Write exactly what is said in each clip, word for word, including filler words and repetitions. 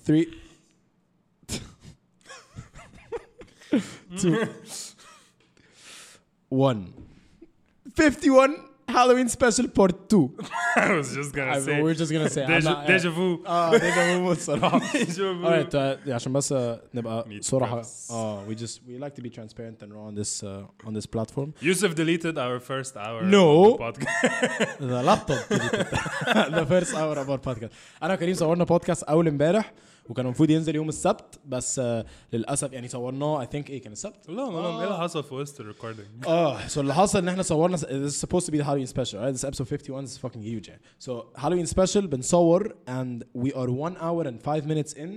three two one fifty-one Halloween special part two. I was just gonna I, say we're just gonna say deja, deja vu. اه deja vu الصراحة. Deja vu. Alright, uh, عشان بس uh, نبقى Meet صراحة. preps. Oh, we just we like to be transparent and raw on this uh, on this platform. Yusuf deleted our first hour No. of the podcast. The laptop the first hour of our podcast. أنا وكريم صورنا بودكاست أول امبارح وكان المفروض ينزل يوم السبت بس uh, للأسف يعني صورناه I think إيه كان السبت. لا لا لا ايه اللي حصل في وسط الريكوردينج؟ اه so اللي حصل إن إحنا صورنا this is supposed to be the Halloween special right this episode fifty-one is fucking huge يعني. So Halloween special بنصور and we are one hour and five minutes in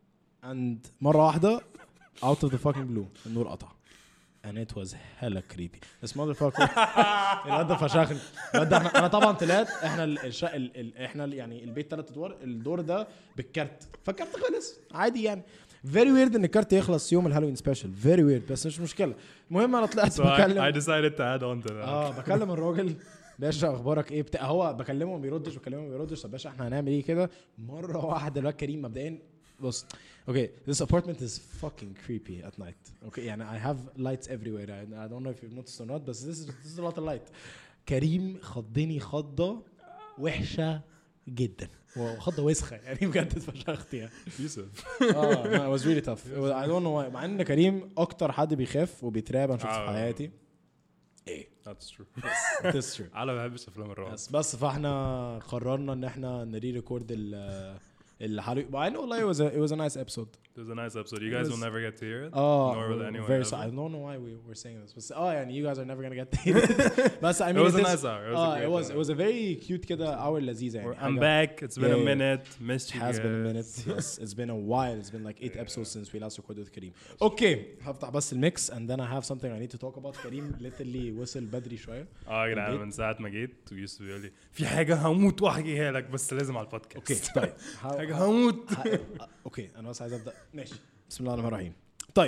and مرة واحدة out of the fucking blue النور قطع and it was hella creepy this motherfucker الواد ده فشخني الواد ده احنا انا طبعا طلعت احنا الش... ال... ال... احنا ال... يعني البيت ثلاث ادوار الدور ده بالكارت فالكارت خلص عادي يعني very weird ان الكارت يخلص يوم الهالوين سبيشال very weird بس مش مشكله المهم انا طلعت So بكلم I, I decided to add on to that. اه بكلم الراجل باشا اخبارك ايه بتاع هو بكلمه ما بيردش بكلمه ما بيردش طب باشا احنا هنعمل ايه كده مره واحده الواد كريم مبدئيا بص okay this apartment is fucking creepy at night okay يعني I have lights everywhere I, I don't know if you've noticed or not but this is this is a lot of light كريم خضني خضه وحشه جدا وخضه وسخه يعني بجد اتفشخت يعني يوسف. اه it was really tough I don't know why مع ان كريم اكتر حد بيخاف وبيترعب انا شفته في آه. حياتي ايه That's true. that's true انا ما بحبش افلام الرعب. بس بس فاحنا قررنا ان احنا نري ريكورد ال الحلقه مع انه والله it was a, it was a nice episode It was a nice episode. You guys was- will never get to hear it. oh Nor will anyone very ever. so, I don't know why we were saying this but oh يعني you guys are never gonna get to hear it بس I mean It was a this- nice hour. It was a uh, great it was hour. it was a very cute كده hour لذيذة يعني I'm حاجة- back. It's been Yeah, a yeah. minute. Missed you has been a guys. minute yes it's been a while it's been like eight episodes since we last recorded with كريم okay هفتح بس الميكس and then I have something I need to talk about كريم literally وصل بدري شوية اه يا جدعان البيت. من ساعة ما جيت ويوسف بيقول لي في حاجة هموت واحكيها لك بس لازم على البودكاست. اوكي طيب حاجة هموت. ه- اوكي انا بس عايز ابدا ماشي بسم الله الرحمن الرحيم طيب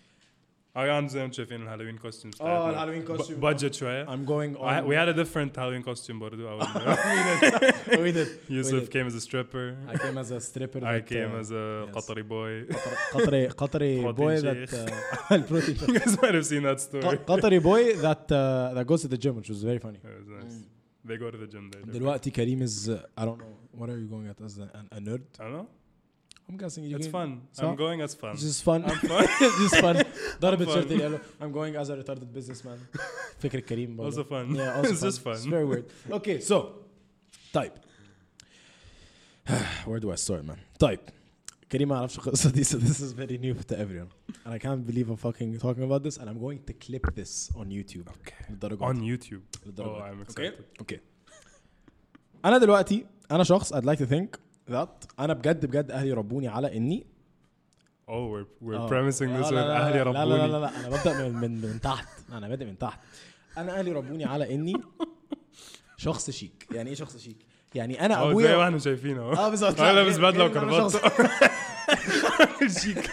اه يعني زي ما انتم شايفين الهالوين كوستيومز اه الهالوين costume. بادجت شوية. I'm going I- on We had a different Halloween costume برضو. أول we did Yusuf did. came as a stripper. I came as a stripper I that, came uh, as a yes. قطري boy. قطري قطري Protein boy shake. that uh, البروتين You guys might have seen that story. قطري boy that uh, that goes to the gym which was very funny It was nice. They go to the gym there. دلوقتي كريم is uh, I don't know what are you going at as a, a nerd I don't know. I'm guessing you It's can- fun. So? I'm going as fun. It's just fun I'm fun. It's just fun ضرب fun. التيشيرت اللي قاله I'm going as a retarded businessman فكرة كريم برضه. Also fun. Yeah, also It's just fun. It's very weird. Okay, so طيب where do I start, man? طيب كريم ما يعرفش القصة دي so this is very new to everyone and I can't believe I'm fucking talking about this and I'm going to clip this on YouTube. Okay. للدرجة On دي. YouTube. للدرجة Oh, دي. I'm Okay? excited. Okay. أنا دلوقتي أنا شخص I'd like to think that أنا بجد بجد أهلي ربوني على إني Oh, we're we're آه. premising لا this with لا لا أهلي لا لا لا ربوني. لا لا أنا ببدأ من من من تحت أنا بادئ من تحت أنا أهلي ربوني على إني شخص شيك يعني إيه شخص شيك يعني أنا Oh, زي ما أبويا احنا شايفين اهو. اه بالظبط أنا لابس غير- بدلة غير إن أنا وكرافته. شخص- شيك.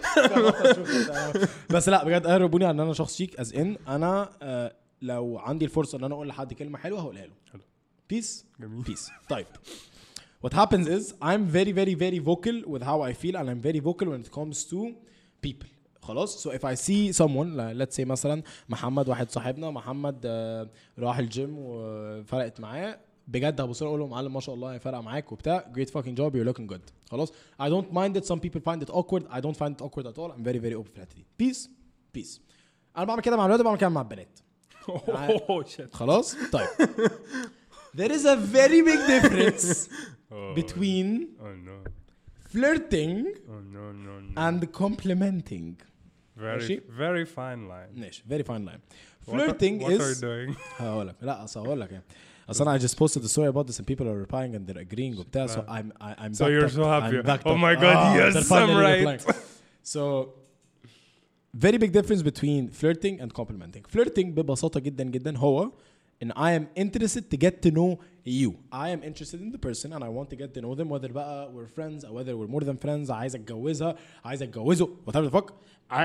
بس لا بجد اهلي ربوني على ان انا شخص شيك از ان انا آه، لو عندي الفرصه ان انا اقول لحد كلمه حلوه هقولها له حلو. بيس جميل. بيس طيب what happens is I'm very very very vocal with how I feel and I'm very vocal when it comes to people خلاص so if I see someone like, let's say مثلا محمد واحد صاحبنا محمد آه، راح الجيم وفرقت معاه بجد هبص له اقول له معلم ما شاء الله فرقه معاك وبتاع great fucking job you're looking good خلاص I don't mind it some people find it awkward I don't find it awkward at all I'm very very open في الحته دي peace peace انا بعمل كده مع الولاد وبعمل كده مع البنات Oh shit. خلاص طيب there is a very big difference Oh. between Oh no. flirting Oh no no no. and complimenting Very ماشي؟ very fine line. ماشي very fine line What are- flirting What are is you doing? هقول لك لا اصل هقول لك يعني اصل انا I just posted the story about this and people are replying and they're agreeing وبتاع so I'm I, I'm So backed you're up. so happy. I'm backed Oh up. my God, Ah, yes, they're finally I'm right. replying. So very big difference between flirting and complimenting. Flirting ببساطة جدا جدا هو and I am interested to get to know you. I am interested in the person and I want to get to know them whether بقى we're friends or whether we're more than friends. عايز اتجوزها عايز اتجوزه whatever the fuck. I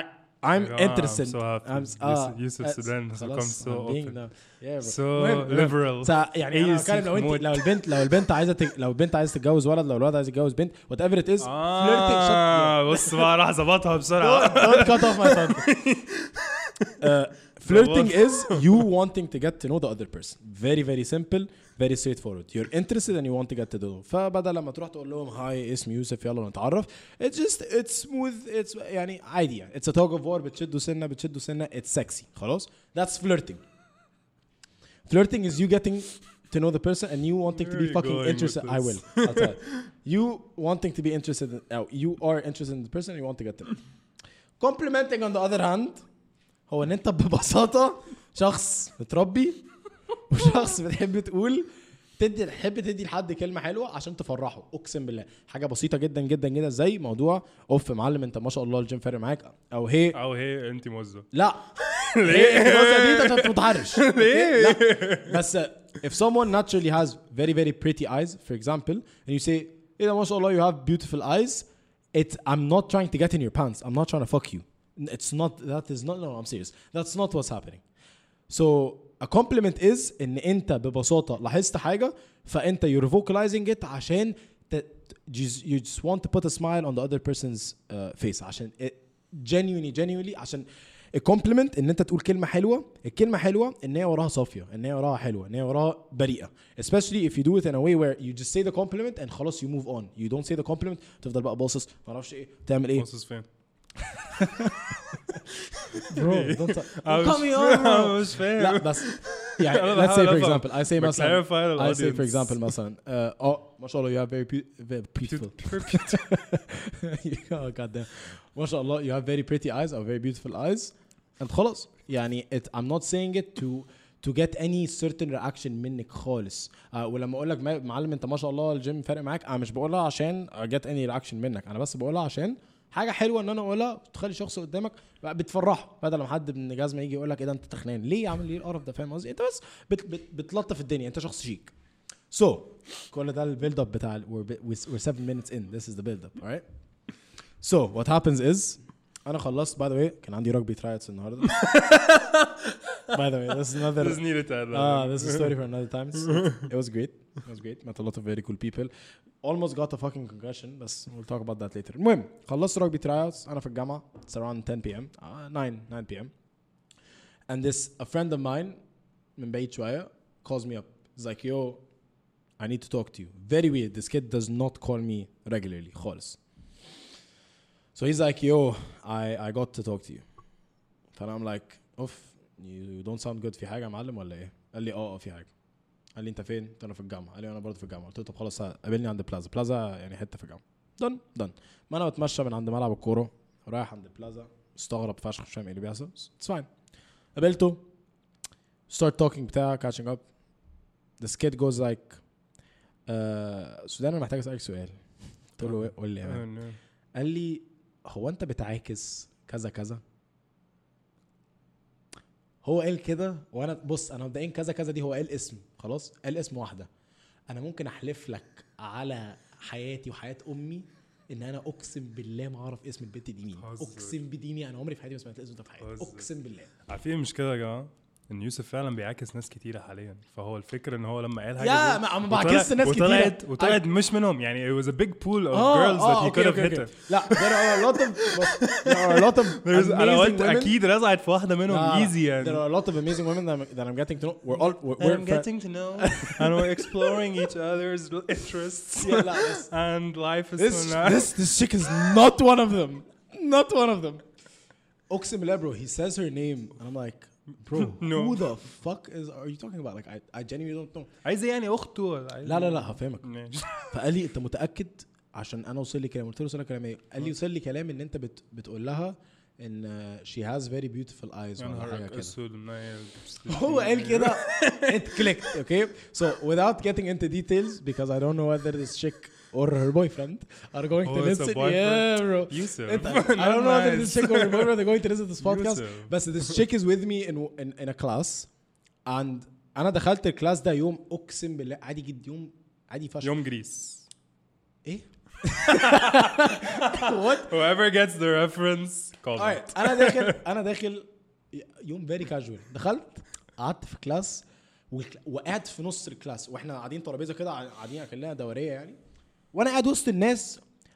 I'm Yeah, interested. I'm so happy. I'm Yusuf- ah, Yusuf uh, Sudan has خلاص, become so I'm being open. now. Yeah, bro. So المهم- liberal. سا- يعني انا أي بتكلم لو سيف انت موت. لو البنت لو البنت عايزه تج... لو البنت عايزه تتجوز ولد لو الولد عايز يتجوز بنت whatever it is flirting shut آه بص بقى راح ظبطها بسرعة. don't cut off my thunder. uh, flirting is you wanting to get to know the other person. Very very simple, very straightforward. You're interested and you want to get to know. فبدل لما تروح تقول لهم هاي اسمي يوسف يلا نتعرف. It's just it's smooth. It's يعني عادي يعني. It's a tug of war. بتشدوا سنة بتشدوا سنة. It's sexy. خلاص. That's flirting. Flirting is you getting to know the person and you wanting to be Where are you fucking going interested. with I this? will. I'll tell you. You wanting to be interested in, oh, you are interested in the person and you want to get to know. Complimenting on the other hand هو ان انت ببساطة شخص متربي وشخص بتحب تقول تدي تحب تدي لحد كلمة حلوة عشان تفرحه. اقسم بالله حاجة بسيطة جدا جدا جدا زي موضوع اوف معلم انت ما شاء الله الجيم فارق معاك او هي أو هي أنت موزة. لا ليه الوزة دي انت متحرش ليه لا بس if someone naturally has very very pretty eyes for example and you say ايه ده ما شاء الله you have beautiful eyes it I'm not trying to get in your pants I'm not trying to fuck you it's not that is not no I'm serious that's not what's happening so a compliment is ان انت ببساطة لاحظت حاجة فانت you're vocalizing it عشان ت- you just want to put a smile on the other person's uh, face عشان it, genuinely genuinely عشان الكومبلمنت ان انت تقول كلمه حلوه الكلمه حلوه ان هي وراها صافيه ان هي وراها حلوه ان هي وراها بريئه especially if you do it in a way where you just say the compliment and خلاص you move on you don't say the compliment تفضل بقى باصص ما اعرفش ايه تعمل ايه باصص فين؟ bro don't I was- come here bro. مش فاهم. لا بس يعني أنا let's say for بحاول example I say But مثلا clarify the I say for audience. example مثلا uh, oh ما شاء الله you have very, be- very beautiful oh god damn ما شاء الله you have very pretty eyes or very beautiful eyes and خلاص يعني it, I'm not saying it to to get any certain reaction منك خالص uh, ولما اقول لك معلم انت ما شاء الله الجيم فارق معاك انا مش بقولها عشان get any reaction منك انا بس بقولها عشان حاجه حلوه ان انا اقولها تخلي شخص قدامك بقى بتفرحه بدل ما حد من جزمه يجي يقول لك ايه ده انت تخنان ليه عامل ليه القرف ده فاهم قصدي انت بس بت بت بتلطف الدنيا انت شخص شيك so كل ده البيلد اب بتاع ال- we're, we're seven minutes in this is the build up alright so what happens is انا خلصت by the way كان عندي rugby tryouts النهارده by the way this is another Just needed to add that ah in. this is a story for another time it was great it was great met a lot of very cool people almost got a fucking concussion بس we'll talk about that later المهم خلصت rugby tryouts انا في الجامعه it's around ten p m uh, nine nine p m and this a friend of mine من بعيد شويه calls me up he's like yo I need to talk to you very weird this kid does not call me regularly خالص so he's like yo I I got to talk to you فانا I'm like اوف you don't sound good في حاجه يا معلم ولا ايه قال لي اه اه في حاجه قال لي انت فين قلت انا في الجامعه قال لي انا برضه في الجامعه قلت له طب خلاص قابلني عند بلازا بلازا يعني حته في الجامعه دن دن ما انا بتمشى من عند ملعب الكوره رايح عند بلازا مستغرب فشخ مش فاهم ايه اللي بيحصل اتس فاين قابلته start talking بتاع catching up this kid goes like uh, سودان انا محتاج اسالك سؤال قلت له قول لي يا مان قال لي هو انت بتعاكس كذا كذا هو قال كده وانا بص انا مبدئيا كذا كذا دي هو قال اسم خلاص قال اسم واحده انا ممكن احلف لك على حياتي وحياه امي ان انا اقسم بالله ما اعرف اسم البنت دي مين اقسم بديني انا عمري في حياتي ما سمعت الاسم ده في حياتي اقسم بالله عارفين المشكله يا جماعه ان يوسف فعلا بيعاكس ناس كتيره حاليا فهو الفكره ان هو لما قال حاجه يا ما ما بعكس ناس كتيره وطلعت وطلعت مش منهم يعني it was a big pool of آه girls آه that he okay, could have okay, hit okay. لا there are a lot of there are a lot of انا قلت amazing women. اكيد رزعت في واحده منهم easy يعني there are a lot of amazing women that I'm, that I'm getting to know we're all we're, we're I'm getting to know and we're exploring each other's interests yeah, لا, this, and life is this, so nice this this chick is not one of them not one of them اقسم بالله bro he says her name and I'm like bro No. who the fuck is are you talking about like I I genuinely don't know عايز يعني اخته ولا عايز لا لا لا هفهمك ماشي. فقال لي انت متاكد عشان انا وصل لي كلام قلت له وصل لي كلام ايه قال لي وصل لي كلام ان انت بت بتقول لها ان she has very beautiful eyes ولا حاجه كده هو قال كده it clicked okay so without getting into details because I don't know whether this chick or her boyfriend are going Oh, to it's a listen boyfriend. yeah bro Yusuf. It- I don't know whether this Nice. chick or her boyfriend are going to listen to this podcast Yusuf. بس this chick is with me in in, in a class and انا دخلت الكلاس ده يوم اقسم بالله عادي جدا يوم عادي فشخ يوم جريس ايه what whoever gets the reference call alright انا داخل انا داخل يوم very casual دخلت قعدت في كلاس وقعدت في نص الكلاس واحنا قاعدين ترابيزه كده قاعدين كلنا دوريه يعني وانا قاعد وسط الناس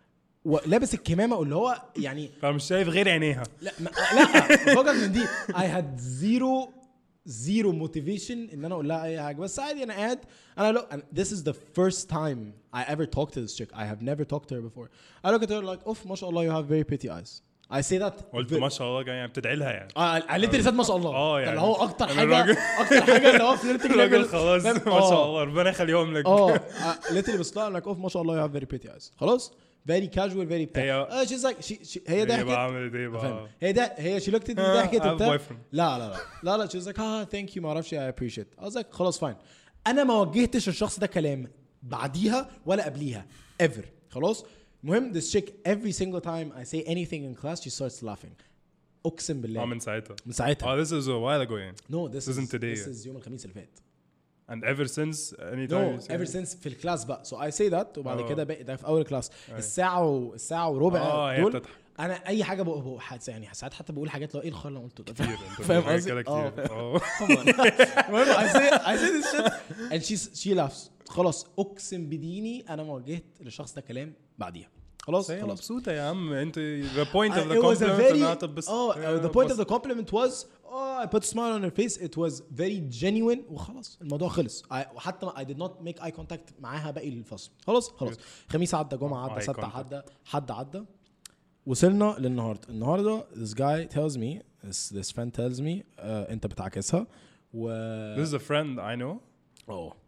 ولابس الكمامه اللي هو يعني فمش شايف غير عينيها لا ما لا فوقك من دي I had zero zero motivation ان انا اقول لها اي حاجه بس عادي انا قاعد انا look and this is the first time I ever talked to this chick I have never talked to her before I look at her like اوف ما شاء الله you have very pretty eyes I say that قلت ما شاء الله يعني بتدعي لها يعني اه قالت لي ما شاء الله اه يعني اللي هو اكتر أنا حاجه الراجل- اكتر حاجه اللي هو فليرتنج الراجل ليفل خلاص ما شاء الله ربنا يخليهم لك اه قالت لي بس لا like اوف ما شاء الله you have very pretty eyes خلاص very casual very بتاع هي- اه she's like she, she هي هي ضحكت بقى عملت ايه فاهم بقى هي ده هي she looked at me آه، ضحكت I have وبتاع boyfriend. لا لا لا لا لا she was like ah thank you ما اعرفش I appreciate I was like خلاص fine انا ما وجهتش الشخص ده كلام بعديها ولا قبليها ever خلاص المهم this chick every single time I say anything in class she starts laughing اقسم اه بالله من ساعتها من ساعتها اه this is a while ago يعني no this Isn't is today. this is يوم الخميس اللي فات and ever since any no time you say ever since في الكلاس بقى so I say that وبعد آه. كده بقى ده في اول كلاس الساعه و... الساعه وربع اه هي دول بتضحك انا اي حاجه بقول بقول حد يعني ساعات حتى بقول حاجات لو ايه الخر اللي أنا قلته ده كتير انت فاهم بتقول قصدي كده اه كتير اه المهم I say I say this shit and she she laughs خلاص اقسم بديني انا ما وجهت للشخص ده كلام بعديها خلاص هي خلاص مبسوطه يا عم انت the point of Uh, the it was a compliment very انها تبص oh uh, the point of the compliment was oh I put a smile on her face it was very genuine وخلاص الموضوع خلص I, وحتى I did not make eye contact معاها باقي الفصل خلاص خلاص خميس عدى جمعة عدى Eye سبت contact. عدى حد عدى وصلنا للنهارده النهارده this guy tells me this this friend tells me uh, انت بتعكسها و this is a friend I know اوه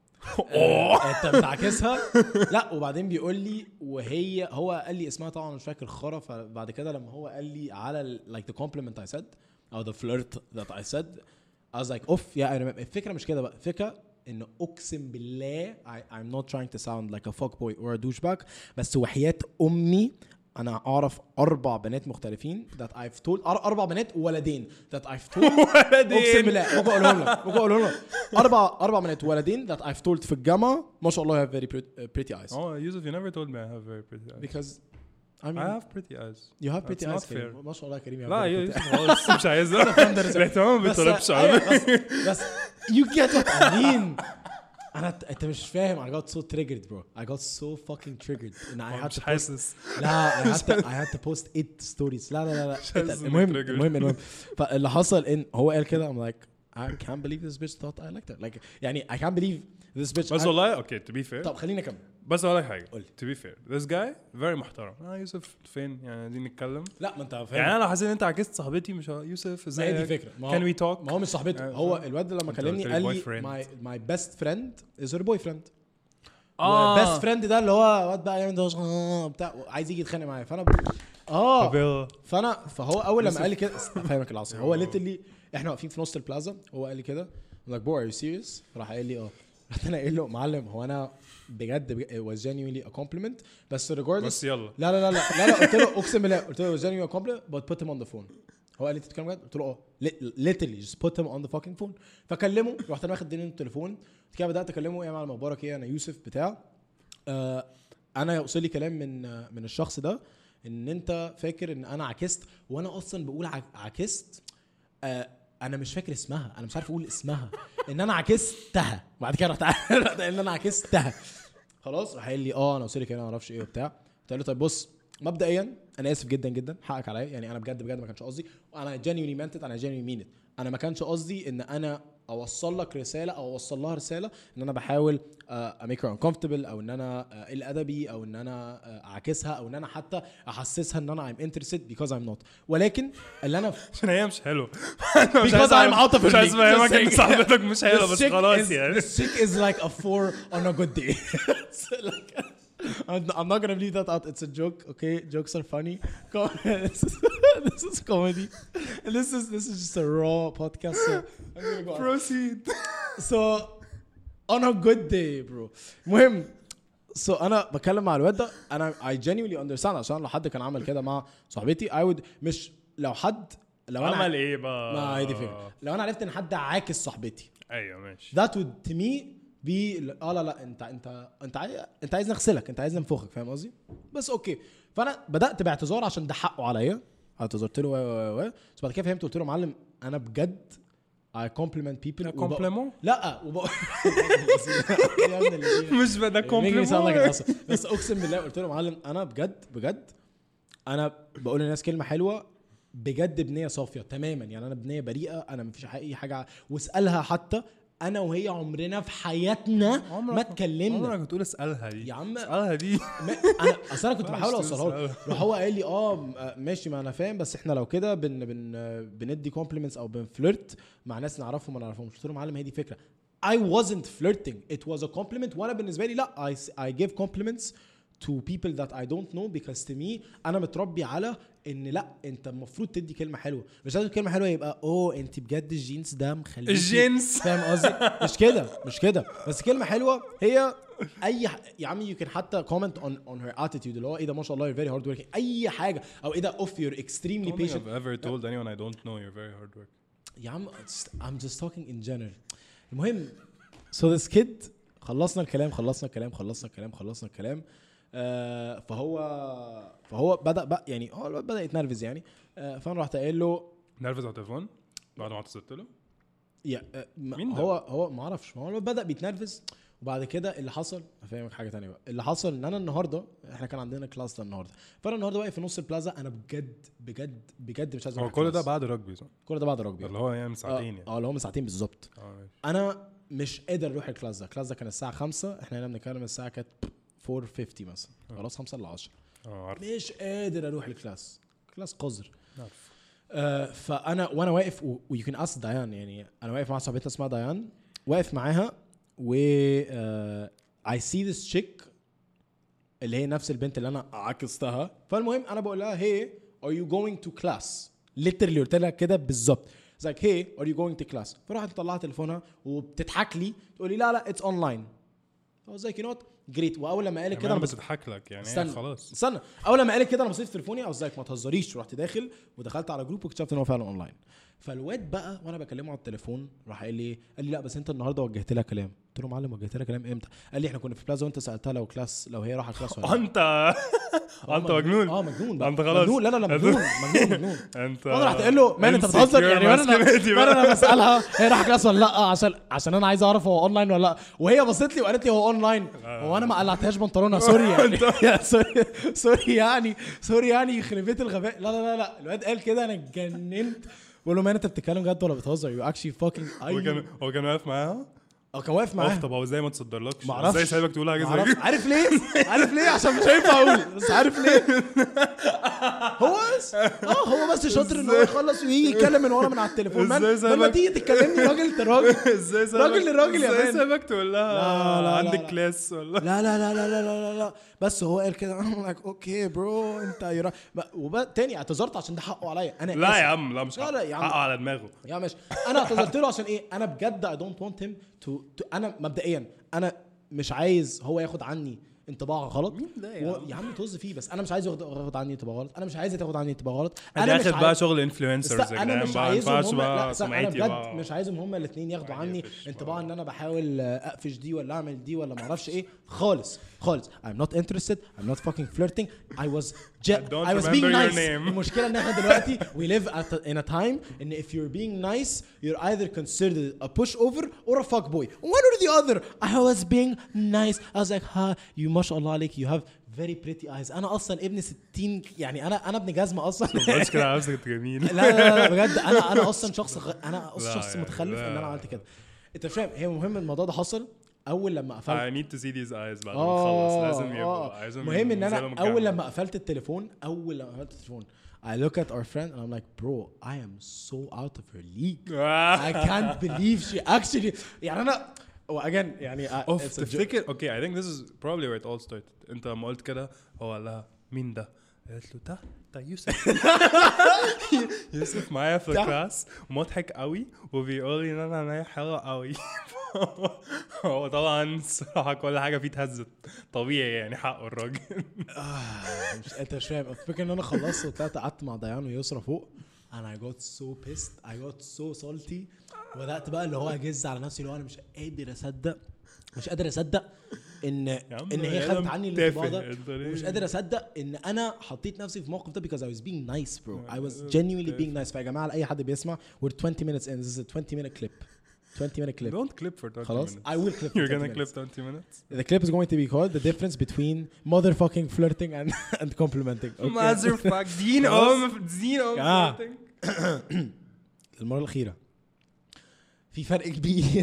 اوه انت بتعكسها لا وبعدين بيقول لي وهي هو قال لي اسمها طبعا مش فاكر خرا فبعد كده لما هو قال لي على ال- like the compliment I said او the flirt that I said I was like اوف يا انا الفكره مش كده بقى الفكره انه اقسم بالله I, I'm not trying to sound like a fuckboy or a douchebag بس وحياة امي انا اعرف اربع بنات مختلفين that I've told أر- اربع بنات وولدين that I've told اقسم بالله ممكن اقولهم لك ممكن اقولهم لك اربع اربع بنات وولدين that I've told في الجامعه ما شاء الله you have very pretty, uh, pretty eyes oh Yusuf you never told me I have very pretty eyes because I mean I have pretty eyes you have pretty That's eyes not كريم. fair. ما شاء الله يا كريم you have لا very يا pretty يوسف خلاص مش عايز الاهتمام ما بس بيطلبش أيوة، على بس بس you get what I mean انا انت مش فاهم I got so triggered bro I got so fucking triggered and I had مش to post حاسس لا I had to I had to post eight stories لا لا لا لا حاسس اتقل. إنك المهم triggered. المهم المهم فاللي حصل ان هو قال كده I'm like I can't believe this bitch thought I liked her like يعني I can't believe this bitch بس I- والله اوكي to be fair طب خليني اكمل بس اقول لك حاجه قول لي. to be fair this guy very محترم اه يوسف فين يعني عايزين نتكلم لا ما انت فاهم يعني انا لو حسيت ان انت عكست صاحبتي مش ه- يوسف ما هي دي ازاي الفكره ما can هو we talk ما هو مش صاحبته آه، هو فاهم. الواد لما أنت كلمني قلت لي قال لي boyfriend. my my best friend is her boyfriend آه. best friend ده اللي هو واد بقى يعمل ده آه، بتاع عايز يجي يتخانق معايا فانا ب... اه طب يلا. فانا فهو اول لما قال لي كده فاهمك العصر هو ليتلي احنا واقفين في نص البلازا هو قال لي كده I'm like boy are you serious راح قال لي اه رحت انا قايل له معلم هو انا بجد بج- it was genuinely a compliment بس regardless بس يلا لا لا لا لا لا, لا قلت له اقسم بالله قلت له it was genuinely a compliment but put him on the phone هو قال لي انت بتتكلم بجد قلت له اه Lit- literally just put him on the fucking phone فكلمه رحت انا واخد دين التليفون كده بدات اكلمه ايه يا معلم اخبارك ايه انا يوسف بتاع آه انا يوصل لي كلام من آه من الشخص ده ان انت فاكر ان انا عكست وانا اصلا بقول عك- عكست آه انا مش فاكر اسمها انا مش عارف اقول اسمها ان انا عكستها بعد كده رحت رحت ان انا عكستها خلاص راح قال لي اه انا وصل لي كلام ما اعرفش ايه وبتاع قلت له طيب بص مبدئيا انا اسف جدا جدا حقك عليا يعني انا بجد بجد ما كانش قصدي وانا genuinely meant it انا genuinely mean it انا ما كانش قصدي ان انا اوصل لك رساله او اوصل لها رساله ان انا بحاول اميك هير uncomfortable او ان انا آه، قل ادبي او ان انا آه، اعكسها او ان انا حتى احسسها ان انا I'm interested because I'm not ولكن اللي انا عشان هي مش حلوه because I'm out of مش عايز her league. افهمك Just ان saying. صاحبتك مش حلوه This بس chick خلاص is- يعني this chick is like a four on a good day. It's like, I'm I'm not gonna leave that out. It's a joke, okay? Jokes are funny. Com- this, is, this is comedy. And this is this is just a raw podcast. So I'm gonna go. on. proceed So on a good day, bro. مهم. So أنا بكلم مع الواد ده أنا I genuinely understand عشان لو حد كان عمل كده مع صاحبتي I would مش لو حد لو أنا عمل ايه بقى ما هي دي فكرة لو أنا عرفت إن حد عاكس صاحبتي ايوه ماشي that would to me be اه لا لا انت انت انت عايز انت عايز نغسلك انت عايز ننفخك فاهم قصدي بس اوكي فانا بدات باعتذار عشان ده حقه عليا. اعتذرت له و و و بس بعد كده فهمت قلت له معلم انا بجد I compliment people كومبليمون لا وب... مش بدا كومبليمون بس اقسم بالله قلت له معلم انا بجد بجد انا بقول للناس كلمه حلوه بجد بنيه صافيه تماما يعني انا بنيه بريئه انا مفيش اي حاجه واسالها حتى انا وهي عمرنا في حياتنا ما اتكلمنا. عمرك بتقول اسالها دي يا عم اسالها دي انا اصل انا كنت بحاول اوصلها له راح هو قال لي اه ماشي ما انا فاهم بس احنا لو كده بن بن بندي كومبليمنتس او بنفلرت مع ناس نعرفهم ما نعرفهمش. قلت له معلم هي دي فكره I wasn't flirting it was a compliment وانا بالنسبه لي لا I I give compliments to people that I don't know because to me انا متربي على ان لا انت المفروض تدي كلمه حلوه مش لازم كلمه حلوه يبقى اوه انت بجد الجينز ده مخليكي الجينز فاهم قصدي مش كده مش كده بس كلمه حلوه هي اي ح... يا عمي you can حتى comment on on her attitude اللي هو ايه ده ما شاء الله you're very hard working اي حاجه او ايه ده off you're extremely patient. I've ever told anyone I don't know you're very hard working. يا عم I'm just talking in general. المهم so this kid خلصنا الكلام خلصنا الكلام خلصنا الكلام خلصنا الكلام آه فهو فهو بدا بقى يعني هو بدا يتنرفز يعني آه فانا رحت قايل له نرفز على التليفون بعد ما اتصلت له يا آه مين هو هو ما اعرفش هو بدا بيتنرفز وبعد كده اللي حصل افهمك حاجه تانية بقى اللي حصل ان انا النهارده احنا كان عندنا كلاس ده النهارده فانا النهارده واقف في نص البلازا انا بجد بجد بجد مش عايز هو كل ده بعد رجبي صح كل ده بعد رجبي اللي هو يعني من ساعتين يعني اه اللي هو من ساعتين بالظبط اه انا مش قادر اروح الكلاس ده الكلاس ده كان الساعه خمسة احنا هنا بنتكلم الساعه كانت أربعة وخمسين مثلا خلاص خمسة ل عشرة اه مش قادر اروح الكلاس كلاس قذر عارف آه فانا وانا واقف ويمكن اس ديان يعني انا واقف مع صاحبتنا اسمها ديان واقف معاها و آه I see this chick اللي هي نفس البنت اللي انا عكستها فالمهم انا بقول لها hey are you going to class literally قلت لها كده بالظبط like hey are you going to class فراحت مطلعه تليفونها وبتضحك لي تقول لي لا لا it's online I was like you know what جريت واول لما قالت كده انا بتضحك لك يعني استنى خلاص استنى اول لما قالت كده انا بصيت في تليفوني او زيك ما تهزريش رحت داخل ودخلت على جروب واكتشفت ان هو فعلا اونلاين فالواد بقى وانا بكلمه على التليفون راح قال لي قال لي لا بس انت النهارده وجهت لها كلام قلت له معلم وجهت لها كلام امتى قال لي احنا كنا في بلازا وانت سالتها لو كلاس لو هي رايحه كلاس ولا انت انت مجنون اه مجنون بقى انت خلاص مجنون لا لا لا مجنون مجنون مجنون انت انا رحت قال له مان انت بتهزر يعني وانا انا انا بسالها هي رايحه كلاس ولا لا عشان عشان انا عايز اعرف هو اونلاين ولا لا وهي بصت لي وقالت لي هو اونلاين وانا ما قلعتهاش بنطلونها سوري يعني سوري سوري يعني سوري يعني يخرب بيت الغباء لا لا لا لا الواد قال كده انا اتجننت بقول له مان انت بتتكلم جد ولا بتهزر يو اكشلي فاكينج هو كان هو كان واقف معاها اه كان واقف معاها طب هو ازاي ما تصدرلكش معرفش. ازاي سايبك تقول حاجه زي كده عارف ليه عارف ليه عشان مش هينفع اقول بس عارف ليه هو بس اه هو بس شاطر ان هو يخلص ويجي يتكلم من ورا من على التليفون مان لما تيجي تتكلمني راجل راجل ازاي سايبك راجل لراجل يا ازاي مان سايبك تقول لها لا، لا، عندك لا. كلاس ولا لا لا لا لا لا لا لا بس هو قال كده I'm like اوكي برو انت يرا وتاني اعتذرت عشان ده حقه عليا انا لا آسف. يا عم لا مش لا، لا، يا عم. حقه على دماغه يا ماشي انا اعتذرت له عشان ايه انا بجد I don't want him to, to انا مبدئيا انا مش عايز هو ياخد عني انطباع غلط مين ده يا و- عم؟ يا عم طز فيه بس انا مش عايز ياخد ياخد عني انطباع غلط انا مش عايز تاخد عني انطباع غلط انا مش داخل بقى عايز- شغل است- انفلونسرز يا انا جدعان مش بقى ما عايزهم ينفعش هم لا بقى استنى، انا سمعتي بجد بقى مش عايزهم هم الاثنين ياخدوا عني يقفش انطباع بقى. ان انا بحاول اقفش دي ولا اعمل دي ولا ما اعرفش ايه خالص خالص I'm not interested I'm not fucking flirting I was I j- don't I was being remember your nice name. المشكله ان احنا دلوقتي we live at a, in a time ان if you're being nice you're either considered a pushover or a fuckboy one or the other I was being nice I was like ha you ما شاء الله عليك you have very pretty eyes انا اصلا ابن ستين يعني انا انا ابن جزمه اصلا بس كده عاوزك انت جميل لا لا لا بجد انا انا اصلا شخص غ... انا اصلا لا شخص يعني، متخلف لا. ان انا عملت كده انت فاهم هي مهم الموضوع ده حصل اول لما قفلت I need to see these eyes بعد ما اه نخلص لازم يبقوا اه عايزهم مهم ان ينزلوا انا من اول الجامعة. لما قفلت التليفون اول لما قفلت التليفون I look at our friend and I'm like bro I am so out of her league I can't believe she actually يعني انا again يعني I- اوف it's a joke. تفتكر اوكي I think this is probably where it all started انت لما قلت كده هو قال لها مين ده قالت له ده ده يوسف يوسف معايا في ده. الكلاس ومضحك قوي وبيقول لي ان انا عينيا حلوه قوي هو طبعا الصراحه كل حاجه فيه اتهزت طبيعي يعني حقه الراجل آه، مش انت مش فاهم الفكره ان انا خلصت وطلعت قعدت مع ديان ويسرا فوق and I got so pissed I got so salty وبدات بقى اللي هو اجز على نفسي اللي هو انا مش قادر اصدق مش قادر اصدق ان عم ان هي يا خدت عم عني تافه، الانطباع ده أنت ليه؟ ومش قادر اصدق ان انا حطيت نفسي في موقف ده because I was being nice bro I was Yeah, genuinely تافه. being nice. فيا جماعه لاي حد بيسمع we're twenty minutes in this is a twenty minute clip twenty minute clip Don't clip for twenty خلاص minutes. I will clip for You're twenty gonna clip minutes. twenty minutes. The clip is going to be called the difference between motherfucking flirting and and complimenting. Motherfucking خلاص؟ om دين om آه. flirting. المرة الأخيرة في فرق كبير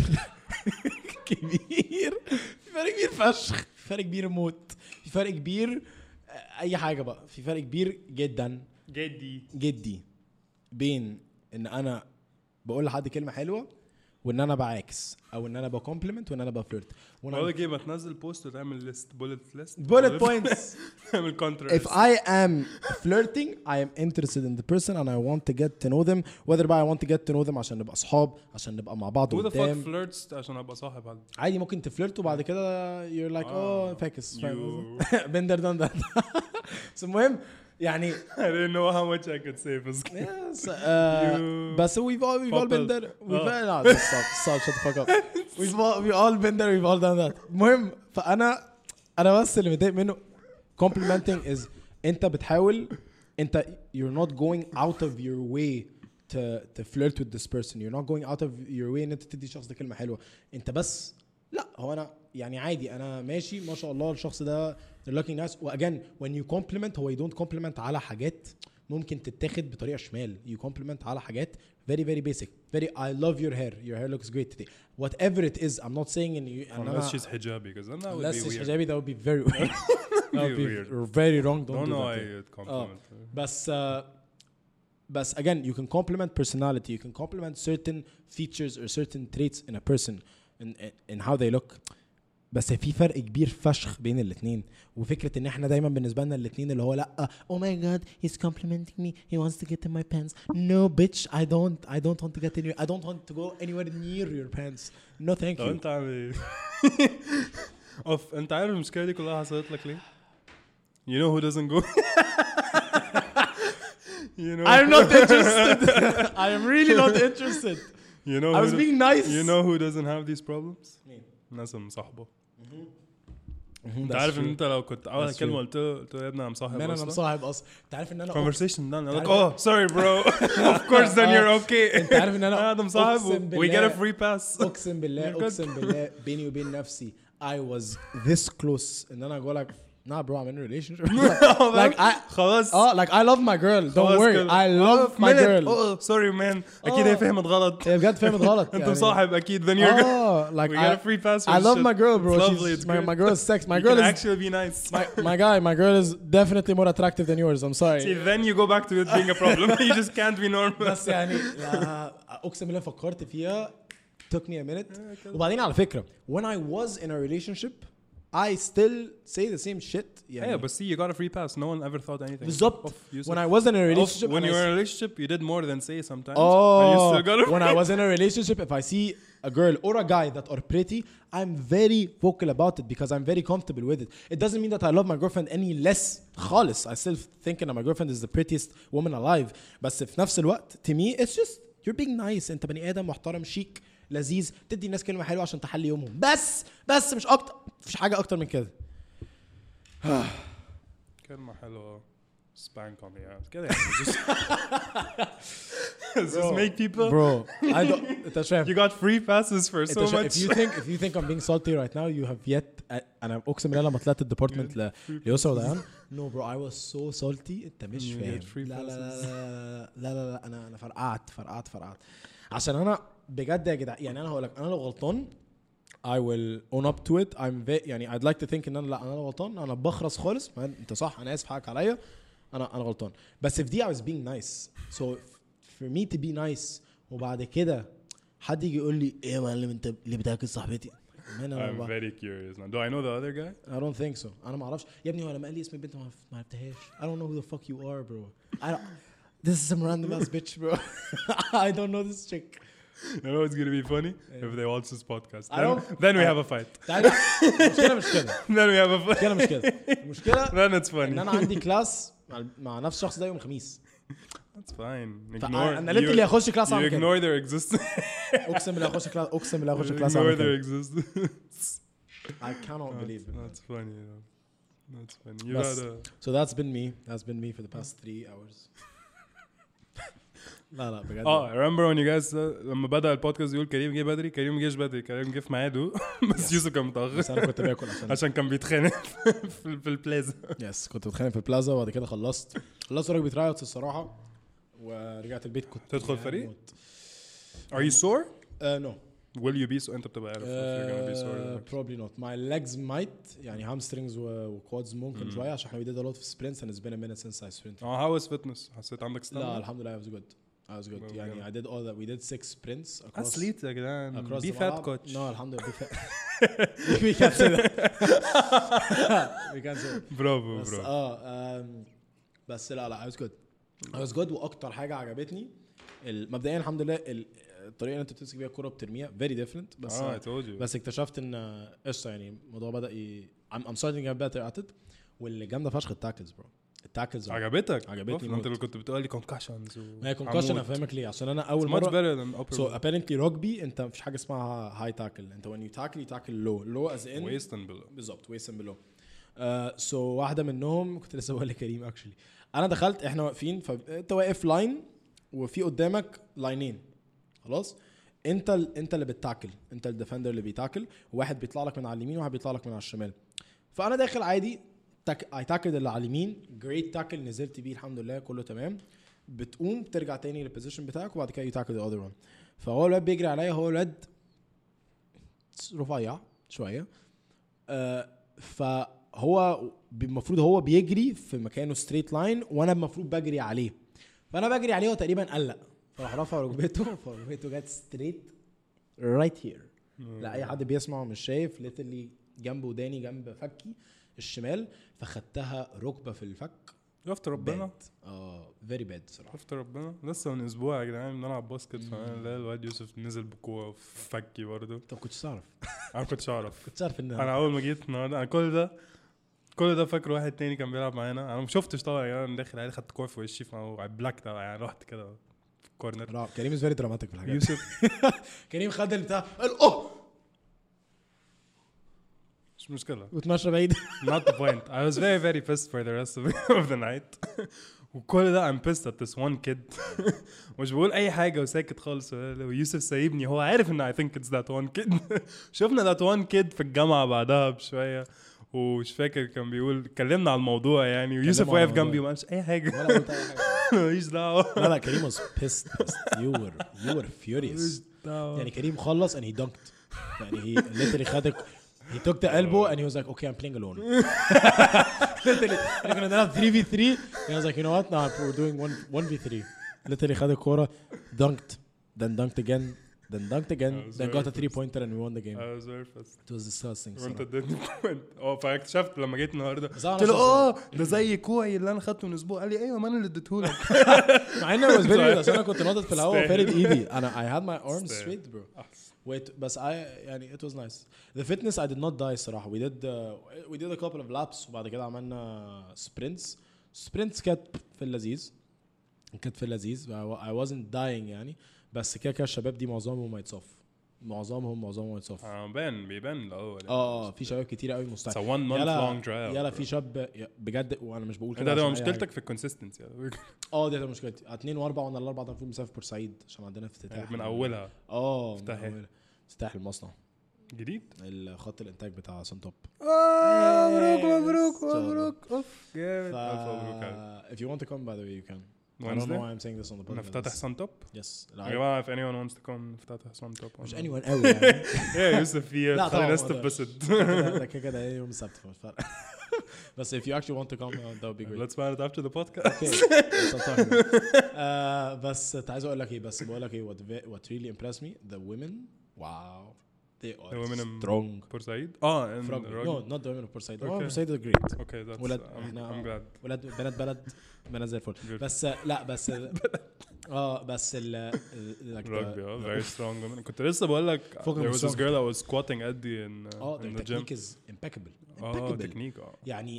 كبير في فرق كبير فشخ في فرق كبير موت في فرق كبير آه، أي حاجة بقى في فرق كبير جدا جدي. جدي بين إن أنا بقول لحد كلمة حلوة وإن أنا بعاكس أو إن أنا بكومبلمنت وإن أنا بفلرت بقول لك ايه، ما تنزل بوست وتعمل ليست بولت ليست bullet points. تعمل If كونتراست. I am flirting, I am interested in the person and I want to get to know them. Whether I want to get to know them عشان نبقى أصحاب عشان نبقى مع بعض Who the fuck قدام. flirts عشان ابقى صاحب حد؟ عادي ممكن تفلرت وبعد كده you're like آه. oh فاكس You- فاهم been there done that. بس المهم يعني I didn't know how much I could say بس yes, uh, You بس we've all we've all been couple. there. We've آه. all, no, just stop, stop, shut the fuck up. We've all we've all been there. We've all done that. المهم فأنا أنا بس اللي متضايق منه complimenting is أنت بتحاول أنت you're not going out of your way to to flirt with this person. You're not going out of your way إن أنت تدي شخص ده كلمة حلوة. أنت بس لا هو أنا يعني عادي أنا ماشي ما شاء الله الشخص ده they're looking nice. وأجان when you compliment هو you don't compliment على حاجات ممكن تتاخد بطريقة شمال. You compliment على حاجات very very basic. Very I love your hair. Your hair looks great today. Whatever it is, I'm not saying in you. unless she's hijabi because then that would unless be she's weird. hijabi, that would be very weird. that would be weird. very wrong. Don't, Don't do know that. why to her. you'd compliment her. But uh, but again, you can compliment personality. You can compliment certain features or certain traits in a person in in how they look. بس في فرق كبير فشخ بين الاثنين وفكرة ان احنا دايما بالنسبة لنا الاثنين اللي هو لا oh my god he's complimenting me he wants to get in my pants no bitch I don't I don't want to get in your I don't want to go anywhere near your pants no thank لو you انت عامل ايه؟ اوف انت عارف المشكلة دي كلها حصلت لك ليه؟ You know who doesn't go? You know I'm not interested I am really not interested You know I who was do- being nice You know who doesn't have these problems? مين؟ الناس المصاحبة. Mhm, انت that's عارف true. ان انت لو كنت اول That's كلمة true. قلت له قلت له يا ابني انا مصاحب man انا اصلا. مصاحب اصلا انت عارف ان انا Conversation done. I'm like, تعرف- oh, sorry, bro. Of course, then you're okay. انت عارف ان انا انا مصاحب. أقسم We get a بالله- free pass. اقسم بالله You're good. اقسم بالله بيني وبين نفسي I was this close ان انا اقول لك nah bro I'm in a relationship like I خلاص. oh like I love my girl don't خلاص worry كده. I Oh, love my minute. girl Oh, sorry, man. اكيد آه. هي فهمت غلط. هي بجد فهمت غلط انت يعني. مصاحب اكيد. Then you're good. اه like We I, get a free pass. for I love shit. my girl bro It's She's- lovely. It's my, great. my girl is sex my You girl can is actually be nice. my, my guy my girl is definitely more attractive than yours I'm sorry See, then you go back to it being a problem. You just can't be normal. بس يعني لا، اقسم بالله فكرت فيها took me a minute وبعدين على فكرة when I was in a relationship I still say the same shit يعني Yeah, but see, you got a free pass. No one ever thought anything. بالظبط of use when it. I was in a Of- relationship when and you I were in a relationship, you did more than say sometimes. And you Oh, still got a when I was in a relationship, if I see a girl or a guy that are pretty, I'm very vocal about it because I'm very comfortable with it. It doesn't mean that I love my girlfriend any less. خالص. I still think that my girlfriend is the prettiest woman alive. بس في نفس الوقت, to me, it's just you're being nice. أنت بني آدم محترم شيك لذيذ تدي الناس كلمة حلوة عشان تحلي يومهم. بس بس مش أكتر. مفيش حاجة أكتر من كده. كلمة حلوة. Spank on the ass. كده يعني. Just, just make people. Bro, I don't. أنت مش فاهم. You got free passes for so أنت شا- much. if you think if you think I'm being salty right now, you have yet. أنا أقسم بالله لما طلعت الديبارتمنت ل ليوسف وديان. No bro, I was so salty. أنت مش You فاهم. get free لا لا passes. لا لا لا لا لا أنا أنا فرقعت فرقعت فرقعت. عشان أنا بجد يا جدع يعني أنا هقول لك أنا لو غلطان I will own up to it. I'm very يعني I'd like to think إن أنا لا أنا غلطان أنا بخرس خالص. ما أنت صح أنا آسف حقك عليا. أنا أنا غلطان. بس if دي I was being nice. So for me to be nice وبعد كده حد يجي يقول لي إيه يا معلم أنت اللي بتاكل صاحبتي. Man, I'm very curious now. Do I know the other guy? I don't think so. أنا ما أعرفش. يا ابني هو لما قال لي اسم البنت ما ما عرفتهاش. I don't know who the fuck you are, bro. I don't. This is some random ass bitch, bro. I don't know this chick. You know what's gonna be funny if they watch this podcast. I Then, don't- then we I- have a fight. تعالى. المشكلة مش كده. Then we have a fight. المشكلة مش كده. المشكلة Then it's إن funny. أنا عندي كلاس مع, مع نفس الشخص ده يوم الخميس. That's fine. فأنا- Ignore. أنا literally هخش كلاس you أعمل كده. ignore their existence. أقسم بالله هخش كلاس أقسم بالله هخش كلاس Ignore أعمل their كده. existence. I cannot believe it. That's funny. That's funny. You بس- gotta. So that's been me. That's been me for the past three hours. لا لا بجد. اه remember when you guys uh, لما بدأ البودكاست يقول كريم جه بدري كريم جيش بدري كريم جه في ميعاده بس يوسف كان متأخر بس انا كنت باكل عشان عشان كان بيتخانق في في البلازا. يس كنت بتخانق في البلازا وبعد كده خلصت خلصت رجبي ترايوتس الصراحه ورجعت البيت كنت تدخل فريق؟ موت. Are you sore? Uh, no. Will you be so انت بتبقى عارف if you're gonna be sore. Uh, probably not. My legs might يعني hamstrings و quads ممكن شويه عشان احنا we did a lot of sprints and it's been a minute since I sprinted. اه how was fitness؟ حسيت عندك لا stamina؟ الحمد لله I was good. I was good. Well, يعني yeah. I did all that. We did six sprints across. Athletes يا جدعان. across Be the fat ملعب. coach. No الحمد لله be fat. We can't say that. We can't say that. برافو بس برافو. اه um, بس لا لا I was good. I was good واكتر حاجه عجبتني مبدئيا الحمد لله الطريقه اللي انت بتمسك بيها الكوره بترميها very different بس اه I told you. بس اكتشفت ان قشطه يعني الموضوع بدا ي... I'm, I'm starting to get better at it واللي جامده فشخ التاكلز برو التاكلز عجبتك؟ عجبتني انت اللي كنت بتقول لي concussions و ما هي concussion افهمك ليه عشان انا اول much مره better than upper so apparently rugby انت مفيش حاجه اسمها high tackle انت when you tackle you tackle low low as in waist and below. بالظبط waist and below uh, so واحده منهم كنت لسه بقول لكريم actually انا دخلت احنا واقفين فانت واقف لاين وفي قدامك لاينين خلاص انت ال... انت اللي بتتاكل انت الديفندر اللي بيتاكل وواحد بيطلع لك من على اليمين وواحد بيطلع لك من على الشمال فانا داخل عادي تاك... اي تاكل اللي على اليمين جريت تاكل نزلت بيه الحمد لله كله تمام بتقوم ترجع تاني للبوزيشن بتاعك وبعد كده يتاكل ذا اذر وان فهو الواد بيجري عليا هو الواد رفيع شويه آه فهو المفروض هو بيجري في مكانه ستريت لاين وانا المفروض بجري عليه فانا بجري عليه وتقريبا قلق فراح رفع ركبته فركبته جت ستريت رايت هير لا اي حد بيسمع مش شايف ليتلي جنب وداني جنب فكي الشمال فخدتها ركبه في الفك شفت ربنا اه فيري باد صراحه شفت ربنا لسه من اسبوع يا جدعان بنلعب باسكت فانا الواد يوسف نزل بكوره في فكي برضه. طب كنتش تعرف انا كنتش اعرف كنتش عارف ان انا اول ما جيت النهارده انا كل ده كل ده فاكر واحد تاني كان بيلعب معانا انا ما شفتش طبعا يعني انا داخل عادي خدت كوره في وشي فبلاكت يعني رحت كده في الكورنر. لا كريم از فيري دراماتيك في الحاجات يوسف كريم خد البتاع قال اوه مش مشكله وتمشى بعيد not the point. I was very very pissed for the rest of, of the night. وكل ده I'm pissed at this one kid. مش بقول اي حاجه وساكت خالص ويوسف سايبني هو عارف ان I think it's that one kid. شفنا that one kid في الجامعه بعدها بشويه ومش فاكر كان بيقول اتكلمنا على الموضوع يعني ويوسف واقف جنبي وما قالش اي حاجه ولا قلت اي حاجه ماليش دعوه. لا لا كريم was pissed pissed. you were you were furious يعني كريم خلص and he dunked يعني he literally خد he took the elbow and he was like okay I'm playing alone literally we're gonna have three v three and I was like you know what now we're doing one one v three literally خد الكورة dunked then dunked again then dunked again then got a three pointer and we won the game. I was very pissed. It was disgusting. وانت اديتني بوينت اه فاكتشفت لما جيت النهارده بس أنا قلت له شخص- اه ده زي كوعي اللي انا خدته من اسبوع قال لي ايوه ما انا اللي اديتهولك. مع ان I was very عشان انا كنت ناطط في الهواء Stay. وفارد ايدي انا I had my arms Stay. straight bro. Wait بس I يعني it was nice. The fitness I did not die الصراحة. We did uh, we did a couple of laps وبعد كده عملنا sprints. sprints كانت في اللذيذ. كانت في اللذيذ. I wasn't dying يعني بس كده كده الشباب دي معظمهم ما يتصف. معظمهم معظمهم يتصف. اه بان بيبان الاول اه في شباب كتير قوي It's a مستحيل. one month long trial. يلا في شاب بجد وانا مش بقول كده ده ده عشان أي مشكلتك حاجة. في الكونسيستنسي اه دي مشكلتي اتنين واربعة وانا الاربعة ده المفروض مسافر بورسعيد عشان عندنا افتتاح من اولها اه من افتتاح إيه؟ أولها. افتتاح المصنع جديد. الخط الانتاج بتاع سنتوب مبروك مبروك إن شاء الله. مبروك اوف جامد ف... الف مبروك عليك. if you want to come by the way you can I don't know Wednesday why I'm saying this on the podcast نفتتح سنتوب yes يا جماعه if anyone wants to come نفتتح سنتوب مش anyone قوي يعني يا يوسف في لا خلي طبعاً الناس ما أقدرش. تتبسط. كده ده كده كده يوم السبت فمش فارقة بس if you actually want to come uh, that would be great Let's plan it after the podcast. okay that's what I'm talking about. آه، بس عايز اقول لك ايه بس بقول لك ايه what ve- what really impressed me the women wow they are The women in- strong بورسعيد اه in Frog- rugby. no not the women of Portside Okay. oh Portside is great Okay that's ولاد I'm, احنا I'm glad. ولاد بنات بلد بنات زي الفل Good. بس لا بس اه بس ال like the- Rugby اه very strong women. كنت لسه بقول لك فوق there was this strong. girl that was squatting Eddie in uh, اه in their the gym. technique is impeccable اه impeccable تكنيك اه يعني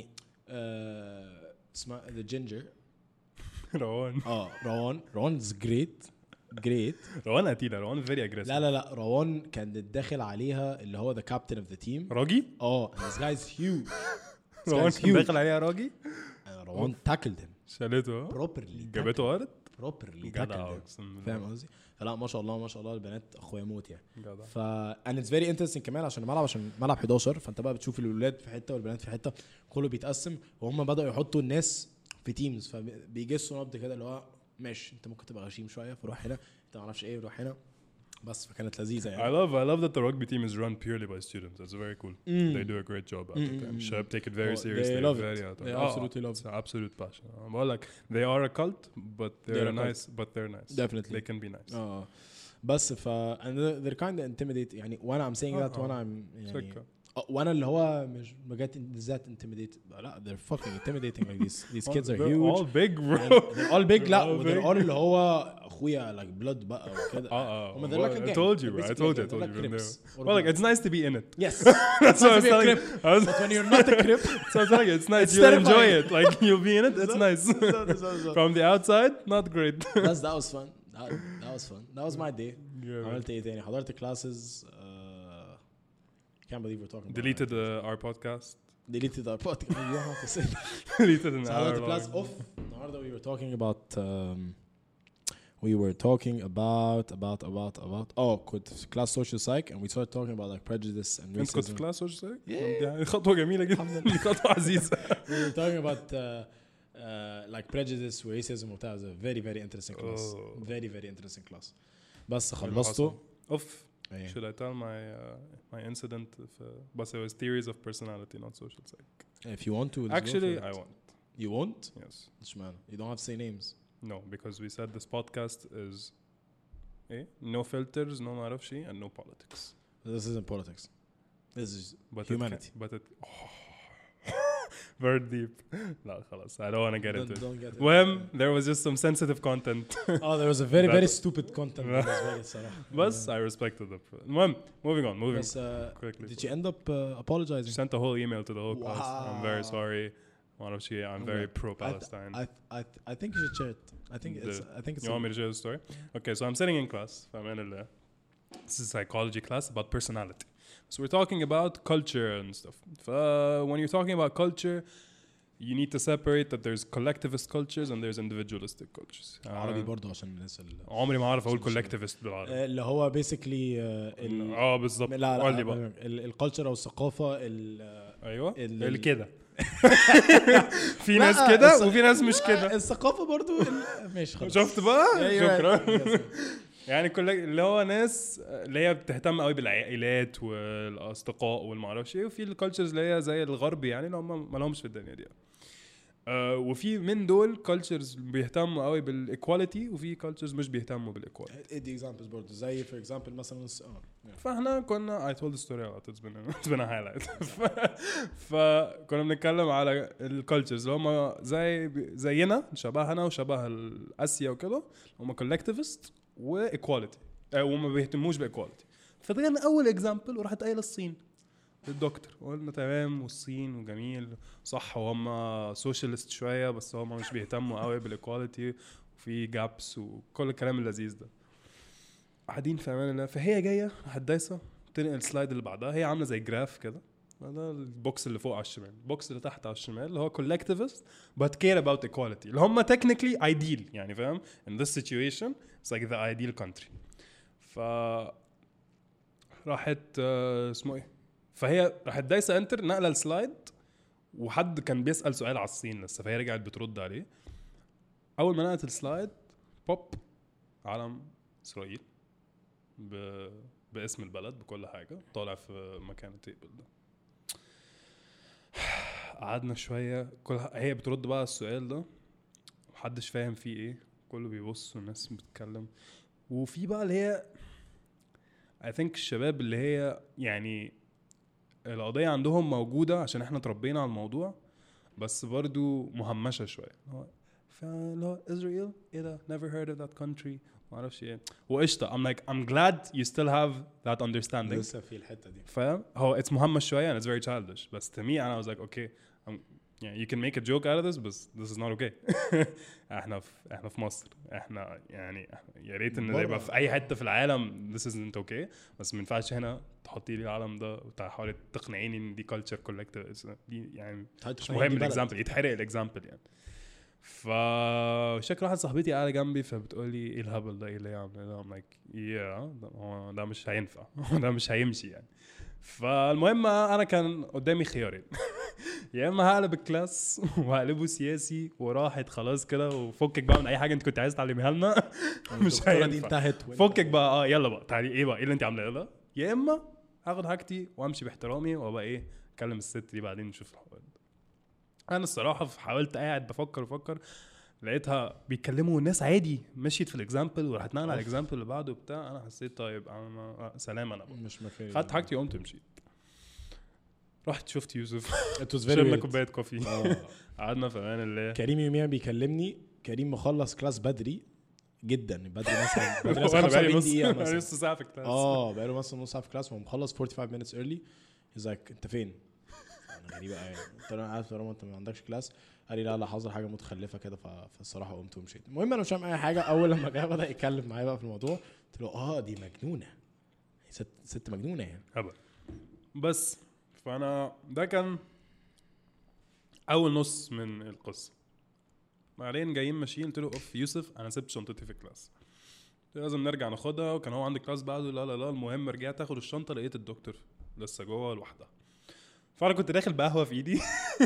آه، اسمها the ginger روان اه روان روان is great جريت. روان قتيلة، روان very aggressive. لا لا لا روان كان داخل عليها اللي هو the captain of the team. راجي؟ اه and this guy's huge. This روان guy's كان huge. داخل عليها راجي؟ And روان tackled him شالته properly. جابته أرض؟ properly جدع tackled him. أقسم بالله. فاهم قصدي؟ فلا ما شاء الله ما شاء الله البنات اخويا موت يعني. جدع. ف and it's very interesting كمان عشان الملعب عشان ملعب حداشر فانت بقى بتشوف الولاد في حته والبنات في حته كله بيتقسم وهم بداوا يحطوا الناس في تيمز فبيجسوا نبض كده اللي هو ماشي انت ممكن تبقى غشيم شويه فروح هنا انت ما اعرفش ايه روح هنا بس فكانت لذيذه يعني. I love I love that the rugby team is run purely by students. That's very cool. Mm. They do a great job at it. And Shab take it very Oh, seriously. they love very it. out. They Oh, absolutely love it's it. an absolute passion. Um, well, like they are a cult, but they're, They're a nice. But they're nice. Definitely. They can be nice. اه بس ف and they're kind of intimidate يعني وانا I'm saying that آه. وانا I'm يعني فكرة. آه، وانا اللي هو مش بجد ذات intimidated لا they're fucking intimidating like these these kids are They're huge all big, bro. and they're all big لا all they're big. all اللي هو اخويا like blood بقى وكده. Uh, uh, هم they're well, like a I gang. told you. They're I basically told you. I like- told they're you. like from Crips there. or Well, like blood. it's nice to be in it. Yes. That's what I was Nice to be a telling. Crip. I was, But when you're not a Crip so I was telling you, it's nice. It's You'll enjoy terrifying. it. Like you'll be in it. It's nice. From the outside, not great. That's that was fun. That, that was fun. That was my day. Yeah, man. عملت ايه تاني حضرت classes uh, can't believe we're talking about Deleted that. uh, our podcast. deleted our podcast. You don't have to say that. Deleted an So hour حضرت class long. off النهارده we were talking about um, we were talking about about about about oh كنت في class social psych and we started talking about like prejudice and انت كنت في racism. كلاس وش زي؟ Yeah. يعني خطوة جميلة جدا. دي خطوة عزيزة. We were talking about uh, uh, like prejudice racism وبتاع. It was a very very interesting class. Oh. Very very interesting class. بس خلصته. Off. إيه. Should I tell my uh, my incident? If, uh, but it was theories of personality, not social psych. If you want to let's go Actually, for it. I won't. You won't? Yes. Man, you don't have to say names. No, because we said this podcast is eh? no filters, no معرفش and no politics. This isn't politics. This is But humanity. It can, but it oh. very deep. لا خلاص. I don't want to get Don't, into it. don't get it. When there was just some sensitive content. Oh, there was a very very That- stupid content. بالنسبة لي الصراحة. But I respected it. المهم, moving on, moving But, uh, quickly. did you end up uh, apologizing? Sent a whole email to the whole class. I'm very Wow. sorry. معرفش ايه, I'm very I, th- pro-Palestine. I, th- I, th- I think you should share it. I think it's. The- I think it's. You want me to share the story? Okay, so I'm sitting in class. فأمان الله. This is a psychology class about personality. So we're talking about culture and stuff. ف when you're talking about culture, you need to separate that there's collectivist cultures and there's individualistic cultures. عربي آه، برضو عشان الناس اللي عمري ما اعرف اقول مش- collectivist بالعربي. اللي هو basically uh, ال اه بالظبط. لا قول لي لا بقى. الكالتشر او الثقافه ال ايوه ال- اللي كده. في لا، ناس كده الث- وفي ناس مش كده. الثقافه برضو ال- ماشي خلاص شفت بقى؟ Yeah, you're شكرا. right. Yes. يعني كل اللي هو ناس اللي هي بتهتم قوي بالعائلات والاصدقاء والمعرفش ايه, وفي الكالتشرز اللي هي زي الغرب يعني اللي هم ما لهمش في الدنيا دي. آه وفي من دول كالتشرز بيهتموا قوي بالايكواليتي وفي كالتشرز مش بيهتموا بالايكواليتي. ادي اكزامبلز برضو زي فور اكزامبل مثلا الس- اه yeah. فاحنا كنا I told the story a lot. It's been a, it's been a highlight. فكنا بنتكلم على الكالتشرز اللي هم زي زينا شبهنا وشبه الاسيا وكده, هم collectivist وايكواليتي وما بيهتموش بايكواليتي. فدغنا اول اكزامبل وراحت قايله الصين الدكتور, وقلنا تمام والصين وجميل صح, وهم سوشيالست شويه بس هم مش بيهتموا قوي بالايكواليتي وفي جابس وكل الكلام اللذيذ ده. قاعدين في امان الله, فهي جايه راحت دايسه تنقل السلايد اللي بعدها, هي عامله زي جراف كده, ده البوكس اللي فوق على الشمال, البوكس اللي تحت على الشمال اللي هو collectivist but care about equality اللي هم technically ideal يعني فاهم. in this situation it's like the ideal country. ف راحت آه اسمه ايه, فهي راحت دايسه انتر نقله السلايد, وحد كان بيسال سؤال على الصين لسه, فهي رجعت بترد عليه. اول ما نقلت السلايد بوب علم اسرائيل ب... باسم البلد بكل حاجه طالع في مكان التيبل ده. قعدنا شويه كل هي بترد بقى السؤال ده, محدش فاهم فيه ايه, كله بيبص والناس بتتكلم. وفي بقى اللي هي I think الشباب اللي هي يعني القضيه عندهم موجوده عشان احنا تربينا على الموضوع, بس برضو مهمشه شويه. فلو إسرائيل ايه ده, never heard of that country, ما اعرفش ايه وقشطه. I'm like I'm glad you still have that understanding. لسه في الحته دي فاهم, هو it's مهمش شويه and it's very childish, بس to me انا I was like okay I'm يعني you can make a joke out of this بس this is not okay. احنا في احنا في مصر, احنا يعني يا ريت ان ده يبقى في اي حته في العالم this isn't okay, بس ما ينفعش هنا تحطي لي العالم ده وتحاولي تقنعيني ان دي culture collective دي يعني مش مهم الاكزامبل يتحرق الاكزامبل يعني. فشكل واحد صاحبتي قاعده جنبي فبتقول لي ايه الهبل ده, ايه اللي يعمل ده؟ I'm like yeah ده مش هينفع, ده مش هيمشي يعني. فالمهم انا كان قدامي خيارين, يا اما هقلب الكلاس وهقلبه سياسي وراحت خلاص كده وفكك بقى من اي حاجه انت كنت عايز تعلميها لنا, مش هينفع فكك بقى اه يلا بقى تعالي ايه بقى ايه اللي انت عاملاه ده, يا اما هاخد حاجتي وامشي باحترامي وابقى ايه اكلم الست دي بعدين نشوف الحوار. انا الصراحه حاولت قاعد بفكر بفكر لقيتها بيتكلموا الناس عادي مشيت في الاكزامبل وراحت نقل على الاكزامبل اللي بعده بتاع. انا حسيت طيب انا سلام انا مش مكاني, خدت حاجتي وقمت مشيت. رحت شفت يوسف شربنا شربنا كوبايه كوفي قعدنا في امان الله. كريم يوميا بيكلمني, كريم مخلص كلاس بدري جدا, بدري مثلا بدري مثلا خمسة دقيقه مثلا مثلا نص ساعه في كلاس, اه بقى له مثلا نص ساعه في كلاس ومخلص خمسة وأربعين minutes early. he's like انت فين؟ انا غريبه قوي, قلت له انا عارف طالما انت ما عندكش كلاس. قال لي لا لا حاضر حاجه متخلفه كده, فالصراحه قمت ومشيت. المهم انا مش فاهم اي حاجه. اول لما جه بدا يتكلم معايا بقى في الموضوع قلت له اه دي مجنونه, ست ست مجنونه يعني هبل. بس فانا ده كان اول نص من القصه. بعدين جايين ماشيين قلت له اوف يوسف انا سبت شنطتي في الكلاس, لازم نرجع ناخدها, وكان هو عندي كلاس بعده. لا لا لا المهم رجعت اخد الشنطه لقيت الدكتور لسه جوه لوحدها. فانا كنت داخل بقهوه في ايدي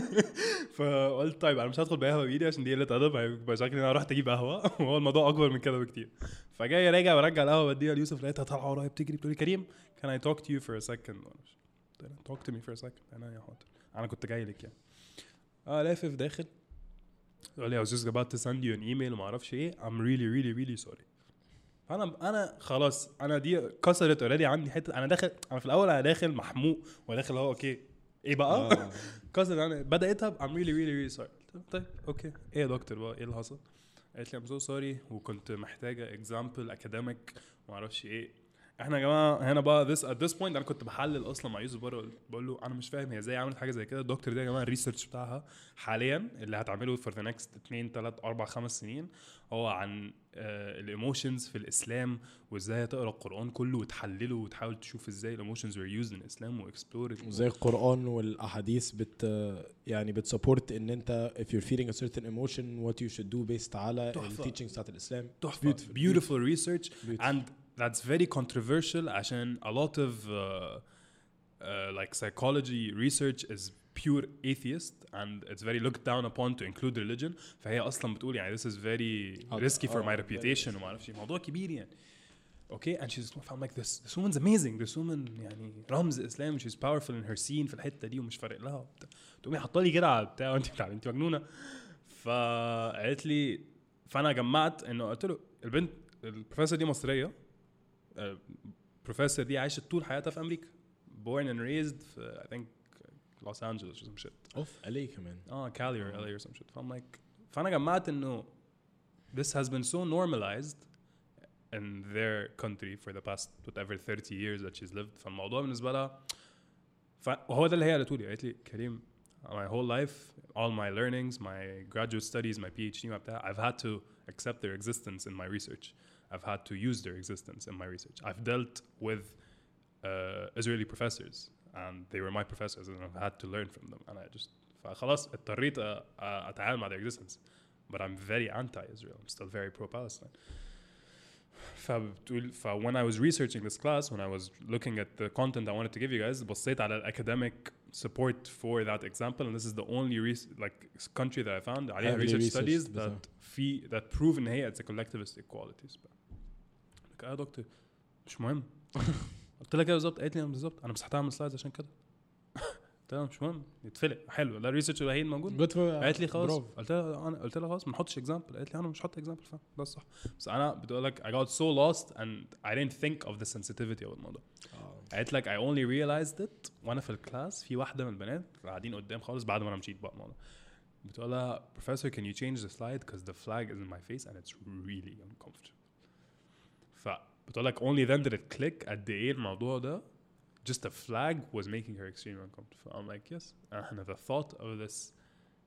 فقلت طيب انا مش هدخل بقهوه بايدي عشان دي قله ادب, هيبقى شكلي انا رحت اجيب قهوه وهو الموضوع اكبر من كده بكتير. فجاي راجع ورجع القهوه بديها ليوسف, لقيتها طالعه ورايا بتجري بتقول لي كريم can I talk to you for a second. talk to me for a second. انا يا حاضر انا كنت جاي لك يعني. اه لافف داخل قال لي I was just about to send you an email وما اعرفش ايه I'm really really really sorry. فانا انا خلاص انا دي كسرت اوريدي عندي حته. انا داخل انا في الاول انا داخل محموق وداخل هو اوكي ايه بقى آه. كسر انا بداتها I'm really really really sorry. طيب اوكي ايه يا دكتور بقى ايه اللي حصل؟ قالت لي I'm so sorry وكنت محتاجه example academic ما اعرفش ايه. احنا يا جماعه هنا بقى this at this point انا كنت بحلل اصلا مع يوسف بره, بقول له انا مش فاهم هي ازاي عملت حاجه زي كده. الدكتور ده يا جماعه الريسيرش بتاعها حاليا اللي هتعمله for the next اتنين تلاتة أربعة خمس سنين هو عن الايموشنز في الاسلام, وازاي تقرا القران كله وتحلله وتحاول تشوف ازاي الايموشنز were used in الاسلام واكسبلور وزي القران والاحاديث بت يعني بتسبورت ان انت if you're feeling a certain emotion what you should do based على التيتشنجز بتاعت الاسلام. تحفه beautiful research and that's very controversial عشان a lot of uh, uh, like psychology research is pure atheist and it's very looked down upon to include religion. فهي أصلاً بتقول يعني this is very risky for my reputation وما أعرفش موضوع كبير يعني. Okay and she's I'm like this this woman's amazing this woman يعني رمز الإسلام she's powerful in her scene في الحتة دي ومش فارق لها. تقومي حاطة لي كده على بتاع وأنت بتاع أنت مجنونة. فقالت لي فأنا جمعت إنه قلت له البنت البروفيسور دي مصرية. البروفيسور دي عايشة طول حياتها في أمريكا born and raised في I think Los Angeles or some shit. اوف إل إيه كمان. اه Cali or إل إيه or some shit. فأنا like فأنا جمعت إنه this has been so normalized in their country for the past whatever thirty years that she's lived. فالموضوع بالنسبة لها وهو ده اللي هي قالته لي. قالت لي كريم my whole life all my learnings my graduate studies my PhD my بتاع I've had to accept their existence in my research. I've had to use their existence in my research. I've dealt with uh, Israeli professors and they were my professors and I've had to learn from them and I just فخلاص اضطريت اتعامل مع their existence but I'm very anti-Israel. I'm still very pro-Palestine. فبتقول ف when I was researching this class when I was looking at the content I wanted to give you guys بصيت على academic support for that example and this is the only like country that I found عليها research studies that في that prove ان هي it's a collectivist equalities. لك يا دكتور مش مهم. قلت لها كده بالظبط. قالت لي بالظبط انا مسحتها من السلايدز عشان كده. قلت لها مش مهم يتفلق حلو لا الريسيرش الوحيد موجود. قالت لي خلاص. قلت لها انا قلت لها خلاص ما نحطش اكزامبل. قالت لي انا مش هحط اكزامبل فاهم ده الصح. بس انا بتقول لك I got so lost and I didn't think of the sensitivity of الموضوع. قالت لك I only realized it وانا في الكلاس في واحده من البنات قاعدين قدام خالص بعد ما انا مشيت بقى الموضوع. بتقول لها professor can you change the slide because the flag is in my face and it's really uncomfortable. ف بتقول لك only then did it click قد ايه الموضوع ده just a flag was making her extremely uncomfortable. I'm like yes and the thought of this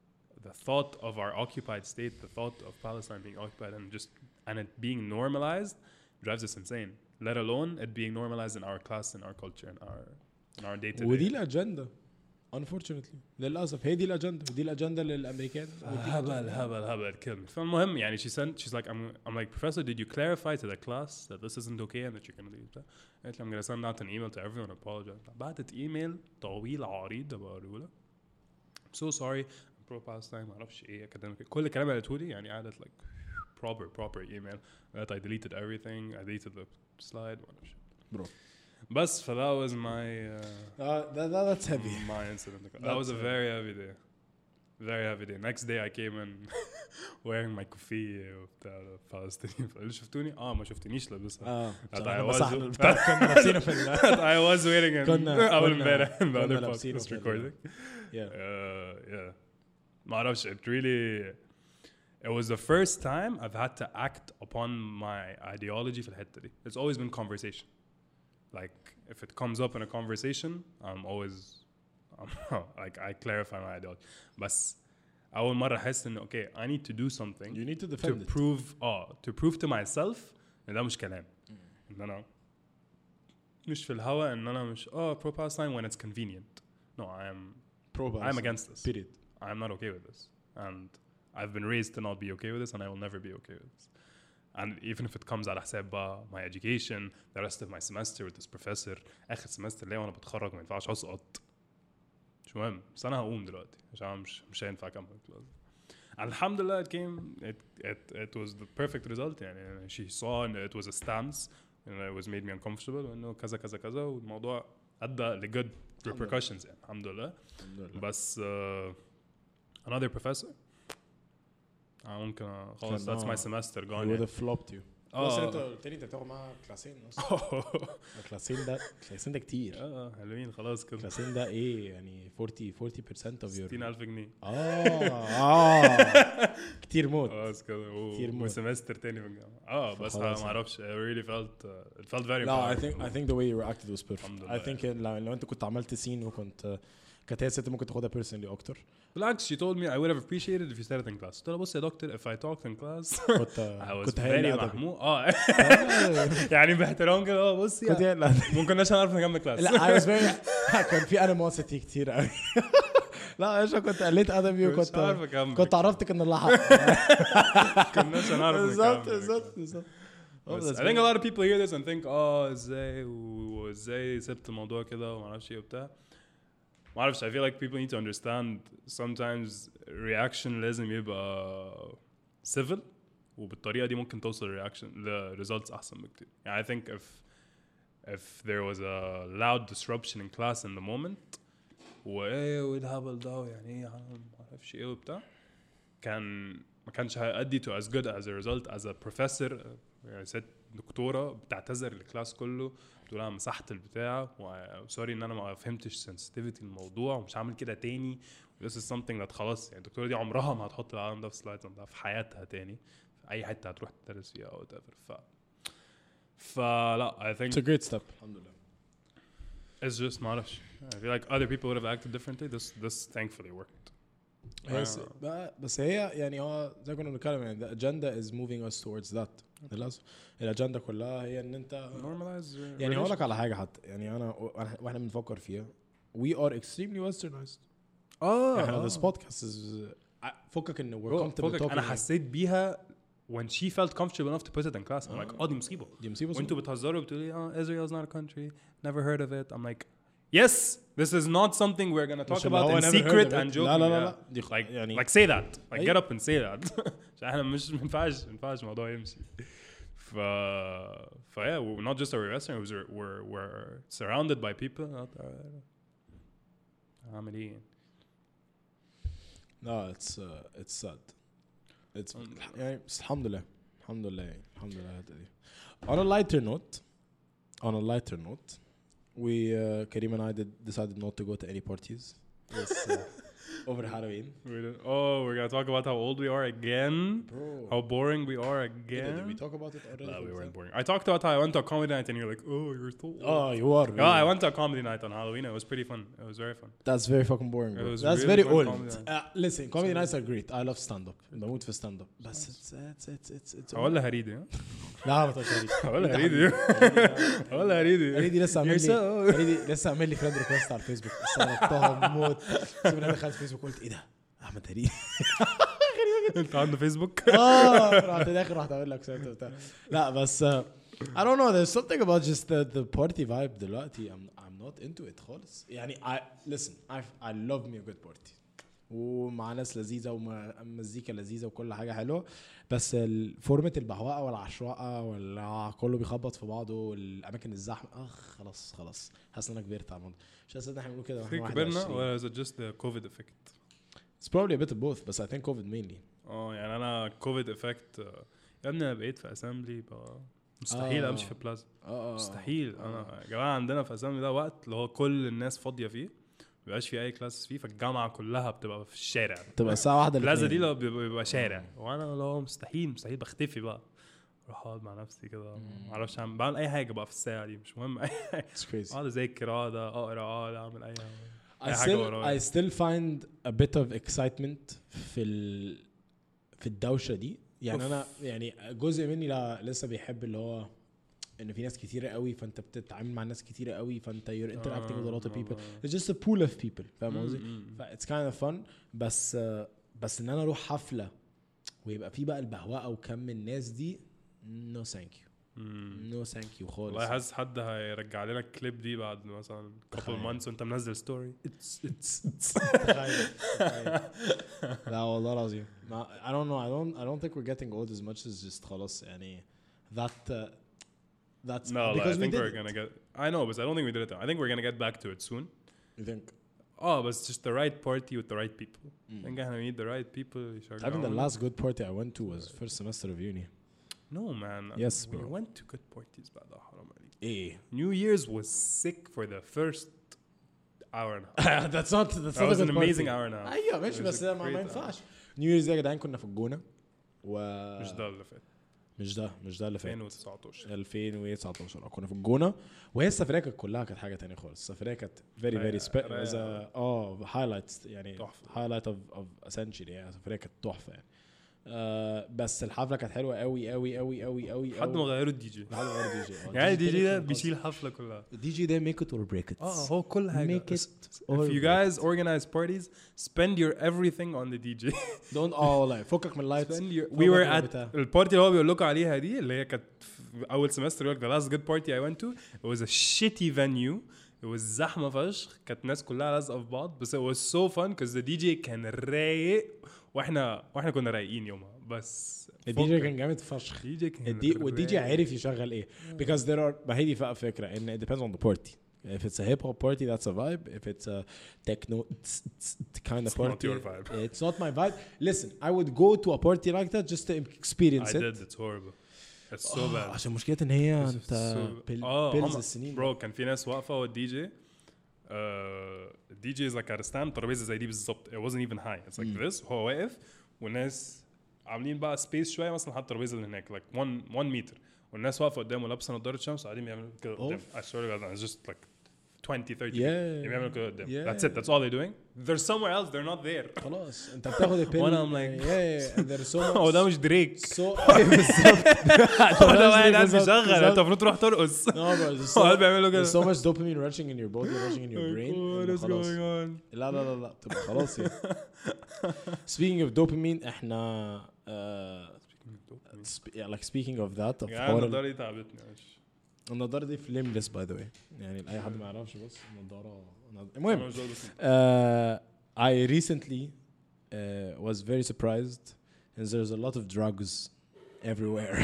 the thought of our occupied state, the thought of Palestine being occupied and just and it being normalized drives us insane. Let alone it being normalized in our class, in our culture, in our in our day to day. ودي الأجندة unfortunately للأسف هي دي الأجندة ودي الأجندة للأمريكان. هبل هبل هبل kill me. فالمهم يعني she sent she's like I'm I'm like professor did you clarify to the class that this isn't okay and that you're gonna leave? قالت لي I'm gonna send out an email to everyone apologize. بعتت ايميل طويل عريض بقوله لها I'm so sorry I'm pro Palestine ما اعرفش ايه academic كل الكلام اللي قالته لي يعني قعدت like proper proper email that I deleted everything I deleted the slide ما اعرفش bro. Bus, so that was my uh, uh, that, that, that's heavy. My incident. That was a very heavy day. Very heavy day. Next day I came in wearing my kufi بتاع Palestinian. اللي شفتوني اه ما شفتنيش لابسها. اه I was كنا لابسينها في I was wearing كنا اول امبارح in the كنا other لابسينها podcast recording. Yeah. Uh, yeah. ما اعرفش it really it was the first time I've had to act upon my ideology في الحتة دي. It's always been conversation. Like if it comes up in a conversation, I'm always I'm, like I clarify my ideology. But أول مرة أحس إنه okay, I need to do something. You need to defend to it. prove oh to prove to myself إن ده مش كلام. إن أنا مش في الهوا إن أنا مش oh pro Palestine when it's convenient. No, I am pro Palestine. I'm against this. Period. I'm not okay with this, and I've been raised to not be okay with this, and I will never be okay with this. And even if it comes على حساب my education, the rest of my semester with this professor, آخر semester ليه وأنا بتخرج ما ينفعش أسقط. مش مهم، بس أنا هقوم دلوقتي عشان مش مش هينفع أكمل كلاس. And الحمدلله it came, it it it was the perfect result يعني. She saw and it was a stance, and it was made me uncomfortable. إنه كذا كذا كذا والموضوع أدى ل good repercussions يعني. الحمدلله. بس uh, another professor. ممكن خلاص that's my semester gone. He would have flopped you. بس انت قلت لي انت بتاخد معاها كلاسين اصلا. الكلاسين ده كلاسين ده كتير. اه حلوين خلاص كده. الكلاسين ده ايه يعني forty forty percent of your ستين ألف جنيه. اه اه كتير موت. خلاص كده. كتير موت. وسمستر تاني في الجامعة. اه بس ما اعرفش I really felt uh, it felt very. لا I think I think the way you reacted was perfect. I think لو لو انت كنت عملت سين وكنت كانت هي ست ممكن تاخدها personally اكتر. بالعكس she told me I would have appreciated if you started in class. قلت لها بص يا دكتور if I talked in class كنت I was كنت very محمود. اه يعني باحترام كده. اه بص يعني ما كناش هنعرف نكمل كلاس. لا I was very كان في animosity كتير قوي. لا ايش كنت قلت ادبي وكنت كنت عرفتك ان الله حق. كناش هنعرف نكمل. بالظبط بالظبط بالظبط. I think a lot of people hear this and think اه ازاي وازاي سبت الموضوع كده وما اعرفش ايه وبتاع. ما اعرفش I feel like people need to understand sometimes reaction لازم يبقى civil وبالطريقة دي ممكن توصل reaction ل results أحسن بكتير. يعني I think if if there was a loud disruption in class in the moment وإيه والهبل ده يعني إيه ما أعرفش إيه وبتاع كان ما كانش هيأدي to as good as a result as a professor يعني ست دكتورة بتعتذر للكلاس كله بتقول انا مسحت البتاع وسوري ان انا ما فهمتش sensitivity الموضوع ومش هعمل كده تاني. this is something that خلاص يعني الدكتورة دي عمرها ما هتحط العالم ده في سلايدز ده في حياتها تاني في اي حتة هتروح تدرس فيها او whatever. ف فلا I think it's a great step. الحمدلله. it's just ما اعرفش I feel like other people would have acted differently. this this thankfully worked. بس بس هي يعني هو زي كنا بنتكلم يعني the agenda is moving us towards that. للأسف الأجندة كلها هي إن أنت normalize يعني هقولك على حاجة حتى يعني أنا وإحنا بنفكر فيها we are extremely westernized. اه إحنا this podcast is فكك إنه we're comfortable talking. أنا حسيت بيها when she felt comfortable enough to put it in class. I'm like oh دي مصيبة دي مصيبة. وأنتوا بتهزروا بتقولي oh Israel is not a country never heard of it. I'm like yes this is not something we're gonna talk about in secret and joking. لا لا لا like يعني like say that like get up and say that. عشان إحنا مش منفعش منفعش الموضوع يمشي. ف ف yeah we're not just a western we're we're we're surrounded by people. عامل إيه؟ no it's uh, it's sad it's يعني الحمد لله الحمد لله يعني الحمد لله هذه. on a lighter note on a lighter note we uh, Karim and I did, decided not to go to any parties this uh, over Halloween. We don't- oh, we're gonna talk about how old we are again. Bro. How boring we are Yeah, again. did we talk about it already? No, we for weren't example? boring. I talked about how I went to a comedy night and you're like, oh, you're so old. Oh, you are. Yeah, I went to a comedy night on Halloween. It was pretty fun. It was very fun. That's very fucking boring, bro. It was That's really very fun old. comedy night. Uh, listen, comedy nights are great. I love stand up. بموت في stand up. بس it's it's it's it's it's ولا هريدي ها؟ لا ما تقولش هريدي. ولا هريدي ولا هريدي هريدي لسه عامل You're لي so- هريدي لسه عامل لي فريند ريكوست على الفيسبوك. استغربتها موت. سيبني دخلت فيسبوك قلت ايه ده؟ احمد هريدي. انت عنده فيسبوك؟ اه رحت داخل رحت اقول لك سيرته بتاع. لا بس uh, I don't know, there's something about just the the party vibe دلوقتي. I'm I'm not into it خالص. يعني I listen I I love me a good party. ومع ناس لذيذه ومزيكا لذيذه وكل حاجه حلوه. بس الفورمه البهوقه والعشوائه ولا كله بيخبط في بعضه والاماكن الزحمه اخ خلاص خلاص حاسس ان انا كبرت على الموضوع. مش حاسس ان احنا بنقول كده واحنا واحد كبرنا وعشرين. ولا is it just the COVID effect؟ It's probably a bit of both بس I think COVID mainly. اه يعني انا كوفيد افكت يا ابني انا بقيت في اسامبلي بقى مستحيل آه. امشي في بلازا اه مستحيل انا يا جماعه عندنا في اسامبلي ده وقت اللي هو كل الناس فاضيه فيه ما بيبقاش في اي كلاس فيه فالجامعه كلها بتبقى في الشارع تبقى الساعه واحدة البلازا دي لو بيبقى بيبقى شارع وانا اللي هو مستحيل مستحيل بختفي بقى اروح اقعد مع نفسي كده ما اعرفش اعمل بعمل اي حاجه بقى في الساعه دي مش مهم اي حاجه It's crazy. اقعد اذاكر اقعد اقرا اقعد اعمل اي حاجه I أي حاجة still ورايا. I still find a bit of excitement في ال في الدوشة دي. يعني أوف. أنا يعني جزء مني لا لسه بيحب اللي هو إن في ناس كتيرة قوي فأنت بتتعامل مع ناس كتيرة قوي فأنت you're interacting with a lot of people. It's just a pool of people. فاهم قصدي؟ ف it's kind of fun. بس بس إن أنا أروح حفلة ويبقى في بقى البهوقة وكم الناس دي no thank you. no thank you خالص. والله حاسس حد هيرجع لنا الكليب دي بعد مثلا couple تخيل. months وانت منزل ستوري it's it's it's تخيل تخيل. لا والله العظيم ما I don't know I don't I don't think we're getting old as much as just خلاص يعني that uh, that's No, like, I because we think did we're it. gonna get. I know, but I don't think we did it. I think we're gonna get back to it soon. You think Oh, but it's just the right party with the right people. I think I need the right people. I think the last good party I went to was first semester of uni. No, man. Yes, we bro. went to good parties. بعد حرام عليك. ايه New Year's was sick for the first hour and a half. that's not that's That not was a an good amazing party. hour and a half. ايوه ماشي It was بس a ما ما great ينفعش. نيو ييرز يا جدعان كنا في الجونة و مش ده اللي فات. مش ده مش ده اللي فات ألفين وتسعتاشر. ألفين وتسعتاشر كنا في الجونة وهي السفرية كانت كلها كانت حاجة تانية خالص. السفرية كانت very very رايقة- spe- رايقة. was a اه highlights يعني تحفة. highlight of of essentially يعني السفرية كانت تحفة يعني. آه بس الحفلة كانت حلوة قوي قوي قوي قوي قوي لحد ما غيروا الدي جي. لحد ما غيروا دي جي. يعني الدي جي ده بيشيل الحفلة كلها. الدي جي ده make it or break it. اه هو كل حاجة. Make it or If you break guys organize parties, spend your everything on the D J. don't all like فكك من اللايتس. Spend your- we were at البارتي اللي هو بيقول لكم عليها دي اللي هي كانت في اول سمستر يقول لك the last good party I went to it was a shitty venue it was زحمه فشخ كانت الناس كلها لازقه في بعض بس it was so fun because the D J كان رايق واحنا واحنا كنا رايقين يومها بس الدي جي كان جامد فشخ. الدي جي كان الدي والدي جي رايق. عارف يشغل ايه because there are ما هي دي بقى فكرة ان it depends on the party. If it's a hip hop party, that's a vibe. If it's a techno tss, tss, kind of It's not party, your vibe. it's not my vibe. Listen, I would go to a party like that just to experience I it. did it's horrible it's so آه، bad عشان مشكلة ان هي It's انت so- بال- اه بيلز هم- السنين. برو كان في ناس واقفه والدي جي الدي جي از لايك ات ستاند ترابيزه زي دي بالظبط it wasn't even high it's like this وهو واقف والناس عاملين بقى سبيس شويه مثلا حط الترابيزه اللي هناك like one one meter والناس واقفه قدامه لابسه نظاره شمس وقاعدين بيعملوا كده قدام I swear to God it's just like twenty thirty Yeah. بيعملوا كده قدام Yeah. that's it that's all they're doing there's somewhere else they're not there خلاص انت بتاخد البيل. وأنا I'm like- yeah, yeah, and there's so much. هو ده مش دريك so أيوة بالظبط. هو ده واحد قاعد بالظبط، بيشغل بالظبط. انت المفروض تروح ترقص No, bro, there's هو قاعد so, بيعملوا there's كده so much dopamine rushing in your body, rushing in your brain. what إنه is خلاص. going on لا لا لا لا بتبقى خلاص يعني. Speaking of dopamine احنا uh, sp- yeah, like speaking of that of يا حوار النضاره دي تعبتني مش النضارة دي فليمليس باي ذا واي يعني لأي حد ما يعرفش بس النضارة المهم أنا مش قادر أسمع. uh, I recently uh, was very surprised and there's a lot of drugs everywhere.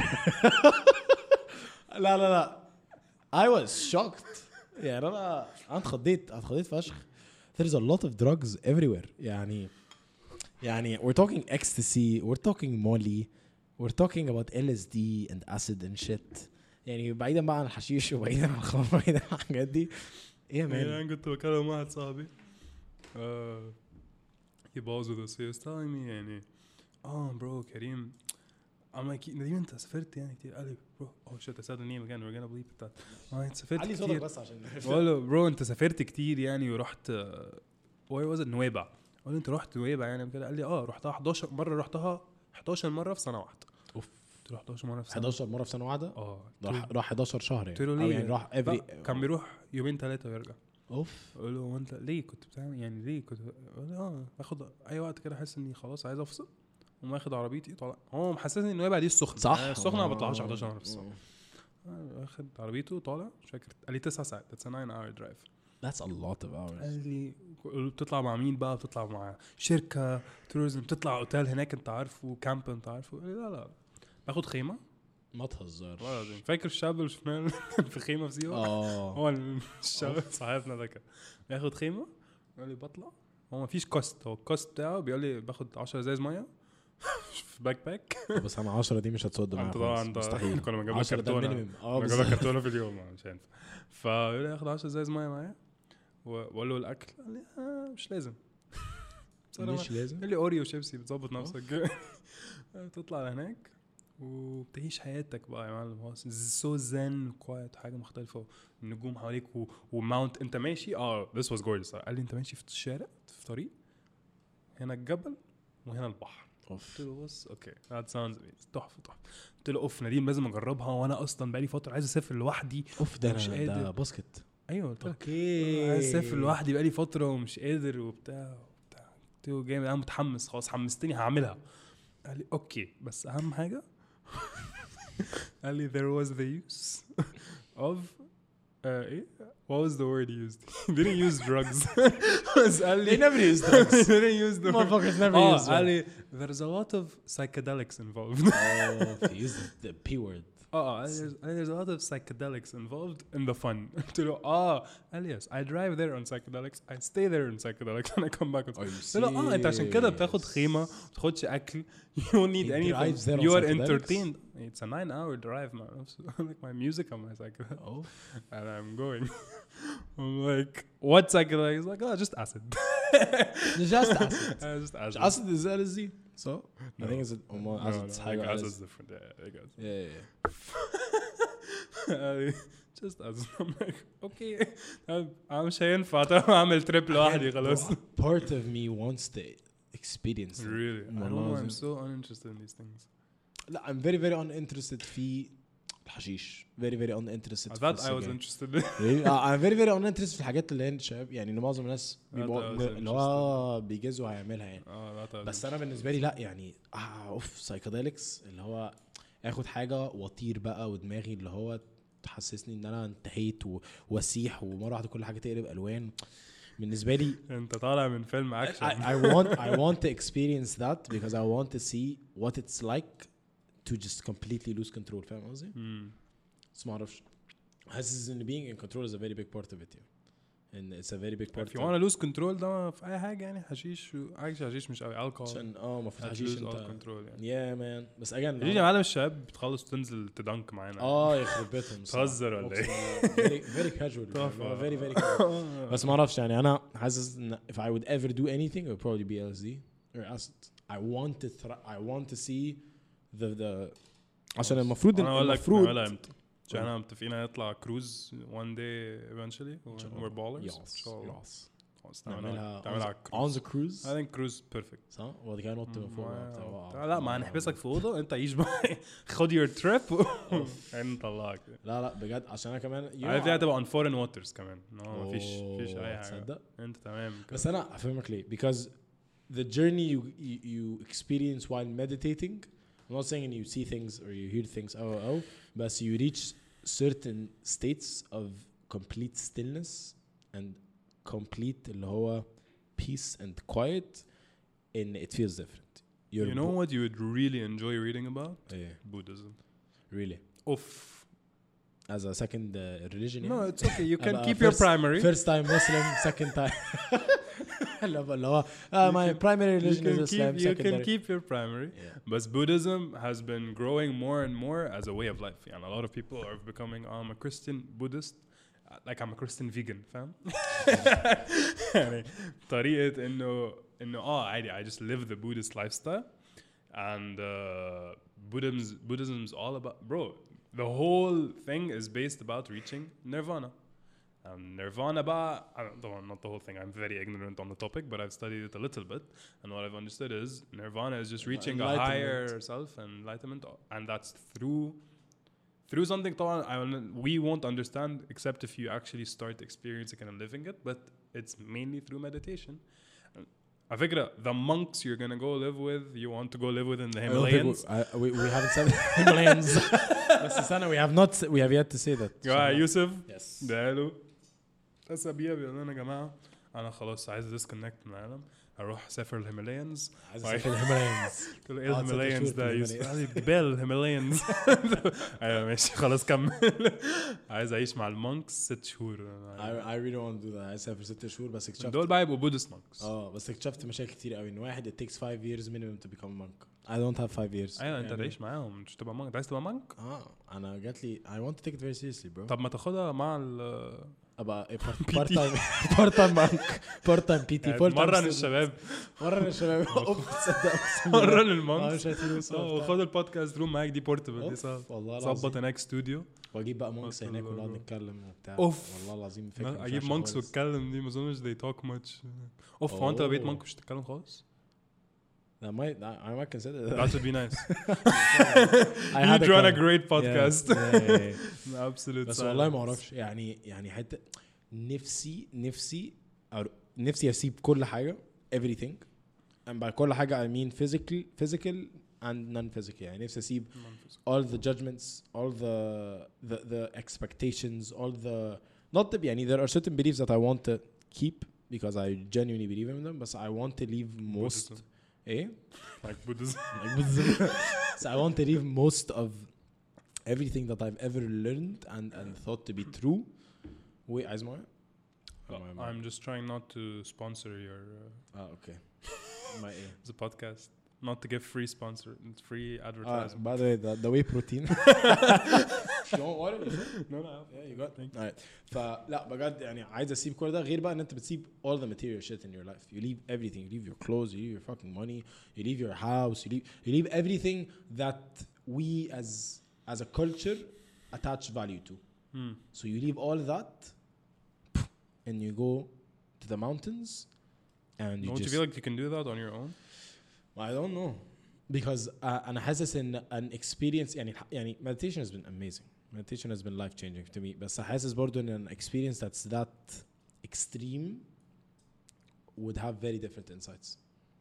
لا لا لا I was shocked يعني أنا أنا اتخضيت اتخضيت فشخ. There's a lot of drugs everywhere يعني يعني we're talking ecstasy we're talking molly we're talking about L S D and acid and shit يعني بعيدا بقى عن الحشيش وبعيدا عن الخمر وبعيدا عن الحاجات دي. ايه يا مان يعني كنت بكلم واحد صاحبي آه، يبوظوا this. He was telling me يعني oh bro كريم I'm like نديم انت سافرت يعني كتير. قال لي bro oh shit I said the name again we're gonna bleep that. اه انت سافرت علي صوتك كتير. بس عشان بقول له برو انت سافرت كتير يعني ورحت where was it نويبع. قال له انت رحت نويبع يعني كده. قال لي اه رحتها حداشر مره. رحتها حداشر مره في سنه واحده. اوف قلت له حداشر مره في سنه حداشر مره في سنه واحده. اه راح راح حداشر شهر يعني قلت له أو ليه يعني راح افري كان بيروح يومين ثلاثه ويرجع. اوف قال له انت ليه كنت بتعمل يعني ليه كنت قال اه باخد اي وقت كده احس اني خلاص عايز افصل وما اخد عربيتي طالع. هو محسسني انه يبقى دي السخنه صح. السخنه ما بطلعش حداشر مره في السنه. اخد عربيته طالع مش فاكر. قال لي تسع ساعات. that's a nine hour drive. that's a lot of hours. قال لي بتطلع مع مين بقى؟ بتطلع مع شركه توريزم بتطلع اوتيل هناك انت عارفه كامب انت عارفه. قال لي لا لا باخد خيمه. ما تهزرش. فاكر الشاب اللي شفناه في خيمه في سيوه؟ اه هو الشاب صاحبنا ده كان بياخد خيمه. قال لي بطلع هو ما فيش كوست. هو الكوست بتاعه بيقول لي باخد عشرة ازاز ميه في باك باك. بس انا عشرة دي مش هتصد معايا طبعا مستحيل. كنا بنجيب عشرة ده كرتونه. المينيمم. اه بنجيب كرتونه في اليوم مش هينفع. فيقول لي اخد عشرة ازاز ميه معايا واقول له الاكل. قال لي آه مش لازم مش لازم. قال لي اوريو شيبسي بتظبط نفسك. تطلع لهناك وبتعيش حياتك بقى يا معلم. هو سو زن كوايت حاجه مختلفه. النجوم حواليك وماونت انت ماشي. اه this was gorgeous. قال لي انت ماشي في الشارع في طريق هنا الجبل وهنا البحر. قلت له بص اوكي that sounds تحفه تحفه. قلت له اوف نديم لازم اجربها وانا اصلا بقالي فتره عايز اسافر لوحدي. اوف ده مش أنا قادر. ده باسكت. ايوه قلت له اوكي عايز اسافر لوحدي بقالي فتره ومش قادر وبتاع وبتاع. قلت له جامد انا متحمس خلاص حمستني هعملها. قال لي اوكي بس اهم حاجه قال لي there was the use of uh, ايه what was the word he used? He didn't use drugs. بس قال لي they never use drugs. He didn't use the motherfuckers never اه use قال لي there's a lot of psychedelics involved. oh he used the p word. اه there's, there's a lot of psychedelics involved in the fun. قلت له اه قال لي yes I drive there on psychedelics I stay there on psychedelics and I come back. قلت له اه انت عشان كده بتاخد خيمه ما بتاخدش اكل you don't need anything you are entertained. It's a nine hour drive man. Like my music on my psychedelics. Oh. And I'm going I'm like what psychedelics? He's like oh just acid. just acid. uh, just acid. Acid is L S D. So no. I think it's um, no, acid. No, no, acid is different. Yeah, I guess. Yeah, yeah. yeah. just acid. I'm like okay I'm مش هينفع اعمل تريب لوحدي خلاص. Part of me wants to experience it. Really? I don't know. I'm so uninterested in these things. لا I'm very very uninterested في الحشيش. very very uninterested. I thought I was interested. really? I'm very very uninterested في الحاجات اللي هي الشباب يعني إنه معظم الناس اللي هو بيجازوا هيعملها يعني. بس أنا بالنسبة لي لا يعني آه أوف سايكاديلكس اللي هو أخد حاجة وطير بقى ودماغي اللي هو تحسسني إن أنا انتهيت ووسيح ومرة واحدة كل حاجة تقلب ألوان. بالنسبة لي أنت طالع من فيلم أكشن. I, I want I want to experience that because I want to see what it's like to just completely lose control. فاهم قصدي؟ بس ما أعرفش. حاسس إن being in control is a very big part of it. Yeah. And it's a very big part. If you want to lose control ده في أي حاجة يعني حشيش عايش حشيش مش قوي alcohol. عشان آه ما في حشيش أنت. control يعني. Yeah man. بس again. يجي يا معلم الشباب بتخلص تنزل تدنك معانا. آه يخرب بيتهم. تهزر ولا إيه؟ Very very casual. Very very casual. بس ما أعرفش يعني أنا حاسس إن if I would ever do anything it would probably be L S D or acid. I want to th- I want to see the the عشان المفروض المفروض عشان احنا متفقين نطلع كروز one day eventually we're ballers ان شاء الله نعملها نعملها on the cruise. I think cruise perfect صح وده كان نط من فوق. لا ما هنحبسك في اوضه انت عيش بقى خد your trip نطلعك. لا لا بجد عشان انا كمان عارف دي هتبقى on foreign waters كمان ما فيش فيش اي حاجه انت تمام. بس انا افهمك ليه because the journey you you experience while meditating. I'm not saying you see things or you hear things oh oh but you reach certain states of complete stillness and complete اللي هو peace and quiet and it feels different. You're you know bo- what you would really enjoy reading about? Yeah. Buddhism. Really? Oof. As a second uh, religion? No, yeah? it's okay. You can uh, keep first, your primary. First time Muslim, second time. لا لا uh, my can, primary religion is Islam. Keep, you can keep your primary. Yeah. But Buddhism has been growing more and more as a way of life. And a lot of people are becoming oh, I'm a Christian Buddhist. Like I'm a Christian vegan, fam. يعني طريقة إنه إنه آه عادي I just live the Buddhist lifestyle and uh, Buddhism Buddhism's all about bro the whole thing is based about reaching nirvana. Um, nirvana بقى I don't, not the whole thing I'm very ignorant on the topic but I've studied it a little bit and what I've understood is nirvana is just reaching a higher self and enlightenment and that's through through something طبعا I will, we won't understand except if you actually start experiencing it and living it but it's mainly through meditation. على فكرة the monks you're gonna go live with you want to go live with in the Himalayas I, we, we haven't said Himalayans بس سنة we have not we have yet to say that يا يوسف yes ده له أسابيع بيقول لنا يا جماعة أنا خلاص عايز disconnect من العالم أروح أسافر الهيمالايانز عايز اسافر الهيمالايانز قلت له إيه الهيمالايانز ده يوسف قال لي جبال الهيمالايانز أيوة ماشي خلاص كمل عايز أعيش مع المونكس ست شهور I, I really want to do that عايز اسافر ست شهور بس اكتشفت دول بقى يبقوا بودست مونكس اه بس اكتشفت مشاكل كتير قوي ان واحد it takes five years minimum to become a monk I don't have five years أيوة أنت تعيش معاهم مش تبقى مونك عايز تبقى مونك اه انا جات لي I want to take it very seriously bro طب ما تاخدها مع ال ابقى بارت تايم بارت تايم مانك بارت تايم بي تي فول تايم مرن الشباب مرن الشباب اوف تصدق مرن اه المونكس مش هتفلوس وخد البودكاست روم معاك دي بورتبل دي صعب والله ظبط العظيم هناك استوديو واجيب بقى مونكس أوف. هناك ونقعد نتكلم وبتاع أوف. والله العظيم فكره مش اجيب وحشة مونكس خالص. واتكلم دي ما اظنش they talk much اوف هو انت لو بقيت أوه. مونك مش هتتكلم خالص That might I might consider that. that would be nice I you'd had run a comment. great Yeah, podcast yeah, yeah, yeah. absolute بس والله ما اعرفش يعني يعني حتى نفسي نفسي أر... نفسي اسيب كل حاجه everything and by كل حاجه I mean physical physical and non-physical يعني نفسي اسيب all the judgments all the the the expectations all the not the يعني there are certain beliefs that I want to keep because I genuinely believe in them but I want to leave most Buddhism. eh like Buddhism like Buddhism. So I want to leave most of everything that I've ever learned and and thought to be true. Wait, Asma? I'm just trying not to sponsor your uh, Ah, okay. My A. the podcast not to give free sponsor free Ah, advertising by the way, the, the whey protein. You want water? You sure? no no Yeah, you got. All right. فلا بجد يعني عايز اسيب كل ده غير بقى ان انت بتسيب all the material shit in your life. You leave everything. You leave your clothes. You leave your fucking money. You leave your house. You leave you leave everything that we as as a culture attach value to. hmm. So you leave all that and you go to the mountains and you don't just you feel like you can do that on your own I don't know because uh, أنا حاسس إن an experience يعني يعني meditation has been amazing meditation has been life changing to me بس حاسس برضو إن an experience that's that extreme would have very different insights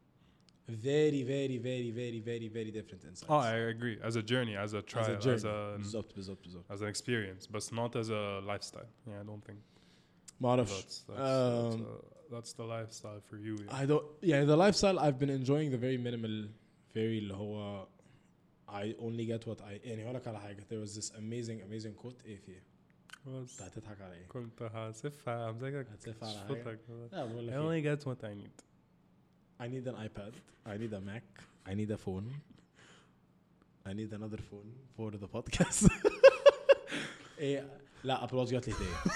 very very very very very very different insights oh I agree as a journey as a trial as a journey as a بالظبط بالظبط بالظبط as an experience but not as a lifestyle yeah I don't think ما أعرفش that's that's, Um, that's, uh, that's the lifestyle for you yeah. I don't yeah the lifestyle I've been enjoying the very minimal very اللي هو I only get what I يعني هقولك على حاجة there was this amazing amazing quote ايه فيه بس انت هتضحك على ايه؟ كنت هسفها همسكك هتسف على حاجة؟ صوتك لا بقول I لك ايه only get what I need I need an iPad I need a Mac I need a phone I need another phone for the podcast ايه لا Apple Watch جات لي هدية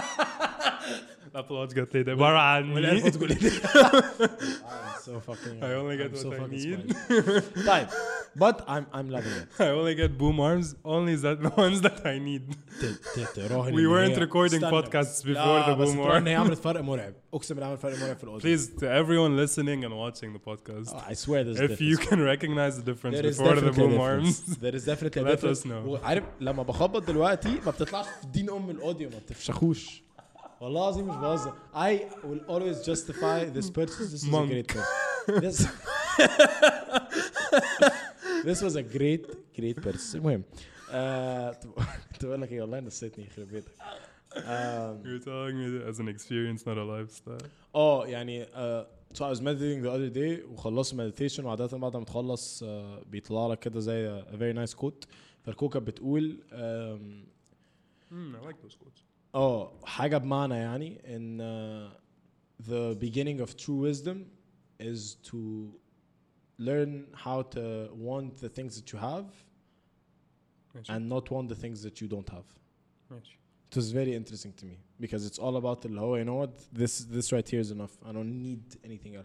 الابل واتش جات لي عبارة عني والايربودز جات لي I'm so fucking I only get I'm so what I fucking need. spoiled. طيب but I'm I'm loving it I only get boom arms only that the ones that I need ت- ت- تراهن we إن weren't هي- recording استنى. podcasts before لا، the بس boom تراهن إن هي arms عملت فرق مرعب اقسم بالله عملت فرق مرعب في الاوديو please to everyone listening and watching the podcast Oh, I swear there's a if you difference. can recognize the difference There is before the definitely a boom difference. arms There is definitely a Let difference. us know. وعارف لما بخبط دلوقتي ما بتطلعش في دين ام الاوديو ما بتفشخوش والله العظيم مش بهزر I will always justify this purchase this was Monk. a great purchase this this was a great great purchase المهم آه، كنت بقول لك ايه والله نسيتني يخرب بيتك آم، you're telling me as an experience not a lifestyle اه يعني uh, so I was meditating the other day وخلصت meditation وعادة بعد ما تخلص uh, بيطلع لك كده زي a very nice quote فالكوكب بتقول um, mm, I like those quotes اه حاجة بمعنى يعني ان uh, the beginning of true wisdom is to learn how to want the things that you have ماشي and not want the things that you don't have. ماشي It was very interesting to me because it's all about the law. You know what? This this right here is enough. I don't need anything else.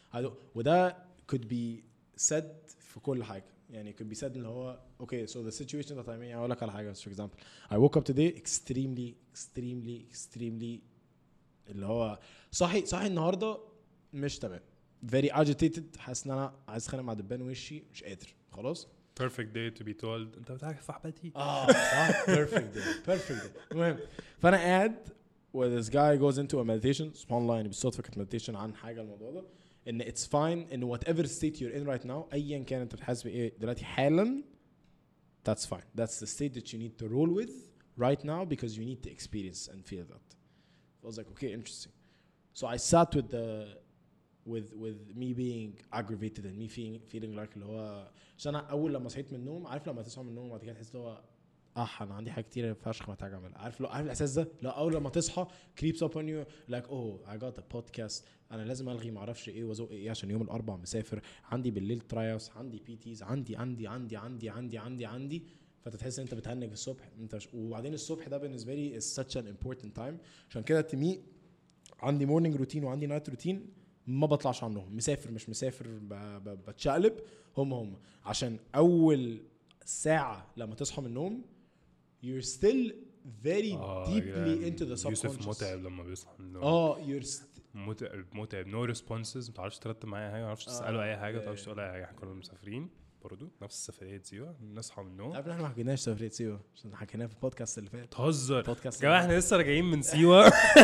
I don't- وده could be said في كل حاجة يعني could be said اللي هو okay so the situation that I'm in أقول لك على حاجة for example I woke up today extremely extremely extremely اللي هو صاحي صاحي النهاردة مش تمام very agitated حاسس ان انا عايز اتخانق مع دبان وشي مش قادر خلاص perfect day to be told انت بتعرف صاحبتي اه صح perfect day perfect day المهم فانا قاعد where this guy goes into a meditation سبحان الله يعني بالصدفة كانت meditation عن حاجة الموضوع ده ان it's fine in whatever state you're in right now ايا كان انت بتحس بايه دلوقتي حالا that's fine that's the state that you need to roll with right now because you need to experience and feel that I was like okay interesting so I sat with the with with me being aggravated and me feeling feeling like اللي هو عشان انا اول لما صحيت من النوم عارف لما تصحى من النوم وبعد كده تحس اللي هو اه انا عندي حاجه كتير فشخ محتاج اعملها عارف لو عارف الاحساس ده لا اول لما تصحى creeps up on you like oh I got a podcast انا لازم الغي ما اعرفش ايه وازق ايه عشان يوم الاربعاء مسافر عندي بالليل ترايوس عندي بي تيز عندي عندي عندي عندي عندي عندي عندي فتتحس ان انت بتهنج الصبح انت ش... وبعدين الصبح ده بالنسبه لي is such an important time عشان كده تمي عندي morning routine وعندي night routine ما بطلعش عنهم مسافر مش مسافر ب... ب... بتشقلب هم هم عشان اول ساعه لما تصحى من النوم you're still very آه deeply يعني into the subconscious يوسف متعب لما بيصحى من النوم اه you're st- متعب متعب no responses ما تعرفش ترتب معايا حاجه ما تعرفش تساله اي حاجه ما تعرفش تقول اي حاجه احنا كنا مسافرين برضو نفس السفريه سيوه نصحى من النوم عارف احنا ما حكيناش سفريه سيوه عشان حكيناها في البودكاست اللي فات تهزر بودكاست يا جماعه احنا لسه راجعين من سيوه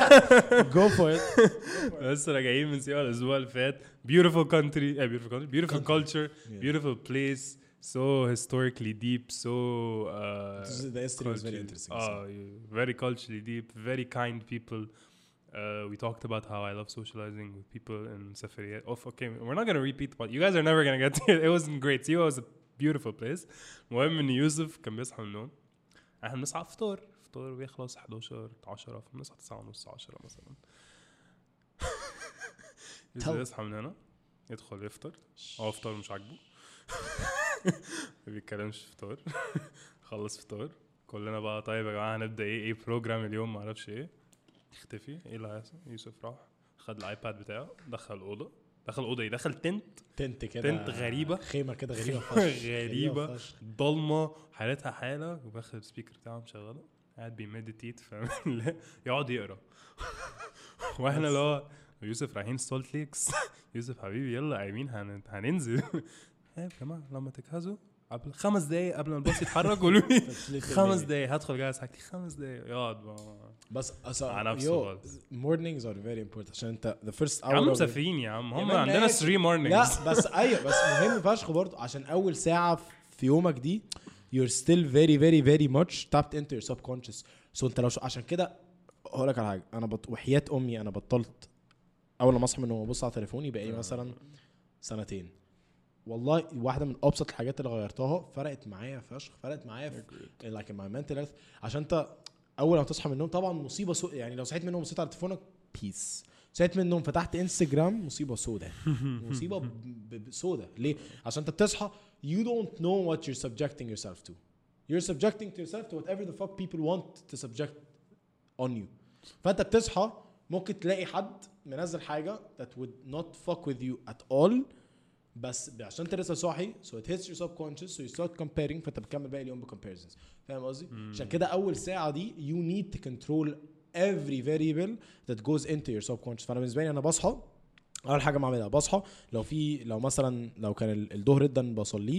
go for it لسه راجعين من سيوه الاسبوع اللي فات beautiful country eh, beautiful country beautiful culture Yeah. beautiful place so historically deep so uh, the history was very culturally- interesting uh, very culturally deep very kind people uh, we talked about how I love socializing with people in Safariyat. Oh, okay, we're not going to repeat but you guys are never going to get to it. It wasn't great. Siwa was a beautiful place. المهم ان يوسف كان بيصحى من النوم احنا بنصحى فطور فطور بيخلص حداشر عشرة فبنصحى تسعة ونص عشرة مثلا يوسف يصحى من هنا يدخل يفطر هو فطور مش عاجبه ما بيتكلمش فطور خلص فطور كلنا بقى طيب يا جماعه هنبدا ايه ايه بروجرام اليوم ما اعرفش ايه اختفي ايه اللي هيحصل يوسف راح خد الايباد بتاعه دخل الاوضه دخل الاوضه ايه دخل تنت تنت كده تنت غريبه خيمه كده غريبه فشخ غريبه ضلمه حالتها حاله وباخد السبيكر بتاعه مشغله قاعد بيمديتيت فاهم يقعد يقرا واحنا اللي هو يوسف رايحين سولت ليكس يوسف حبيبي يلا قايمين هن... هننزل يا جماعه لما تجهزوا قبل خمس دقايق قبل ما الباص يتحرك قولوا لي خمس دقايق هدخل جاهز حاجتي خمس دقايق يقعد بس على نفسه mornings are very important عشان انت the first hour يا عم مسافرين يا عم هم عندنا three mornings لا بس ايوه بس مهم فشخ برضه عشان اول ساعه في يومك دي you're still very very very much tapped into your subconscious so انت لو عشان كده هقول لك على حاجه انا بط... وحياه امي انا بطلت اول ما اصحى من النوم ابص على تليفوني بقى مثلا سنتين والله واحده من ابسط الحاجات اللي غيرتها فرقت معايا فشخ فرقت معايا في like in my mental health عشان انت اول ما تصحى من النوم طبعا مصيبه سو... يعني لو صحيت من النوم وصحيت على تليفونك بيس صحيت من النوم فتحت انستجرام مصيبه سوداء مصيبه ب... ب... سوداء ليه عشان انت بتصحى you don't know what you're subjecting yourself to you're subjecting to yourself to whatever the fuck people want to subject on you فانت بتصحى ممكن تلاقي حد منزل حاجه that would not fuck with you at all بس عشان انت لسه صاحي so it hits your subconscious so you start comparing فانت بتكمل باقي اليوم بcomparisons فاهم قصدي عشان كده اول ساعه دي you need to control every variable that goes into your subconscious فانا بالنسبه لي انا بصحى اول حاجه بعملها بصحى لو في لو مثلا لو كان الظهر جدا بصليه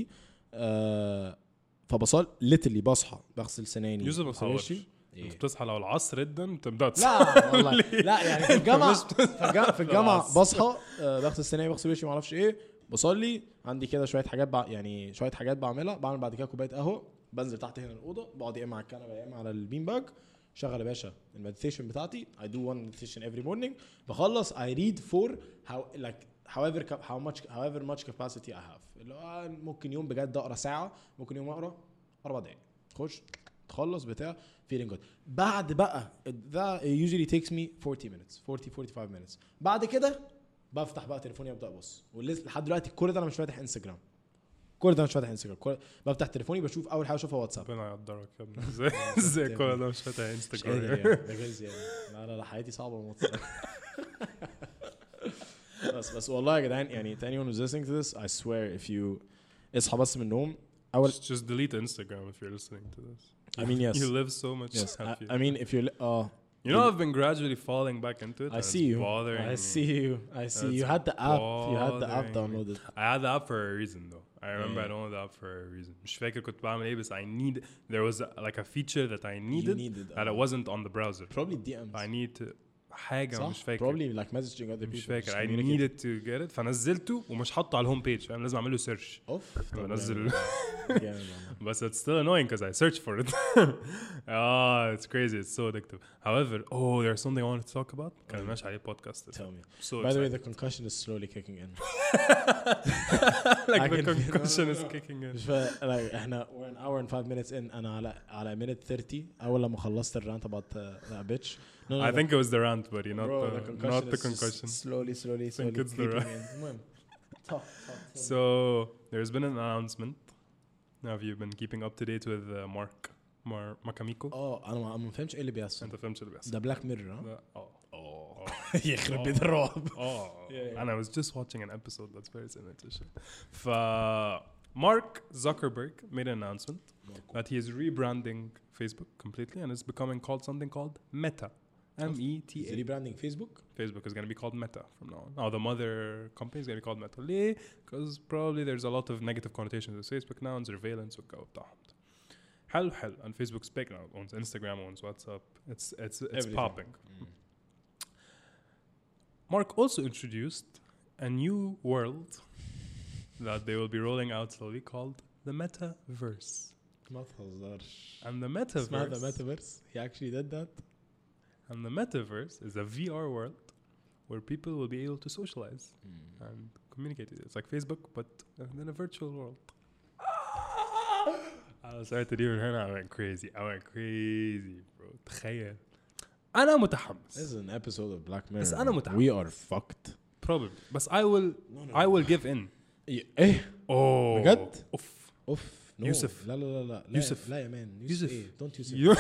آه فبصل literally بصحى بغسل سناني يوسف ما تصورش إيه؟ بتصحى لو العصر جدا تبدا لا والله لا يعني في الجامعه في الجامعه بصحى آه بغسل سناني بغسل وشي ما اعرفش ايه بصلي عندي كده شويه حاجات بع... يعني شويه حاجات بعملها بعمل بعد كده كوبايه قهوه بنزل تحت هنا الاوضه بقعد يا اما على الكنبه يا اما على البين باج شغل يا باشا المديتيشن بتاعتي I do one meditation every morning بخلص I read for how like however how much however much capacity I have اللي هو ممكن يوم بجد اقرا ساعه ممكن يوم اقرا اربع دقايق خش تخلص بتاع feeling good بعد بقى that usually takes me forty minutes forty forty-five minutes بعد كده بفتح بقى تليفوني ابدا ابص ولحد دلوقتي كل ده انا مش فاتح انستجرام كل ده مش فاتح انستجرام كل... بفتح تليفوني بشوف اول حاجه اشوفها واتساب ربنا يقدرك يا ابني ازاي ازاي كل ده مش فاتح انستجرام ده جايز يعني لا لا حياتي صعبه موت بس بس والله يا جدعان يعني to anyone who's listening to this I swear if you اصحى بس من النوم أول Just, just delete Instagram if you're listening to this. I mean yes You live so much yes I, happier. I mean if you're li- uh You know, I've been gradually falling back into it. I and see it's you bothering I me. see you I see It's you had the app you had the app bothering me. downloaded I had the app for a reason though. I remember Yeah. I downloaded the app for a reason. مش فاكر كنت بعمل ايه بس I need there was a, like a feature that I needed, you needed that uh, it wasn't on the browser. probably D Ms I need to حاجة صح مش فاكر. probably like messaging other people مش فاكر. just I communicate. needed to get it فنزلته ومش حاطه على الهوم بيج فاهم لازم اعمل له سيرش. اوف بنزل جامد والله. but it's still annoying because I searched for it. Ah, it's crazy. It's so addictive. However, oh, there's something I wanted to talk about. كان ماشي عليه podcast. Tell me. So By the way, excited. the concussion is slowly kicking in. like I the can feel- concussion no, is no, no. kicking in. مش فا- like احنا we're an hour and five minutes in انا على على minute thirty اول لما خلصت الرانت about uh, that bitch. No, no, I no. think it was the rant, buddy, not Bro, the, concussion not the is just concussion. slowly slowly slowly it's the creeping ra- in. المهم. Talk, talk, tell me. So there's been an announcement. Have you been keeping up to date with uh, Mark Mar Makamiko? اه انا ما ما فهمتش ايه اللي بيحصل. انت فهمت اللي بيحصل؟ ده بلاك ميرور ها؟ ده- اه اه يخرب بيت الرعب. Oh, Yeah, yeah. and I was just watching an episode that's very similar to shit. F- Mark Zuckerberg made an announcement that he is rebranding Facebook completely and it's becoming called something called Meta. M E T Is A. he rebranding Facebook? Facebook is going to be called Meta from now on. Now the mother company is going to be called Meta. ليه? Because probably there's a lot of negative connotations with Facebook now and surveillance والجو بتاعهم. حلو حلو. And Facebook's big now. Owns Instagram, owns WhatsApp. It's it's it's Everything. popping. Mark also introduced a new world that they will be rolling out slowly called the Metaverse. ما تهزرش. And the اسمها the Metaverse metaverse. He actually did that. and the Metaverse is a V R world where people will be able to socialize and communicate. It's like Facebook but in a virtual world. I started to do it and I went crazy. I went crazy, bro. تخيل. أنا This متحمس. is an episode of Black Mirror. بس أنا man. متحمس. We are fucked. Probably. But I will No, no, I no. will give in. ايه؟ Oh. بجد؟ أوف. اوف. No. يوسف. لا لا لا لا. يوسف. لا يا مان. يوسف. يوسف. ايه؟ Don't يوسف. You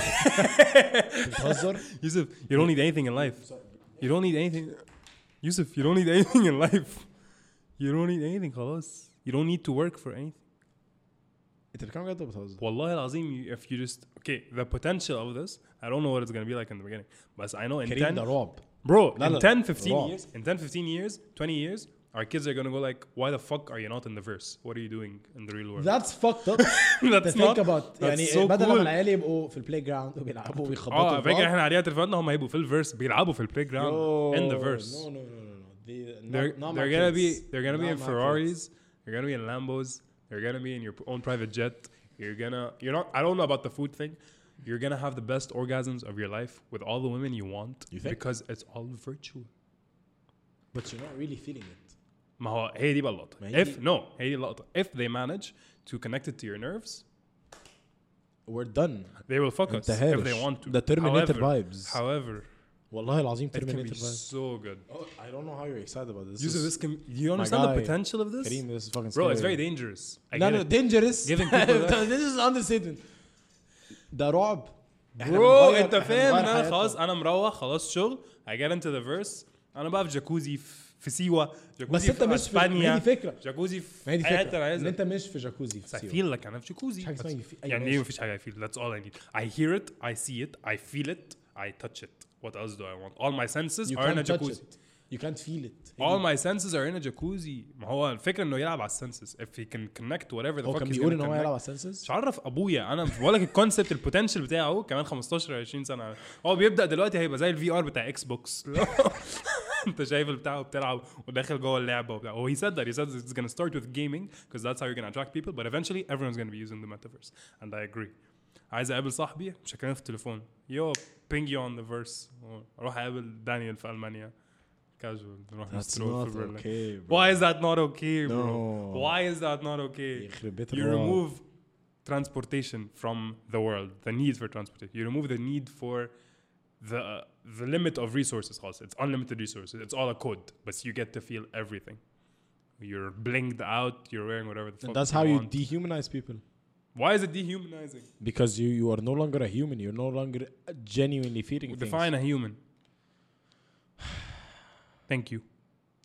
بتهزر؟ Yusuf, you don't need anything in life. You don't need anything. Yusuf, you don't need anything in life. You don't need anything خلاص. You don't need to work for anything. انت بتتكلم جد ولا بتهزر؟ والله العظيم you- if you just okay the potential of this I don't know what it's gonna be like in the beginning but I know in كريم ten ده رعب. bro لا in لا. ten fifteen رعب. years in ten fifteen years twenty years our kids are gonna go like why the fuck are you not in the verse what are you doing in the real world That's fucked up. that's to think not about that's يعني so بدل cool. ما العيال يبقوا في البلاي جراوند وبيلعبوا اه ويخبطوا فاكر احنا عليها تليفوناتنا هم هيبقوا في الفيرس بيلعبوا في البلاي جراوند in the verse No no no no no. They, they're not, not they're my gonna kids. be they're gonna be Not in my Ferraris kids. they're gonna be in Lambos they're gonna be in your own private jet you're gonna you're not I don't know about the food thing you're gonna have the best orgasms of your life with all the women you want You think? because it's all virtual But you're not really feeling it. ما هو هي دي بقى اللقطة ما هي if دي- no هي دي اللقطة if they manage to connect it to your nerves We're done. they will fuck us انت if هارش. they want to The Terminator however, vibes. however والله العظيم it can be Terminator vibes. so good Oh, I don't know how you're excited about this. Yusuf, This this can you understand the guy, potential of this Kareem, this is fucking bro scary. it's very dangerous I No get no it. dangerous. Giving people that- This is understatement. ده رعب. إحنا برو بنغير- انت إحنا فاهم بنغير ان انا حياتنا. خلاص انا مروح خلاص شغل I get into the verse انا بقى في جاكوزي في في سيوه بس جاكوزي انت في مش في ما هي اسبانيا دي فكره جاكوزي ما هي في دي اي حته فكره انا ان عايزها انت مش في جاكوزي I في feel like انا في جاكوزي مش حاجة اسمها That's- يفي- أيوة يعني ايه ماشي. مفيش حاجه I feel that's all I need I hear it I see it I feel it I touch it what else do I want all my senses You are in a can't touch jacuzzi it. You can't feel it. all my senses are in a jacuzzi ما هو الفكره انه يلعب على السنسز if he can connect whatever the هو fuck كان he's بيقول gonna ان هو connect. يلعب على السنسز. مش عارف ابويا انا بقول لك الكونسبت البوتنشال بتاعه كمان خمستاشر عشرين سنه هو بيبدا دلوقتي هيبقى زي الفي ار بتاع اكس بوكس انت شايف البتاع وبتلعب وداخل جوه اللعبه وبتاع هو he said that he said it's going to start with gaming because that's how you're going to attract people but eventually everyone's going to be using the metaverse and I agree عايز اقابل صاحبي مش هكلمه في التليفون يو ping you on the verse اروح اقابل دانيال في المانيا casual نروح That's نسترول not في برلين. okay, bro. Why is that not okay bro No. why is that not okay يخرب بيت you الرعب. remove transportation from the world the need for transportation you remove the need for the uh, the limit of resources خلاص it's unlimited resources it's all a code but you get to feel everything you're blinged out you're wearing whatever the fuck And that's you how you want. dehumanize people. Why is it dehumanizing Because you you are no longer a human. You're no longer genuinely feeling things. define a human thank you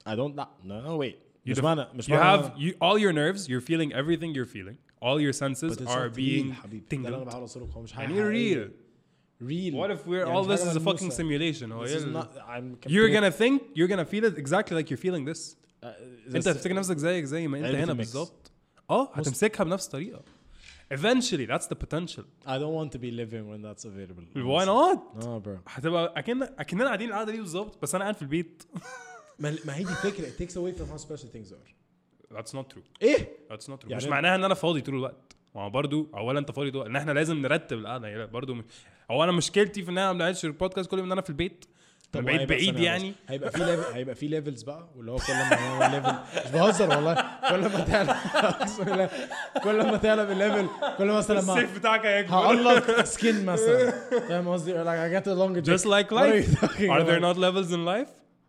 I don't no no wait You مش def- معنى مش you معنى have you all your nerves, you're feeling everything you're feeling. All your senses But it's are not being real حبيبي ده اللي انا tingled. بحاول اوصله هو مش حاجه يعني real. real What if we're يعني all مش this حاجة is a fucking ملموسة. simulation? هو This إيه is ال- not I'm You're gonna think you're gonna feel it exactly like you're feeling this. uh, انت هتفتكر نفسك زيك زي ما انت علبة هنا الميكس. بالظبط. اه هتمسكها بنفس الطريقه. Eventually that's the potential. I don't want to be living when that's available. Why not? No bro. هتبقى اكن اكننا قاعدين القعده دي بالظبط بس انا قاعد في البيت. ما ما هي دي فكرة. It takes away from how special things are. That's not true. ايه؟ That's not true. يعني مش معناها ان انا فاضي طول الوقت. ما هو برضه اولا انت فاضي طول ان احنا لازم نرتب القعده يعني برضه م... هو انا مشكلتي في ان انا ما بنعملش البودكاست كل يوم ان انا في البيت. طب بعيد وهيبقى بعيد ثانية يعني. بس. هيبقى في ليفل هيبقى في ليفلز بقى واللي هو كل ما هو ليفل مش بهزر والله كل ما تعلى اقسم بالله كل ما تعلى بالليفل كل ما مثلا ما السيف بتاعك هيكبر. هقلق سكين مثلا فاهم قصدي like I get a longer Just like What are you life. talking Are there about? not levels in life?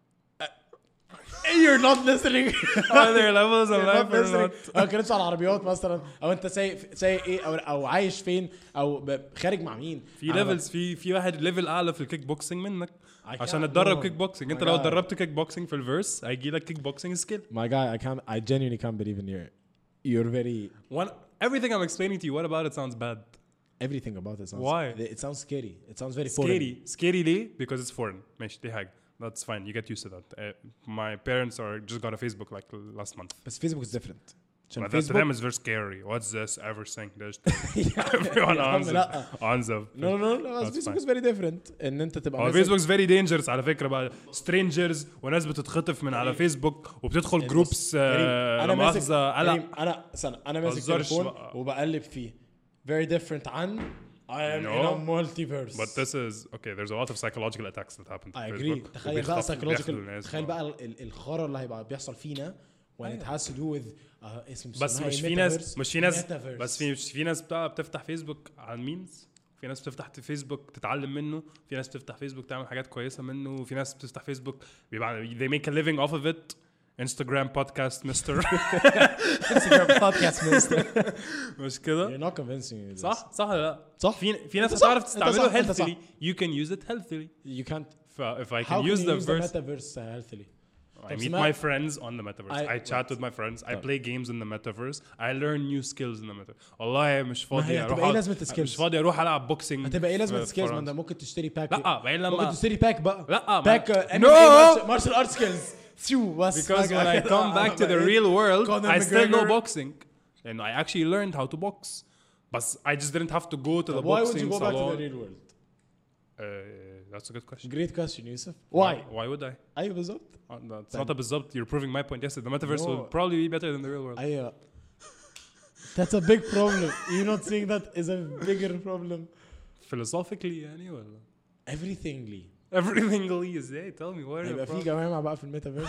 You're not listening Are there levels in You're life not or listening. not? او كنتش على العربيات مثلا او انت سايق سايق ايه او او عايش فين او ب- خارج مع مين في ليفلز في في واحد ليفل اعلى في الكيك بوكسينج منك I عشان can't- اتدرب no. كيك بوكسينج. انت My لو guy. اتدربت كيك بوكسينج في الفيرس هيجي لك كيك بوكسينج سكيل. My guy I can't I genuinely can't believe in your you're very One everything I'm explaining to you what about it sounds bad. everything about it sounds Why? it sounds scary it sounds very foreign. Scary. Scary ليه? Because it's foreign. ماشي دي حاجة. That's fine. You get used to that. Uh, my parents are just got a Facebook like last month. بس Facebook is different عشان But that to Facebook them is very scary. What's this ever saying? There's everyone يا عم on لا. on the no no no no That's Facebook fine. is very different ان انت تبقى هو ماسك- فيسبوك فيري دينجرس على فكره بقى. سترينجرز وناس بتتخطف من على فيسبوك وبتدخل جروبس كريم، انا ماسك مؤاخذه كريم، قلق. انا استنى انا ماسك مهزرش تليفون بقى. وبقلب فيه very different عن I am No. in a multiverse But this is okay. There's a lot of psychological attacks that happen to I agree Facebook. تخيل بقى وبيخطفوا- بياخدوا psychological الناس تخيل بقى. بقى ال- ال- الخرا اللي هيبقى بيحصل فينا when it has to do with uh, اسم بس اسمها مش إيه؟ في ناس Metaverse. مش في ناس Metaverse. بس في مش في ناس بتاع بتفتح فيسبوك على الميمز. في ناس بتفتح فيسبوك تتعلم منه. في ناس بتفتح فيسبوك تعمل حاجات كويسه منه. وفي ناس بتفتح فيسبوك بيبقى they make a living off of it. Instagram podcast mister Instagram podcast minister مش كده؟ you're not convincing me of this. صح صح ولا لا؟ صح. في في ناس أنت صح. هتعرف أنت تستعمله صح. أنت صح. healthily. You can use it healthily. you can't ف if I how can can use you the use the verse metaverse healthily I طب meet سمعت- my friends on the metaverse. I- I, chat with my friends. I play games in the metaverse. I learn new skills in the metaverse. والله مش ما هي فاضي هتبقى اروح ايه أقعد- لازمة الskills؟ مش فاضي اروح العب بوكسينج. هتبقى ايه لازمه في السكيلز ما فرنسا. انت ممكن تشتري باك لا بعدين ممكن لما تشتري باك بقى لا ما- باك No! مارشال ارت سكيلز ثيو بس because when I come back to the real world Conor I still know McGregor. boxing and I actually learned how to box but I just didn't have to go to the why would boxing you go back to salon. the real world Uh, that's a good question. great question يوسف why Why would I? ايوه بالظبط Uh, that's not a بالظبط. You're proving my point. Yes, the metaverse No. will probably be better than the real world. ايوه that's a big problem you're not saying that is a bigger problem Philosophically يعني ولا everything لي everything is ازاي tell me what هيبقى are في the جماعه بقى في الميتافيرس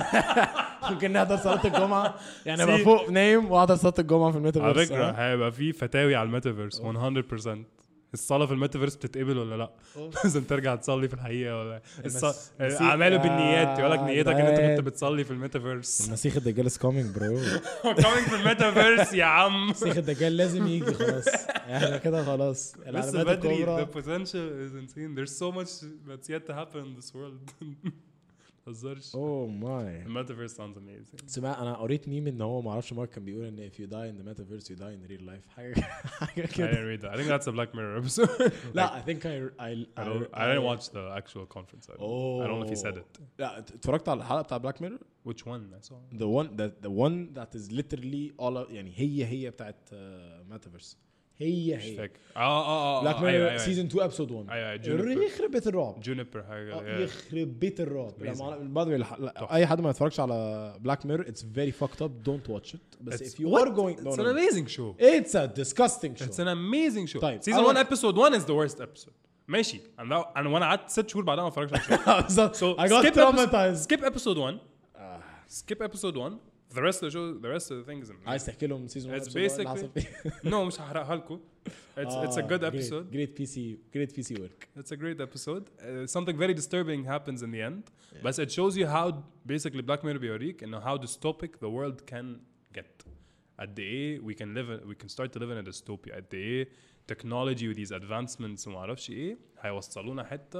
ممكن نحضر صلاه الجمعه يعني ابقى See. فوق نايم واحضر صلاه الجمعه في على الميتافيرس فكرة هيبقى في فتاوي على الميتافيرس one hundred percent. الصلاة في الميتافيرس بتتقبل ولا لا؟ لازم ترجع تصلي في الحقيقة ولا المس- الص- المسيح- أعماله بالنيات يقول لك آه، نيتك إن أنت ده- كنت بتصلي في الميتافيرس. المسيح الدجال is coming bro coming في الميتافيرس يا عم. المسيح الدجال لازم يجي خلاص احنا كده خلاص لسه العلامات بدري. الكبرى The potential is insane. There's so much that's yet to happen in this world. متهزرش. اوه ماي The metaverse sounds amazing. سمع انا قريت ميم ان هو ما اعرفش مارك كان بيقول ان if you die in the metaverse you die in real life حاجه حاجه I كده didn't read that. I think that's a Black Mirror episode. لا I think I I I don't. I didn't watch the actual conference. I don't, I don't know if he said it. لا اتفرجت على الحلقه بتاع بلاك ميرور Which one? I saw. the one that the one that is literally all يعني هي هي بتاعت ميتافيرس هي مش هي فاكر. اه اه اه. بلاك أيوة، ميرور أيوة. سيزون تو ابسود واحد أيوة، Juniper. يخرب بيت الرعب Juniper حاجة. آه، yeah. يخرب بيت الرعب لا Amazing. ما- by the way الح- لا، تحفة. اي حد ما يتفرجش على بلاك ميرور it's very fucked up don't watch it بس It's- if you what? are going no, It's no, an no. amazing show. it's a disgusting show It's an amazing show. طيب، Season أول- one episode one is the worst episode. ماشي. أنا لو- أنا وأنا قعدت ست شهور بعدها ما اتفرجتش على الشو. So I got skip traumatized Skip episode one. Skip episode one. The rest of the show, the rest of the things. عايز تحكي لهم سيزون It's basically no مش هحرقها لكم. It's it's a good episode. great P C great P C work It's a great episode. Uh, something very disturbing happens in the end, but it shows you how basically Black Mirror بيوريك إنه how dystopic the world can get. قد إيه we can live in, we can start to live in a dystopia. قد إيه technology with these advancements وما أعرفش إيه هيوصلونا حتة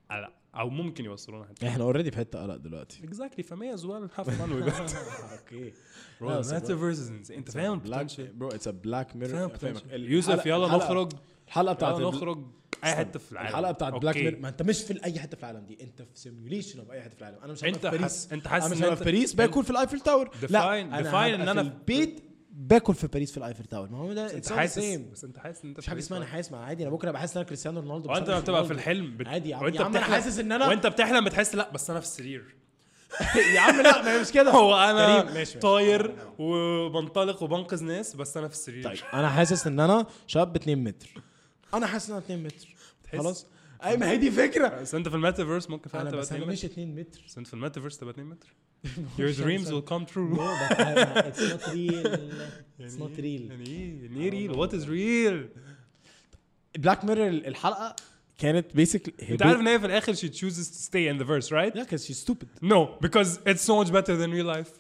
لا او ممكن يوصلونا حته احنا اوريدي في حته قلق دلوقتي. exactly فمية as well have fun with it. اوكي bro metaverse is انت فاهم potential bro it's a black mirror. يوسف يلا نخرج الحلقه بتاعت يلا نخرج اي حته في العالم. الحلقه بتاعت بلاك ميرور ما انت مش في اي حته في العالم دي, انت في سيميوليشن في اي حته في العالم. انا مش انت في باريس انت حاسس انا مش في باريس باكل في الايفل تاور. لا انا ديفاين ان انا في البيت باكل في باريس في الايفل تاور. ما هو ده انت حاسس بس انت حاسس ان انت مش حاجه اسمها انا حاسس. عادي انا بكره بحس ان انا كريستيانو رونالدو. وانت بتبقى في الحلم بت... عادي يا وانت عم انا حاسس ان انا وانت بتحلم بتحس لا بس انا في السرير. يا عم لا ما هي مش كده. هو انا كريم ماشي طاير وبنطلق وبنقذ ناس بس انا في السرير. طيب انا حاسس ان انا شاب اتنين متر. انا حاسس ان انا اتنين متر خلاص. اي ما هي دي فكره. بس انت في الميتافيرس ممكن فعلا تبقى اتنين متر. مش اتنين متر. بس انت في الميتافيرس تبقى اتنين متر. Your dreams will come true. No, but I, it's not real. It's not real. يعني ايه يعني ايه real? What is real? بلاك ميرور الحلقه كانت basically انت عارف ان هي في الاخر she chooses to stay in the verse, right? Yeah, because she's stupid. No, because it's so much better than real life.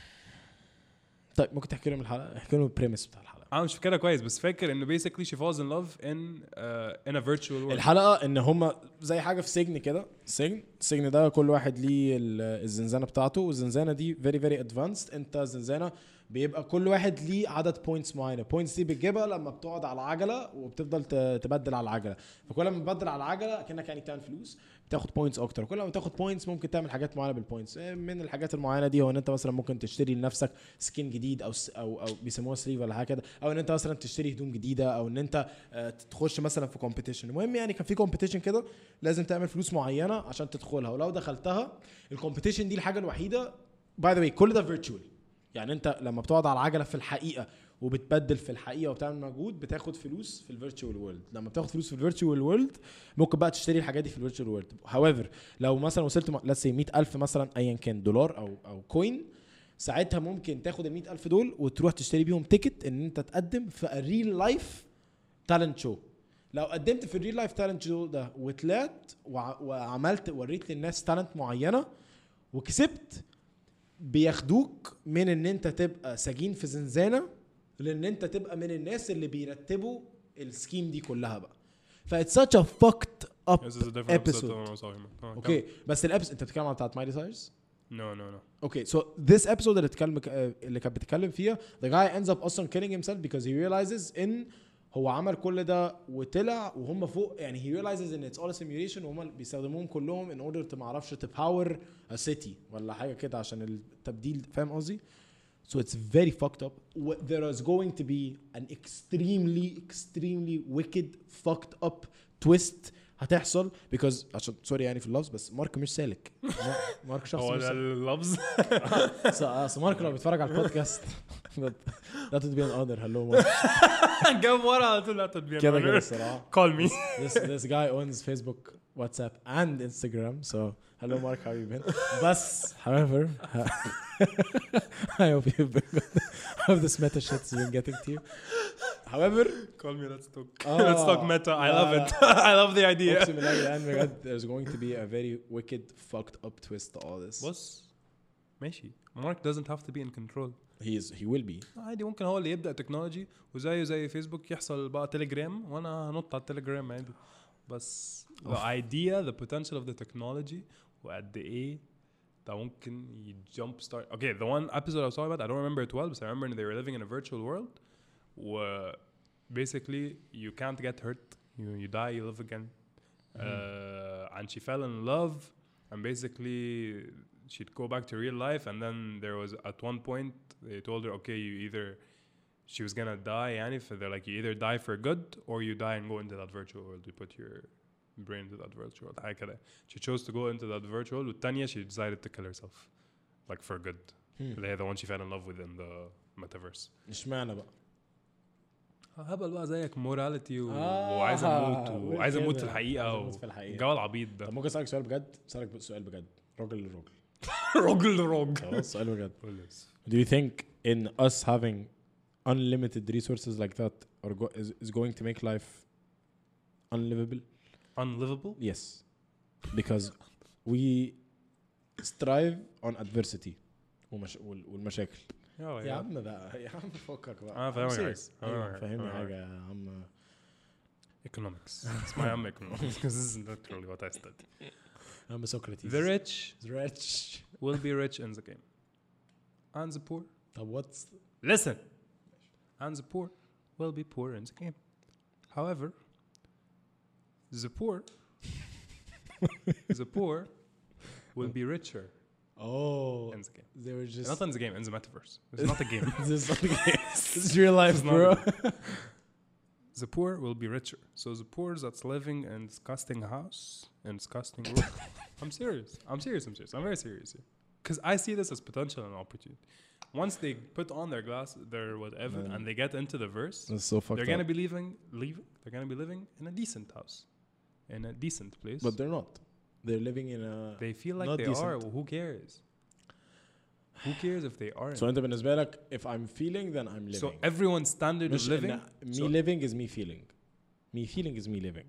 طيب ممكن تحكي لهم الحلقه؟ احكي لهم البريميس بتاع الحلقه. انا مش فاكرها كويس بس فاكر انه basically she falls in love in uh, in a virtual world. الحلقه ان هم زي حاجه في سجن كده. سجن السجن ده كل واحد ليه الزنزانه بتاعته, والزنزانه دي very very advanced. انت زنزانه بيبقى كل واحد ليه عدد بوينتس معينه. بوينتس دي بتجيبها لما بتقعد على العجله وبتفضل تبدل على العجله. فكل ما تبدل على العجله كأنك يعني بتعمل فلوس بتاخد بوينتس اكتر. كل ما تاخد بوينتس ممكن تعمل حاجات معينه بالبوينتس. من الحاجات المعينه دي هو ان انت مثلا ممكن تشتري لنفسك سكين جديد او او او بيسموها سليف ولا حاجه كده, او ان انت مثلا تشتري هدوم جديده, او ان انت تخش مثلا في كومبيتيشن. المهم يعني كان في كومبيتيشن كده لازم تعمل فلوس معينه عشان تدخلها, ولو دخلتها الكومبيتيشن دي الحاجه الوحيده باي ذا واي كل ده فيرتشوال. يعني انت لما بتقعد على العجله في الحقيقه وبتبدل في الحقيقه وبتعمل مجهود بتاخد فلوس في الفيرتشوال وورلد. لما بتاخد فلوس في الفيرتشوال وورلد ممكن بقى تشتري الحاجات دي في الفيرتشوال وورلد. however لو مثلا وصلت let's say مية ألف مثلا ايا كان دولار او او كوين, ساعتها ممكن تاخد ال مية ألف دول وتروح تشتري بيهم تيكت ان انت تقدم في الريل لايف تالنت شو. لو قدمت في الريل لايف تالنت شو ده وطلعت وعملت وريت للناس تالنت معينه وكسبت, بياخدوك من ان انت تبقى سجين في زنزانه لان انت تبقى من الناس اللي بيرتبوا السكيم دي كلها بقى. ف it's such a fucked up episode. اوكي بس الابس انت بتتكلم عن بتاعت مايلي سايرس. No no no. Okay so this episode اللي اتكلم اللي كانت بتتكلم فيها the guy ends up اصلا killing himself because he realizes ان هو عمل كل ده وطلع وهم فوق. يعني he realizes ان it's all a simulation وهم بيستخدموهم كلهم in order to معرفش to power a city ولا حاجة كده عشان التبديل. فاهم قصدي؟ So it's very fucked up. There is going to be an extremely extremely wicked fucked up twist هتحصل because عشان سوري يعني في اللفظ بس مارك مش سالك. مارك شخص هو اللفظ صح. مارك لو بيتفرج على البودكاست لا تدبين honor. hello مارك. جاب ورا على طول لا تدبين كده كده الصراحة. call me. this this guy owns Facebook, WhatsApp and Instagram. So hello Mark, how you been? بس however I hope you've been good. I hope this meta shit's been getting to you. However call me, let's talk. Oh, let's talk meta. I love it. I love the idea. There's going to be a very wicked fucked up twist to all this. بص ماشي, Mark doesn't have to be in control. He is he will be. عادي ممكن هو اللي يبدأ تكنولوجي وزيه زي فيسبوك يحصل بقى تيليجرام وانا هنط على التيليجرام عادي. بس the idea, the potential of the technology وقد ايه ده ممكن jump start. Okay, the one episode I was talking about, I don't remember it well, but I remember they were living in a virtual world where basically you can't get hurt. You you die, you live again. Mm-hmm. Uh, and she fell in love, and basically she'd go back to real life. And then there was at one point they told her, okay, you either she was gonna die, and if they're like, you either die for good or you die and go into that virtual world. You put your brain into that virtual world. هكذا. She chose to go into that virtual world. والتانية she decided to kill herself, like for good. اللي هي the one she fell in love with in the metaverse. اشمعنى بقى؟ هبل بقى زيك موراليتي و... آه وعايز اموت وعايز اموت في الحقيقه والجو العبيط ده. طب ممكن اسالك سؤال بجد؟ اسالك سؤال بجد راجل لراجل. راجل لراجل. خلاص سؤال بجد. Do you think in us having unlimited resources like that are go is, is going to make life unlivable? Unlivable? Yes, because we strive on adversity ومش... والمشاكل. يا عم بقى يا عم فكك بقى. اه فاهمني حاجه فاهمني حاجه يا عم. economics. It's my own economics because this is literally what I study. I'm a Socrates. The rich The rich. will be rich in the game, and the poor. طب what's Listen, and the poor will be poor in the game. However, the poor, the poor will be richer oh in the game. they were just Not in the game, in the metaverse. It's not a game. this is not a game. This is real life, It's not bro. a The poor will be richer. So the poor that's living in disgusting house and disgusting room. I'm serious. I'm serious. I'm serious. I'm very serious here. Because I see this as potential and opportunity. Once they put on their glass, their whatever, Man. and they get into the verse, That's so fucked they're gonna up. be leaving, leaving. They're gonna be living in a decent house, in a decent place. But they're not. They're living in a they feel like not they decent. are. Well, who cares? Who cares if they aren't? So انت بالنسبة لك if I'm feeling then I'm living. So everyone's standard of مش living. إن me so living is me feeling. Me feeling is me living.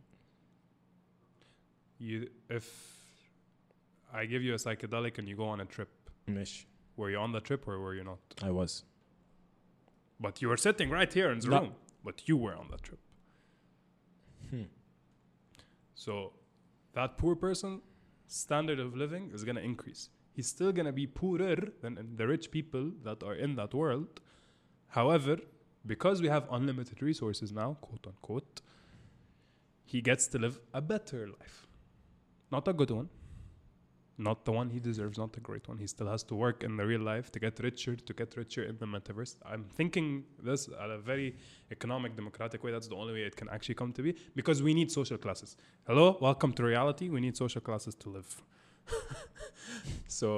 you, if I give you a psychedelic and you go on a trip, مش were you on the trip or were you not? I was. But you were sitting right here in the No. room. But you were on that trip. Hmm. So that poor person standard of living is going to increase. He's still going to be poorer than the rich people that are in that world. However, because we have unlimited resources now, quote unquote, he gets to live a better life. Not a good one. Not the one he deserves, not a great one. He still has to work in the real life to get richer, to get richer in the metaverse. I'm thinking this at a very economic, democratic way. That's the only way it can actually come to be, because we need social classes. Hello, welcome to reality. We need social classes to live. So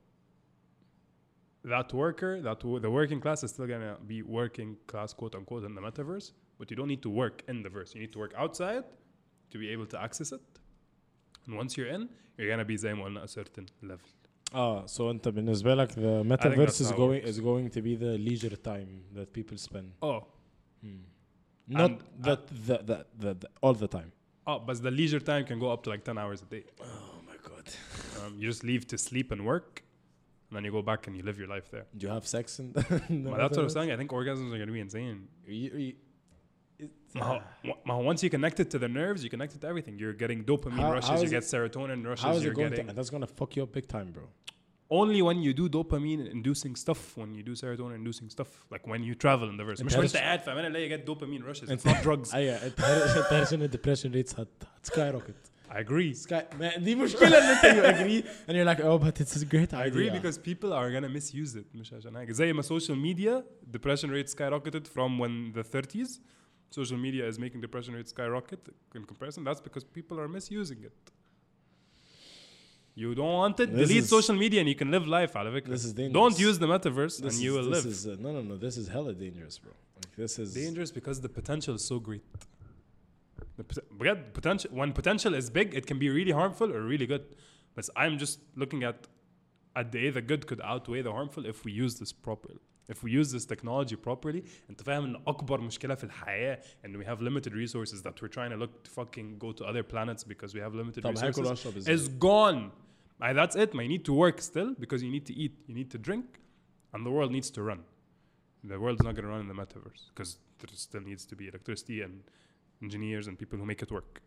that worker, that w- the working class is still gonna be working class, quote unquote, in the metaverse, but you don't need to work in the verse. You need to work outside to be able to access it. And once you're in, you're gonna be زي ما قلنا a certain level. Ah, so انت بالنسبة لك the metaverse that's is how it going works. is going to be the leisure time that people spend. Oh, Not And- that the, the, the, the all the time. oh, but the leisure time can go up to like ten hours a day. Oh my god. Um, you just leave to sleep and work, and then you go back and you live your life there. Do you have sex in the, in the But that's what I'm metaverse? saying. I think orgasms are gonna be insane. You- you- it's- Ma- ma- Once you connect it to the nerves, you connect it to everything. You're getting dopamine How- rushes, how you is get serotonin rushes, How is you're it going getting... to? That's gonna fuck you up big time, bro. Only when you do dopamine inducing stuff, when you do serotonin inducing stuff, like when you travel in the verse. انت مش وانت عارف- قاعد في امان الله you get dopamine rushes. It's انت- not drugs. ايوه انت عارف انت عارف ان الدبريشن ريتس هت سكاي روكيت. I agree. سكاي دي مشكلة ان انت you agree and you're like oh but it's a great I idea. agree because people are gonna misuse it. مش عشان حاجة. زي ما social media depression rate skyrocketed from when the thirties. Social media is making depression rate skyrocket in comparison. That's because people are misusing it. You don't want it? This Delete is- social media and you can live life على فكرة. This is dangerous. Don't use the metaverse This and is, you will this live. Is, uh, no no no this is hella dangerous, bro. Like this is Dangerous because the potential is so great. The pot- بجد potential when potential is big, it can be really harmful or really good. But I'm just looking at at the the good could outweigh the harmful if we use this properly. If we use this technology properly, انت فاهم ان اكبر مشكلة في الحياة and we have limited resources that we're trying to look to fucking go to other planets because we have limited طب هاكل resources واشرب ازاي؟ is gone. Uh, that's it. You need to work still because you need to eat, you need to drink, and the world needs to run. The world's not going to run in the metaverse because there still needs to be electricity and engineers and people who make it work.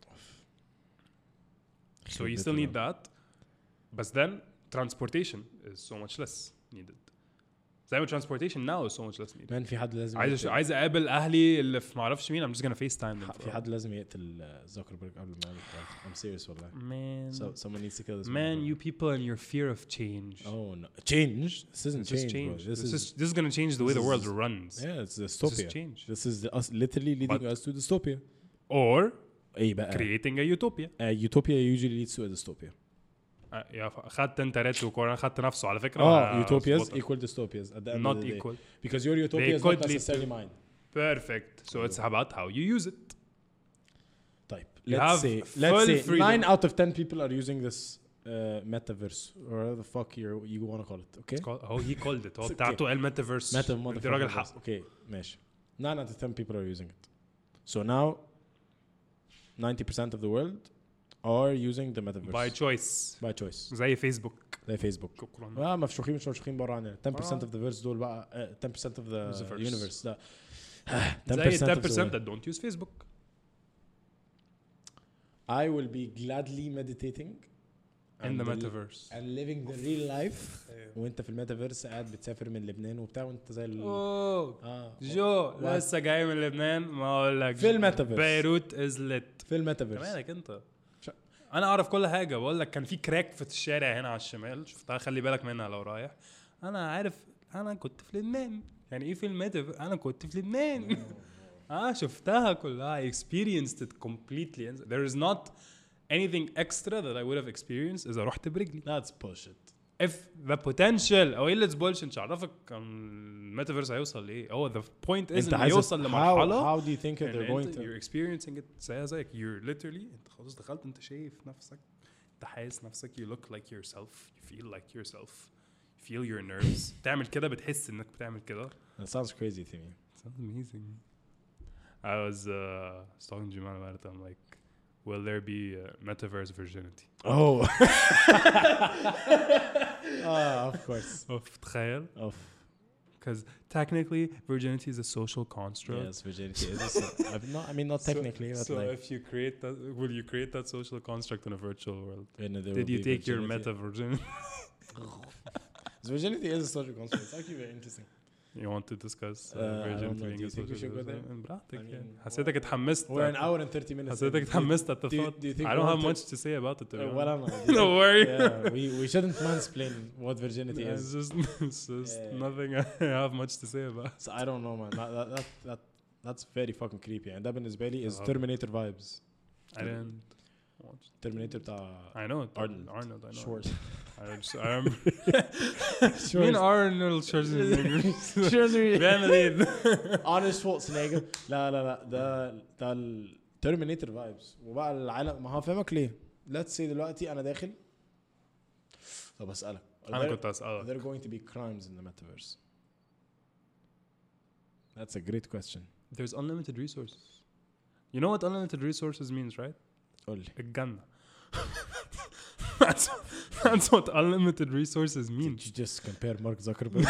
So you still need that. But then transportation is so much less needed. زي ما transportation now is so much less needed. Man في حد لازم عايز يقتل- عايز اقابل اهلي اللي في ما اعرفش مين. I'm just gonna FaceTime them. في حد لازم يقتل زوكربيرج قبل ما يعمل حاجة. I'm serious والله. Man, So someone needs to kill this man, motherfucker. you people and your fear of change. Oh no, change. This isn't This is change, change. bro. This, This, is, is this is gonna change the way this the world is- runs. yeah, it's This dystopia. is change. This is the, us literally leading But- us to dystopia. Or ايه بقى؟ creating a utopia. Uh, utopia usually leads to a dystopia. آه، يا ف- خدت انت ريت وكورن خدت نفسه على فكره. Oh, آه، utopias أظبطك. equal dystopias at the end Not of the day. equal. Because your utopia They is not could lead necessarily to- mine. Perfect. So it's about how you use it. طيب You let's have say let's full say freedom. nine out of ten people are using this uh, metaverse or whatever the fuck you you want to call it. Okay. It's called- هو he called it. هو It's بتاعته قال metaverse. Meta انت راجل motherfucker. حق. Okay, ماشي. nine out of ten people are using it. So now ninety percent of the world are using the metaverse By choice. by choice. زي فيسبوك. زي فيسبوك. شكرا. اه مفشوخين مش مفشوخين بره عننا. ten percent آه. of the verse دول بقى uh, ten percent of the Universe. universe. لا. زي ten percent ten of the percent world. that don't use Facebook. I will be gladly meditating in the and metaverse. and living the real life. وانت في الميتافيرس قاعد بتسافر من لبنان وبتاع وانت زي ال... اوه اه جو لسه جاي من لبنان ما اقول لك في الميتافيرس. بيروت از ليت في الميتافيرس. مالك انت ش- انا اعرف كل حاجه بقول لك كان في كراك في الشارع هنا على الشمال شفتها خلي بالك منها لو رايح انا عارف انا كنت في لبنان يعني ايه في الميتافيرس انا كنت في لبنان اه شفتها كلها I experienced it completely there is not anything extra that I would have experienced إذا رحت برجلي. That's bullshit. If the potential أو إيه اللي bullshit مش عارفك الميتافيرس هيوصل لإيه هو the point is إنه يوصل لمرحلة how, how do you think they're إن going أنت to you're experiencing it زي زيك you're literally أنت خلاص دخلت أنت شايف نفسك أنت حاسس نفسك you look like yourself you feel like yourself you feel your nerves تعمل كده بتحس إنك بتعمل كده. That sounds crazy to me. It sounds amazing. I was uh, talking to Jamal about it. I'm like, will there be uh, metaverse virginity? Oh. Ah, of course. Of تخيل. Of. Because technically, virginity is a social construct. Yes, virginity is. A, so- not, I mean, not technically, So, but so like. if you create that, will you create that social construct in a virtual world? you know, there Did will you be take your virginity. meta virginity? So virginity is a social construct. It's actually very interesting. You want to discuss uh, Uh, I don't virginity know. being Do you a think we social should go there? construct? براحتك I mean, يعني. حسيتك اتحمست. We're an hour and thirty minutes. حسيتك in. Do you- اتحمست at the do you- thought. do you think I we don't have want much to say about it. to be Uh, honest. well, I'm not. Don't worry. Yeah, we, we shouldn't mansplain what virginity Yeah, is. It's just, it's just Yeah. nothing I have much to say about. So I don't know, man. That, that, that, that, that's very fucking creepy. And that بالنسبة لي is Uh, Terminator vibes. I didn't watch. Terminator بتاع I know it. Arnold. Arnold. I know. Schwarz. I just, I am. مين Arnold Schwarzenegger؟ بيعمل ايه؟ Arnold Schwarzenegger. لا لا لا ده ده ال Terminator vibes. وبقى العالم ما هفهمك ليه. Let's say دلوقتي أنا داخل. طب أسألك. أنا كنت أسألك. Are there going to be crimes in the metaverse? That's a great question. There's unlimited resources. You know what unlimited resources means, right? قول لي. الجنة. That's that's what unlimited resources mean. Did you just compare Mark Zuckerberg?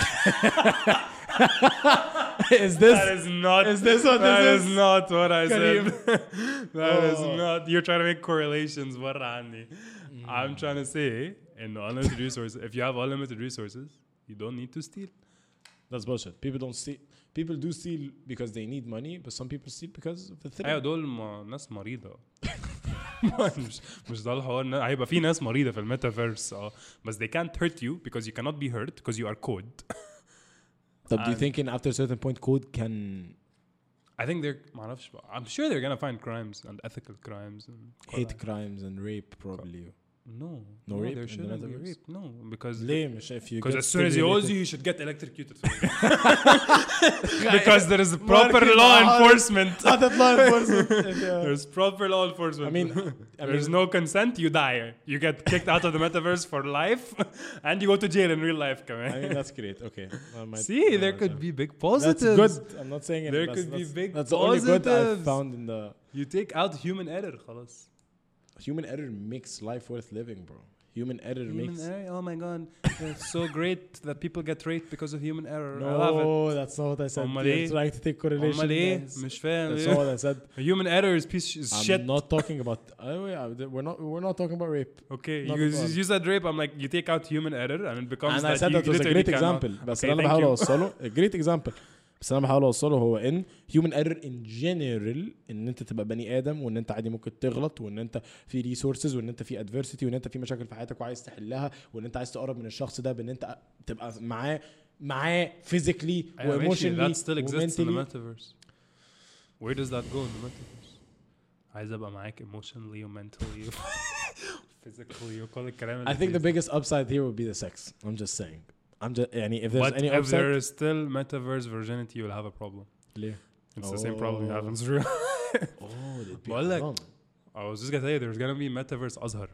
is this That is not. is this what that this is is? not what I Kareem. said. That is Oh. not. You're trying to make correlations. برا عني. Mm. I'm trying to say, in unlimited resources, if you have unlimited resources, you don't need to steal. That's bullshit. People don't steal. People do steal because they need money, but some people steal because of the thrill. ايوه دول ما ناس مريضة. مش مش ده الحوار إن هيبقى في ناس مريضة في الميتافيرس اه بس they can't hurt you because you cannot be hurt because you are code. But do you And- think in after a certain point code can I think they're ما اعرفش بقى. I'm sure they're gonna find crimes and ethical crimes and hate crimes and rape probably? no No rape there in the shouldn't be metaverse? rape no because ليه مش if you because get as soon as he owes stimulated- you you should get electrocuted because there is proper Market law hard. enforcement. Other law enforcement. Yeah. There's proper law enforcement. I mean, I there's mean- no consent, you die. You get kicked out of the metaverse for life, and you go to jail in real life. Come I mean that's great. Okay. That might- See, that there might could sound- be big That's positives. good. I'm not saying it. There that's, could be that's, big That's the only good I've positives. found in the You take out human error, خلاص. human error makes life worth living, bro. Human error Human makes error. Oh my god, it's so great that people get raped because of human error. I love it. No, that's not what I said. أمال You're إيه؟ trying to take correlation. أمال إيه؟ lines. مش فاهم. That's not what I said. Human error is piece is I'm shit. not talking about. Oh yeah, we're not. We're not talking about rape. Okay, Not you, at all. you said rape. I'm like, you take out human error and it becomes And that I said you that was a literally great cannot- example. بس Okay, اللي انا thank بحاول you. اوصله a great example. بس اللي انا بحاول اوصله هو ان human error in general ان انت تبقى بني ادم وان انت عادي ممكن تغلط وان انت في resources وان انت في adversity وان انت في مشاكل في حياتك وعايز تحلها وان انت عايز تقرب من الشخص ده بان انت تبقى معاه معاه physically أيوة و ماشي, emotionally that still exists in the و metaverse. Where does that go in the metaverse? عايز ابقى معاك emotionally و mentally و physically وكل الكلام I think the biggest upside here would be the sex. I'm just saying. I'm just يعني if there's But any if upside. there is still metaverse virginity, you'll have a problem. ليه؟ It's the same problem you have in Oh. real. Oh, they'd be بقول لك حرام. I was just gonna tell you there's gonna be metaverse أزهر.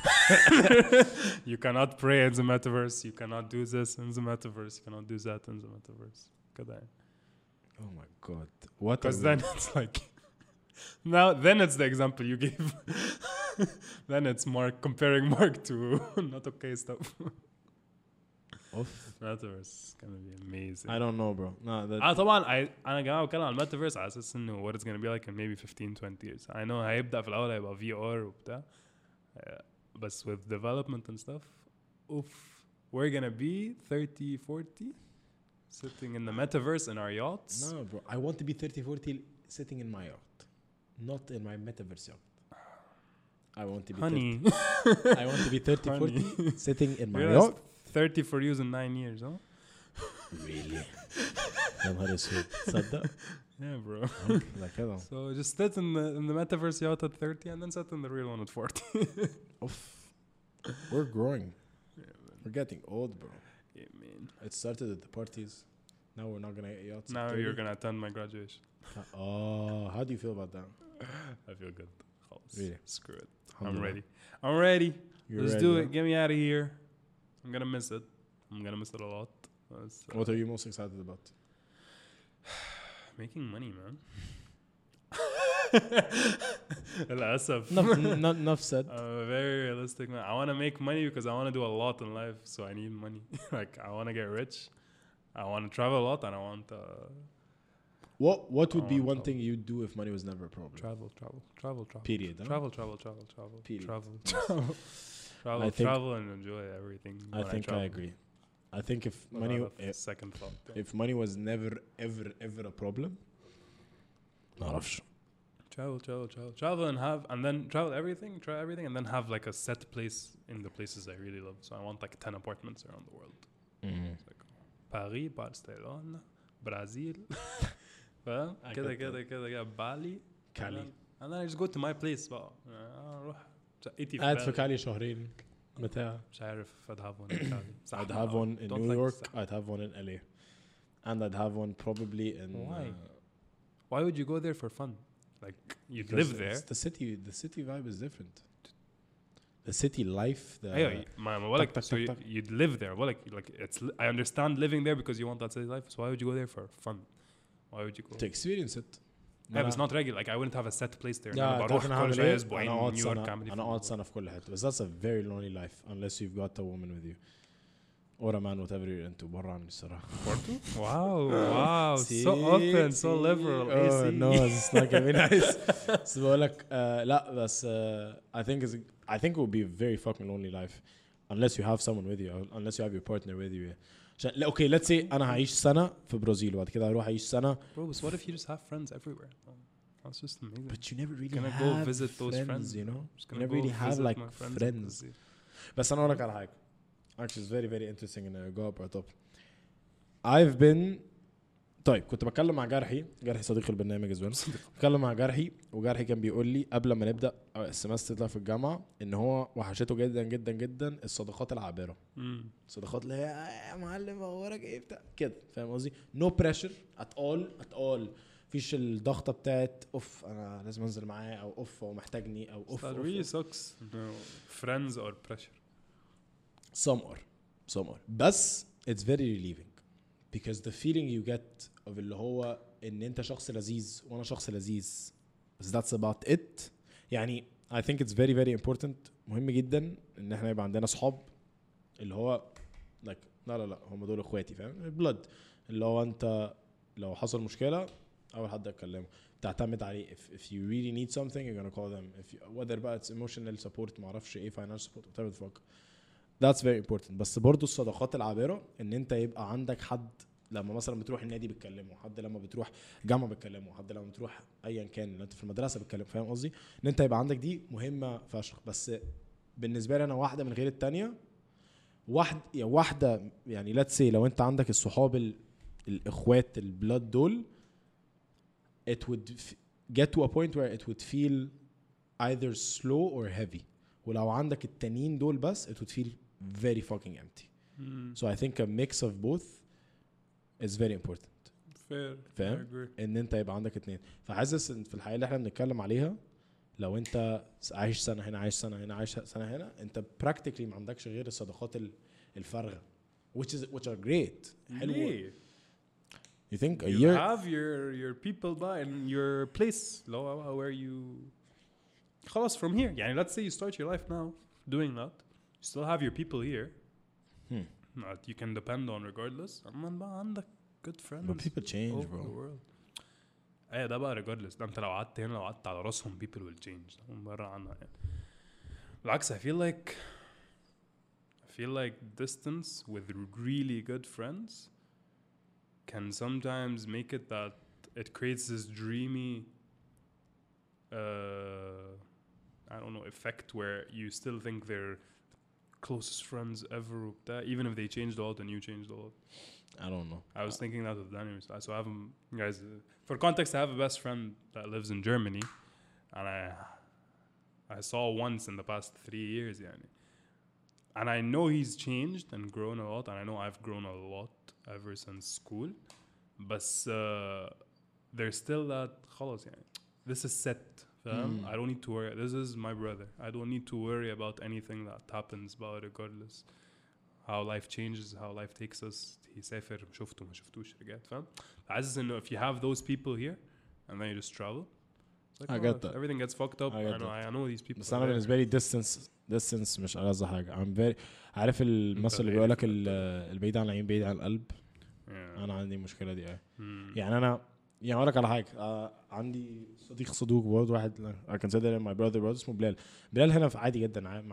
You cannot pray in the metaverse. You cannot do this in the metaverse. You cannot do that in the metaverse. كده يعني. Oh my god. What? Because are then we- it's like now then it's the example you gave. Then it's Mark comparing Mark to not okay stuff. اوف Metaverse is gonna be amazing. I don't know bro no that اه طبعا I انا جاي بتكلم عن الميتافيرس على اساس انه what it's gonna be like in maybe fifteen twenty years. I know هيبدأ في الاول هيبقى V R وبتاع uh, بس with development and stuff oof we're gonna be thirty forty sitting in the metaverse in our yachts. no bro I want to be thirty forty sitting in my yacht not in my metaverse yacht I want to be Honey. thirty I want to be thirty forty sitting in my Realize yacht thirty for you in nine years huh really يا نهار اسود تصدق yeah bro لا كده so just sit in the in the metaverse yacht at thirty and then sit in the real one at forty. oof we're growing we're getting old bro yeah man it started at the parties now we're not gonna get yachts at now thirty. you're gonna attend my graduation. oh how do you feel about that I feel good. Really? Screw it. I'm Alhamdulillah. ready. I'm ready. You're Let's ready, do huh? it. Get me out of here. I'm gonna miss it. I'm gonna miss it a lot. It's, uh, what are you most excited about making money, man. للأسف. enough, not enough said I'm a very realistic man. I want to make money because I want to do a lot in life, so I need money. Like I want to get rich. I want to travel a lot, and I want to what what would I be want one to- thing you'd do if money was never a problem travel, travel, travel, travel. period huh? Travel, travel, travel, travel, Period. travel, travel, travel, I think- travel, and enjoy everything. I when think I, travel. agree I think if Without money a if, second thought. if money was never ever ever a problem ما اعرفش Travel, travel, travel, travel, and have, and then travel everything, try everything, and then have like a set place in the places I really love. So I want like ten apartments around the world. Like Paris, Barcelona, Brazil, فاهم؟ I كده get كده كده كده بالي. كالي And then I just go to my place بقى. اروح شقتي قاعد في بالي. كالي شهرين بتاع مش عارف I'd have one in Cali. I'd have one in Don't New like York Sa- I'd have one in L A and I'd have one probably in Why? uh, Why would you go there for fun? Like you'd because live there. it's the city the city vibe is different the city life the ايوه ما ما بقولك تك- so تك- you- تك. you'd live there بقولك like it's I understand living there because you want that city life so why would you go there for fun why would you go to experience it yeah but it's not regular like I wouldn't have a set place there Yeah, أنا تعرف بروح أنا كل هعمل شوية إيه؟ أسبوعين أنا أقعد نيويورك سنة أعمل إيه أنا في أقعد الموضوع. سنة في كل حتة بس that's a very lonely life unless you've got a woman with you or a man whatever you're into برا عني الصراحة wow wow so See? open so See? liberal oh A C. no it's not gonna be nice بس بقولك آه، لا بس آه، I think it's I think it would be a very fucking lonely life unless you have someone with you or unless you have your partner with you عشان لا اوكي let's say انا هعيش سنة في برازيل وبعد كده هروح اعيش سنة bro but what if you just have friends everywhere oh, that's just amazing but you never really gonna have go visit those friends, friends you know just you gonna never go really have visit like my friends friends in Brazil. بس انا اقول لك على حاجة actually it's very very interesting in a go brought up I've been طيب كنت بتكلم مع جرحي جرحي صديق البرنامج زوين بتكلم مع جرحي وجرحي كان بيقول لي قبل ما نبدا السمستر ده في الجامعه ان هو وحشته جدا جدا جدا الصداقات العابره Mm. الصداقات اللي هي "آه يا معلم اخبارك ايه بتاع كده فاهم قصدي نو بريشر ات اول ات اول مفيش الضغطه بتاعت اوف انا لازم انزل معاه او اوف هو محتاجني او اوف That really sucks no friends or pressure some are some are بس it's very relieving because the feeling you get of اللي هو ان انت شخص لذيذ وانا شخص لذيذ بس that's about it يعني I think it's very very important مهم جدا ان احنا يبقى عندنا صحاب اللي هو like لا لا لا هم دول اخواتي فاهم blood اللي هو انت لو حصل مشكلة اول حد اتكلمه تعتمد عليه if, if you really need something you're gonna call them if you, whether بقى it's emotional support معرفش ايه financial support whatever the fuck that's very important بس برضو الصداقات العابرة ان انت يبقى عندك حد لما مثلا بتروح النادي بتكلمه حد لما بتروح جامعة بتكلمه حد لما بتروح ايا كان اللي انت في المدرسة بتكلمه فاهم قصدي ان انت يبقى عندك دي مهمة فشخ بس بالنسبة لي انا واحدة من غير التانية واحد يعني واحدة يعني let's say لو انت عندك الصحاب ال- الاخوات البلاد دول it would f- get to a point where it would feel either slow or heavy ولو عندك التانيين دول بس it would feel very fucking empty mm. so I think a mix of both is very important fair فاهم؟ I agree ان انت يبقى عندك اتنين فحاسس ان في الحياة اللي احنا بنتكلم عليها لو انت عايش سنة هنا عايش سنة هنا عايش سنة هنا انت practically ما عندكش غير الصداقات ال- الفارغة which is which are great حلوة ليه؟ you think a you year have your your people by in your place لو where you خلاص from here يعني let's say you start your life now doing that you still have your people here Hmm. that you can depend on regardless. أما بقى عندك good friends But people change, over bro. the world. ايه ده بقى regardless. ده انت لو قعدت هنا لو قعدت على راسهم people will change. هم برا عنها يعني. بالعكس I feel like I feel like distance with really good friends can sometimes make it that it creates this dreamy uh, I don't know effect where you still think they're closest friends ever even if they changed a lot and you changed a lot. I don't know. I was thinking that with Daniel. So I have guys uh, for context I have a best friend that lives in Germany and I I saw once in the past three years يعني. And I know he's changed and grown a lot and I know I've grown a lot ever since school but uh, there's still that خلاص يعني this is set fam. Mm. I don't need to worry. This is my brother. I don't need to worry about anything that happens about regardless how life changes, how life takes us. يسافر شفته ما شفتوش رجعت فاهم. حاسس انه if you have those people here and then you just travel like, I oh, get that. Everything gets fucked up. I, I, get know that. I know these people. بس أنا بالنسبة لي distance distance مش ألذ حاجة. I'm very عارف المثل اللي بيقولك البعيد عن العين بعيد عن القلب. Yeah. أنا عندي مشكلة دي أيه. Hmm. يعني أنا يعني أقولك على حاجة آه عندي صديق صدوق برضه واحد I consider him my brother brother اسمه بلال. بلال هنا في عادي جدا معايا.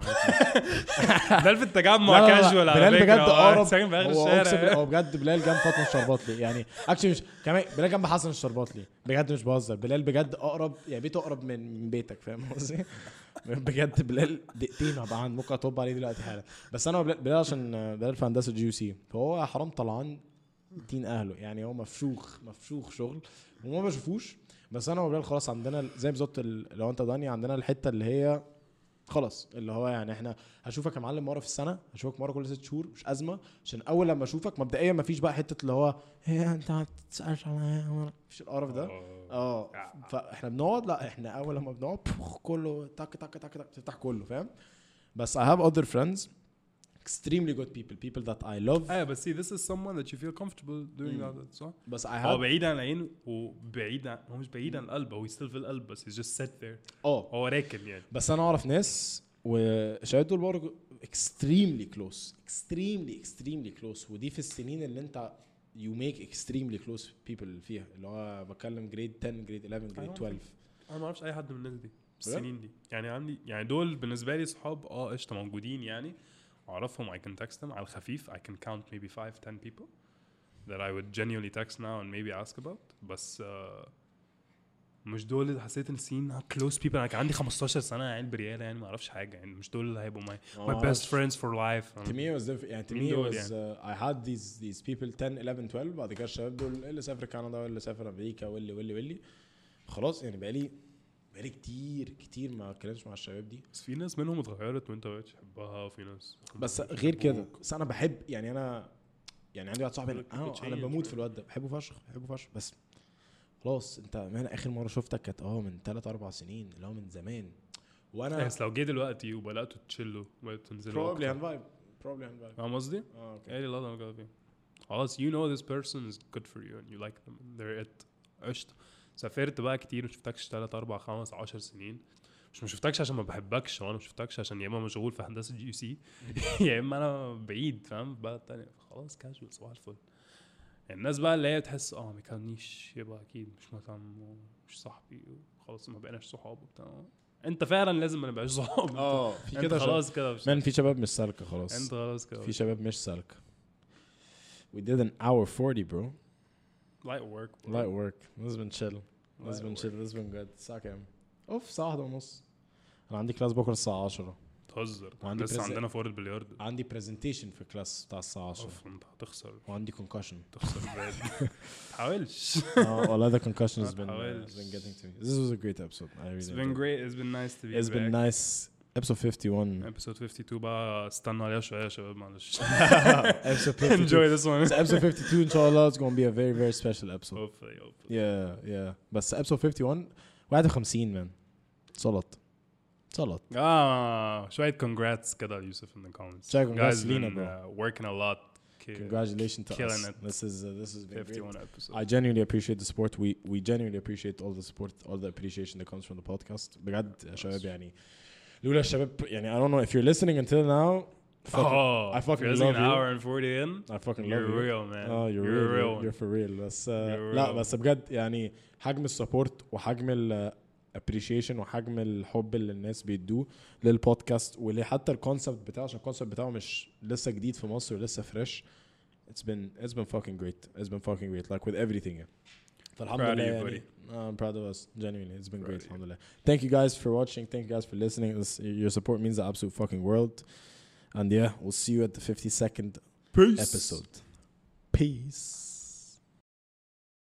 بلال في التجمع كاجوال على بلال بجد أقرب. ساكن في آخر هو الشارع. هو بجد بلال جنب فاطمة الشرباطلي يعني actually مش كمان بلال جنب حسن الشرباطلي بجد مش بهزر. بلال بجد أقرب يعني بيته أقرب من بيتك فاهم قصدي. بجد بلال دقيقتين هبقى عند ممكن اطب عليه دلوقتي حالا. بس انا بلال عشان بلال في هندسه جي يو سي فهو حرام طلعان دين اهله يعني هو مفشوخ مفشوخ شغل وما بشوفوش. بس انا وبلال خلاص عندنا زي بالظبط لو انت داني عندنا الحته اللي هي خلاص اللي هو يعني احنا هشوفك يا معلم مره في السنه هشوفك مره كل ست شهور مش ازمه عشان اول لما اشوفك مبدئيا مفيش بقى حته اللي هو هي انت ما تسالش عليا مفيش القرف ده. اه فاحنا بنقعد لا احنا اول لما بنقعد كله تك تك تك تك تفتح كله فاهم. بس I have other friends extremely good people people that I love. ايه بس see this is someone that you feel comfortable doing mm. that صح. بس I have هو بعيد عن العين وبعيد عن هو مش بعيد عن القلب هو still في القلب بس he's just set there. اه هو راكن يعني. بس انا اعرف ناس وشاهد دول برضه extremely close extremely extremely close ودي في السنين اللي انت you make extremely close people فيها اللي هو بكلم grade ten grade eleven grade twelve. انا ما اعرفش اي حد من الناس دي السنين دي يعني عندي يعني دول بالنسبه لي صحاب اه قشطه موجودين يعني اعرفهم I can text them على الخفيف I can count maybe five ten people that I would genuinely text now and maybe ask about بس uh, مش دول اللي حسيت ان سين close people. انا كان عندي خمستاشر سنه يعني برياله يعني ما اعرفش حاجه يعني مش دول اللي هيبقوا my my best friends for life. to me it was يعني to me it was uh, I had these these people ten eleven twelve بعد كده الشباب دول اللي سافر كندا واللي سافر امريكا واللي واللي واللي خلاص يعني بقالي بقالي كتير كتير ما اتكلمتش مع الشباب دي. بس في ناس منهم اتغيرت وانت بقيتش تحبها وفي ناس بس غير كده بس انا بحب يعني انا يعني عندي واحد صاحبي انا انا بموت في الواد ده بحبه فشخ بحبه فشخ بس خلاص انت من اخر مره شفتك كانت اه من ثلاثة أربعة سنين اللي هو من زمان وانا بس لو جه دلوقتي وبداتوا تشيلوا وبداتوا تنزلوا probably and vibe probably and vibe فاهم قصدي؟ اه اوكي ايه لا لا لا خلاص you know this person is good for you and you like them they're it قشطه. سافرت بقى كتير وشفتكش ثلاثة أربعة خمسة عشر سنين مش ما شفتكش عشان ما بحبكش وانا ما شفتكش عشان يا اما مشغول في هندسه جي يو سي يا اما انا بعيد فاهم بقى الثانيه خلاص كاجوال صباح الفل. الناس بقى اللي هي تحس اه ما كاننيش يبقى اكيد مش مهتم مش صاحبي خلاص ما بقيناش صحاب وبتاع انت فعلا لازم ما نبقاش صحاب. اه في كده خلاص كده من في شباب مش سالكه خلاص انت خلاص كده في شباب مش سالكه. we did an hour forty bro light work bro. light work this has been chill this has been chill this has been good الساعه كام اوف ساعه واحدة ونص. انا عندي كلاس بكره الساعه عشرة. تهزر لسه عندنا فور البلياردو عندي برزنتيشن في كلاس بتاع الساعه عشرة اوف انت هتخسر وعندي concussion تخسر بجد تحاولش اه والله the concussion has been, uh, تحاولش. been getting to me. This was a great episode I really it's been great it's been nice to be it's back. been nice episode fifty-one episode fifty-two بقى استنوا عليها شويه يا شباب معلش episode fifty-two enjoy this one so episode fifty-two ان شاء الله it's going to be a very very special episode hopefully hopefully yeah yeah بس episode fifty-one واحد وخمسين man صلت صلت اه شويه congrats كده يوسف in the comments شوية congrats guys لينا been bro. uh, working a lot congratulations to killing us it. this is uh, this has been fifty-one great. episode I genuinely appreciate the support we we genuinely appreciate all the support all the appreciation that comes from the podcast بجد يا شباب يعني لولا الشباب يعني I don't know if you're listening until now fucking, Oh, I fucking if love an you. hour and forty in. I fucking You're love you. real, man. اه you're, You're real, real. you're, you're for real. بس uh, You're لا real. بس بجد يعني حجم السبورت وحجم ال appreciation وحجم الحب اللي الناس بيدوه للبودكاست وحتى الكونسبت بتاعه عشان الكونسبت بتاعه مش لسه جديد في مصر ولسه فريش. It's been it's been fucking great. It's been fucking great like with everything. Yeah. فالحمد Proud of لله you, يعني buddy. uh, I'm proud of us genuinely. It's been Proud great. of you. الحمد لله. Thank you guys for watching. Thank you guys for listening. This, your support means the absolute fucking world. And yeah, we'll see you at the fifty-second Peace. episode. Peace.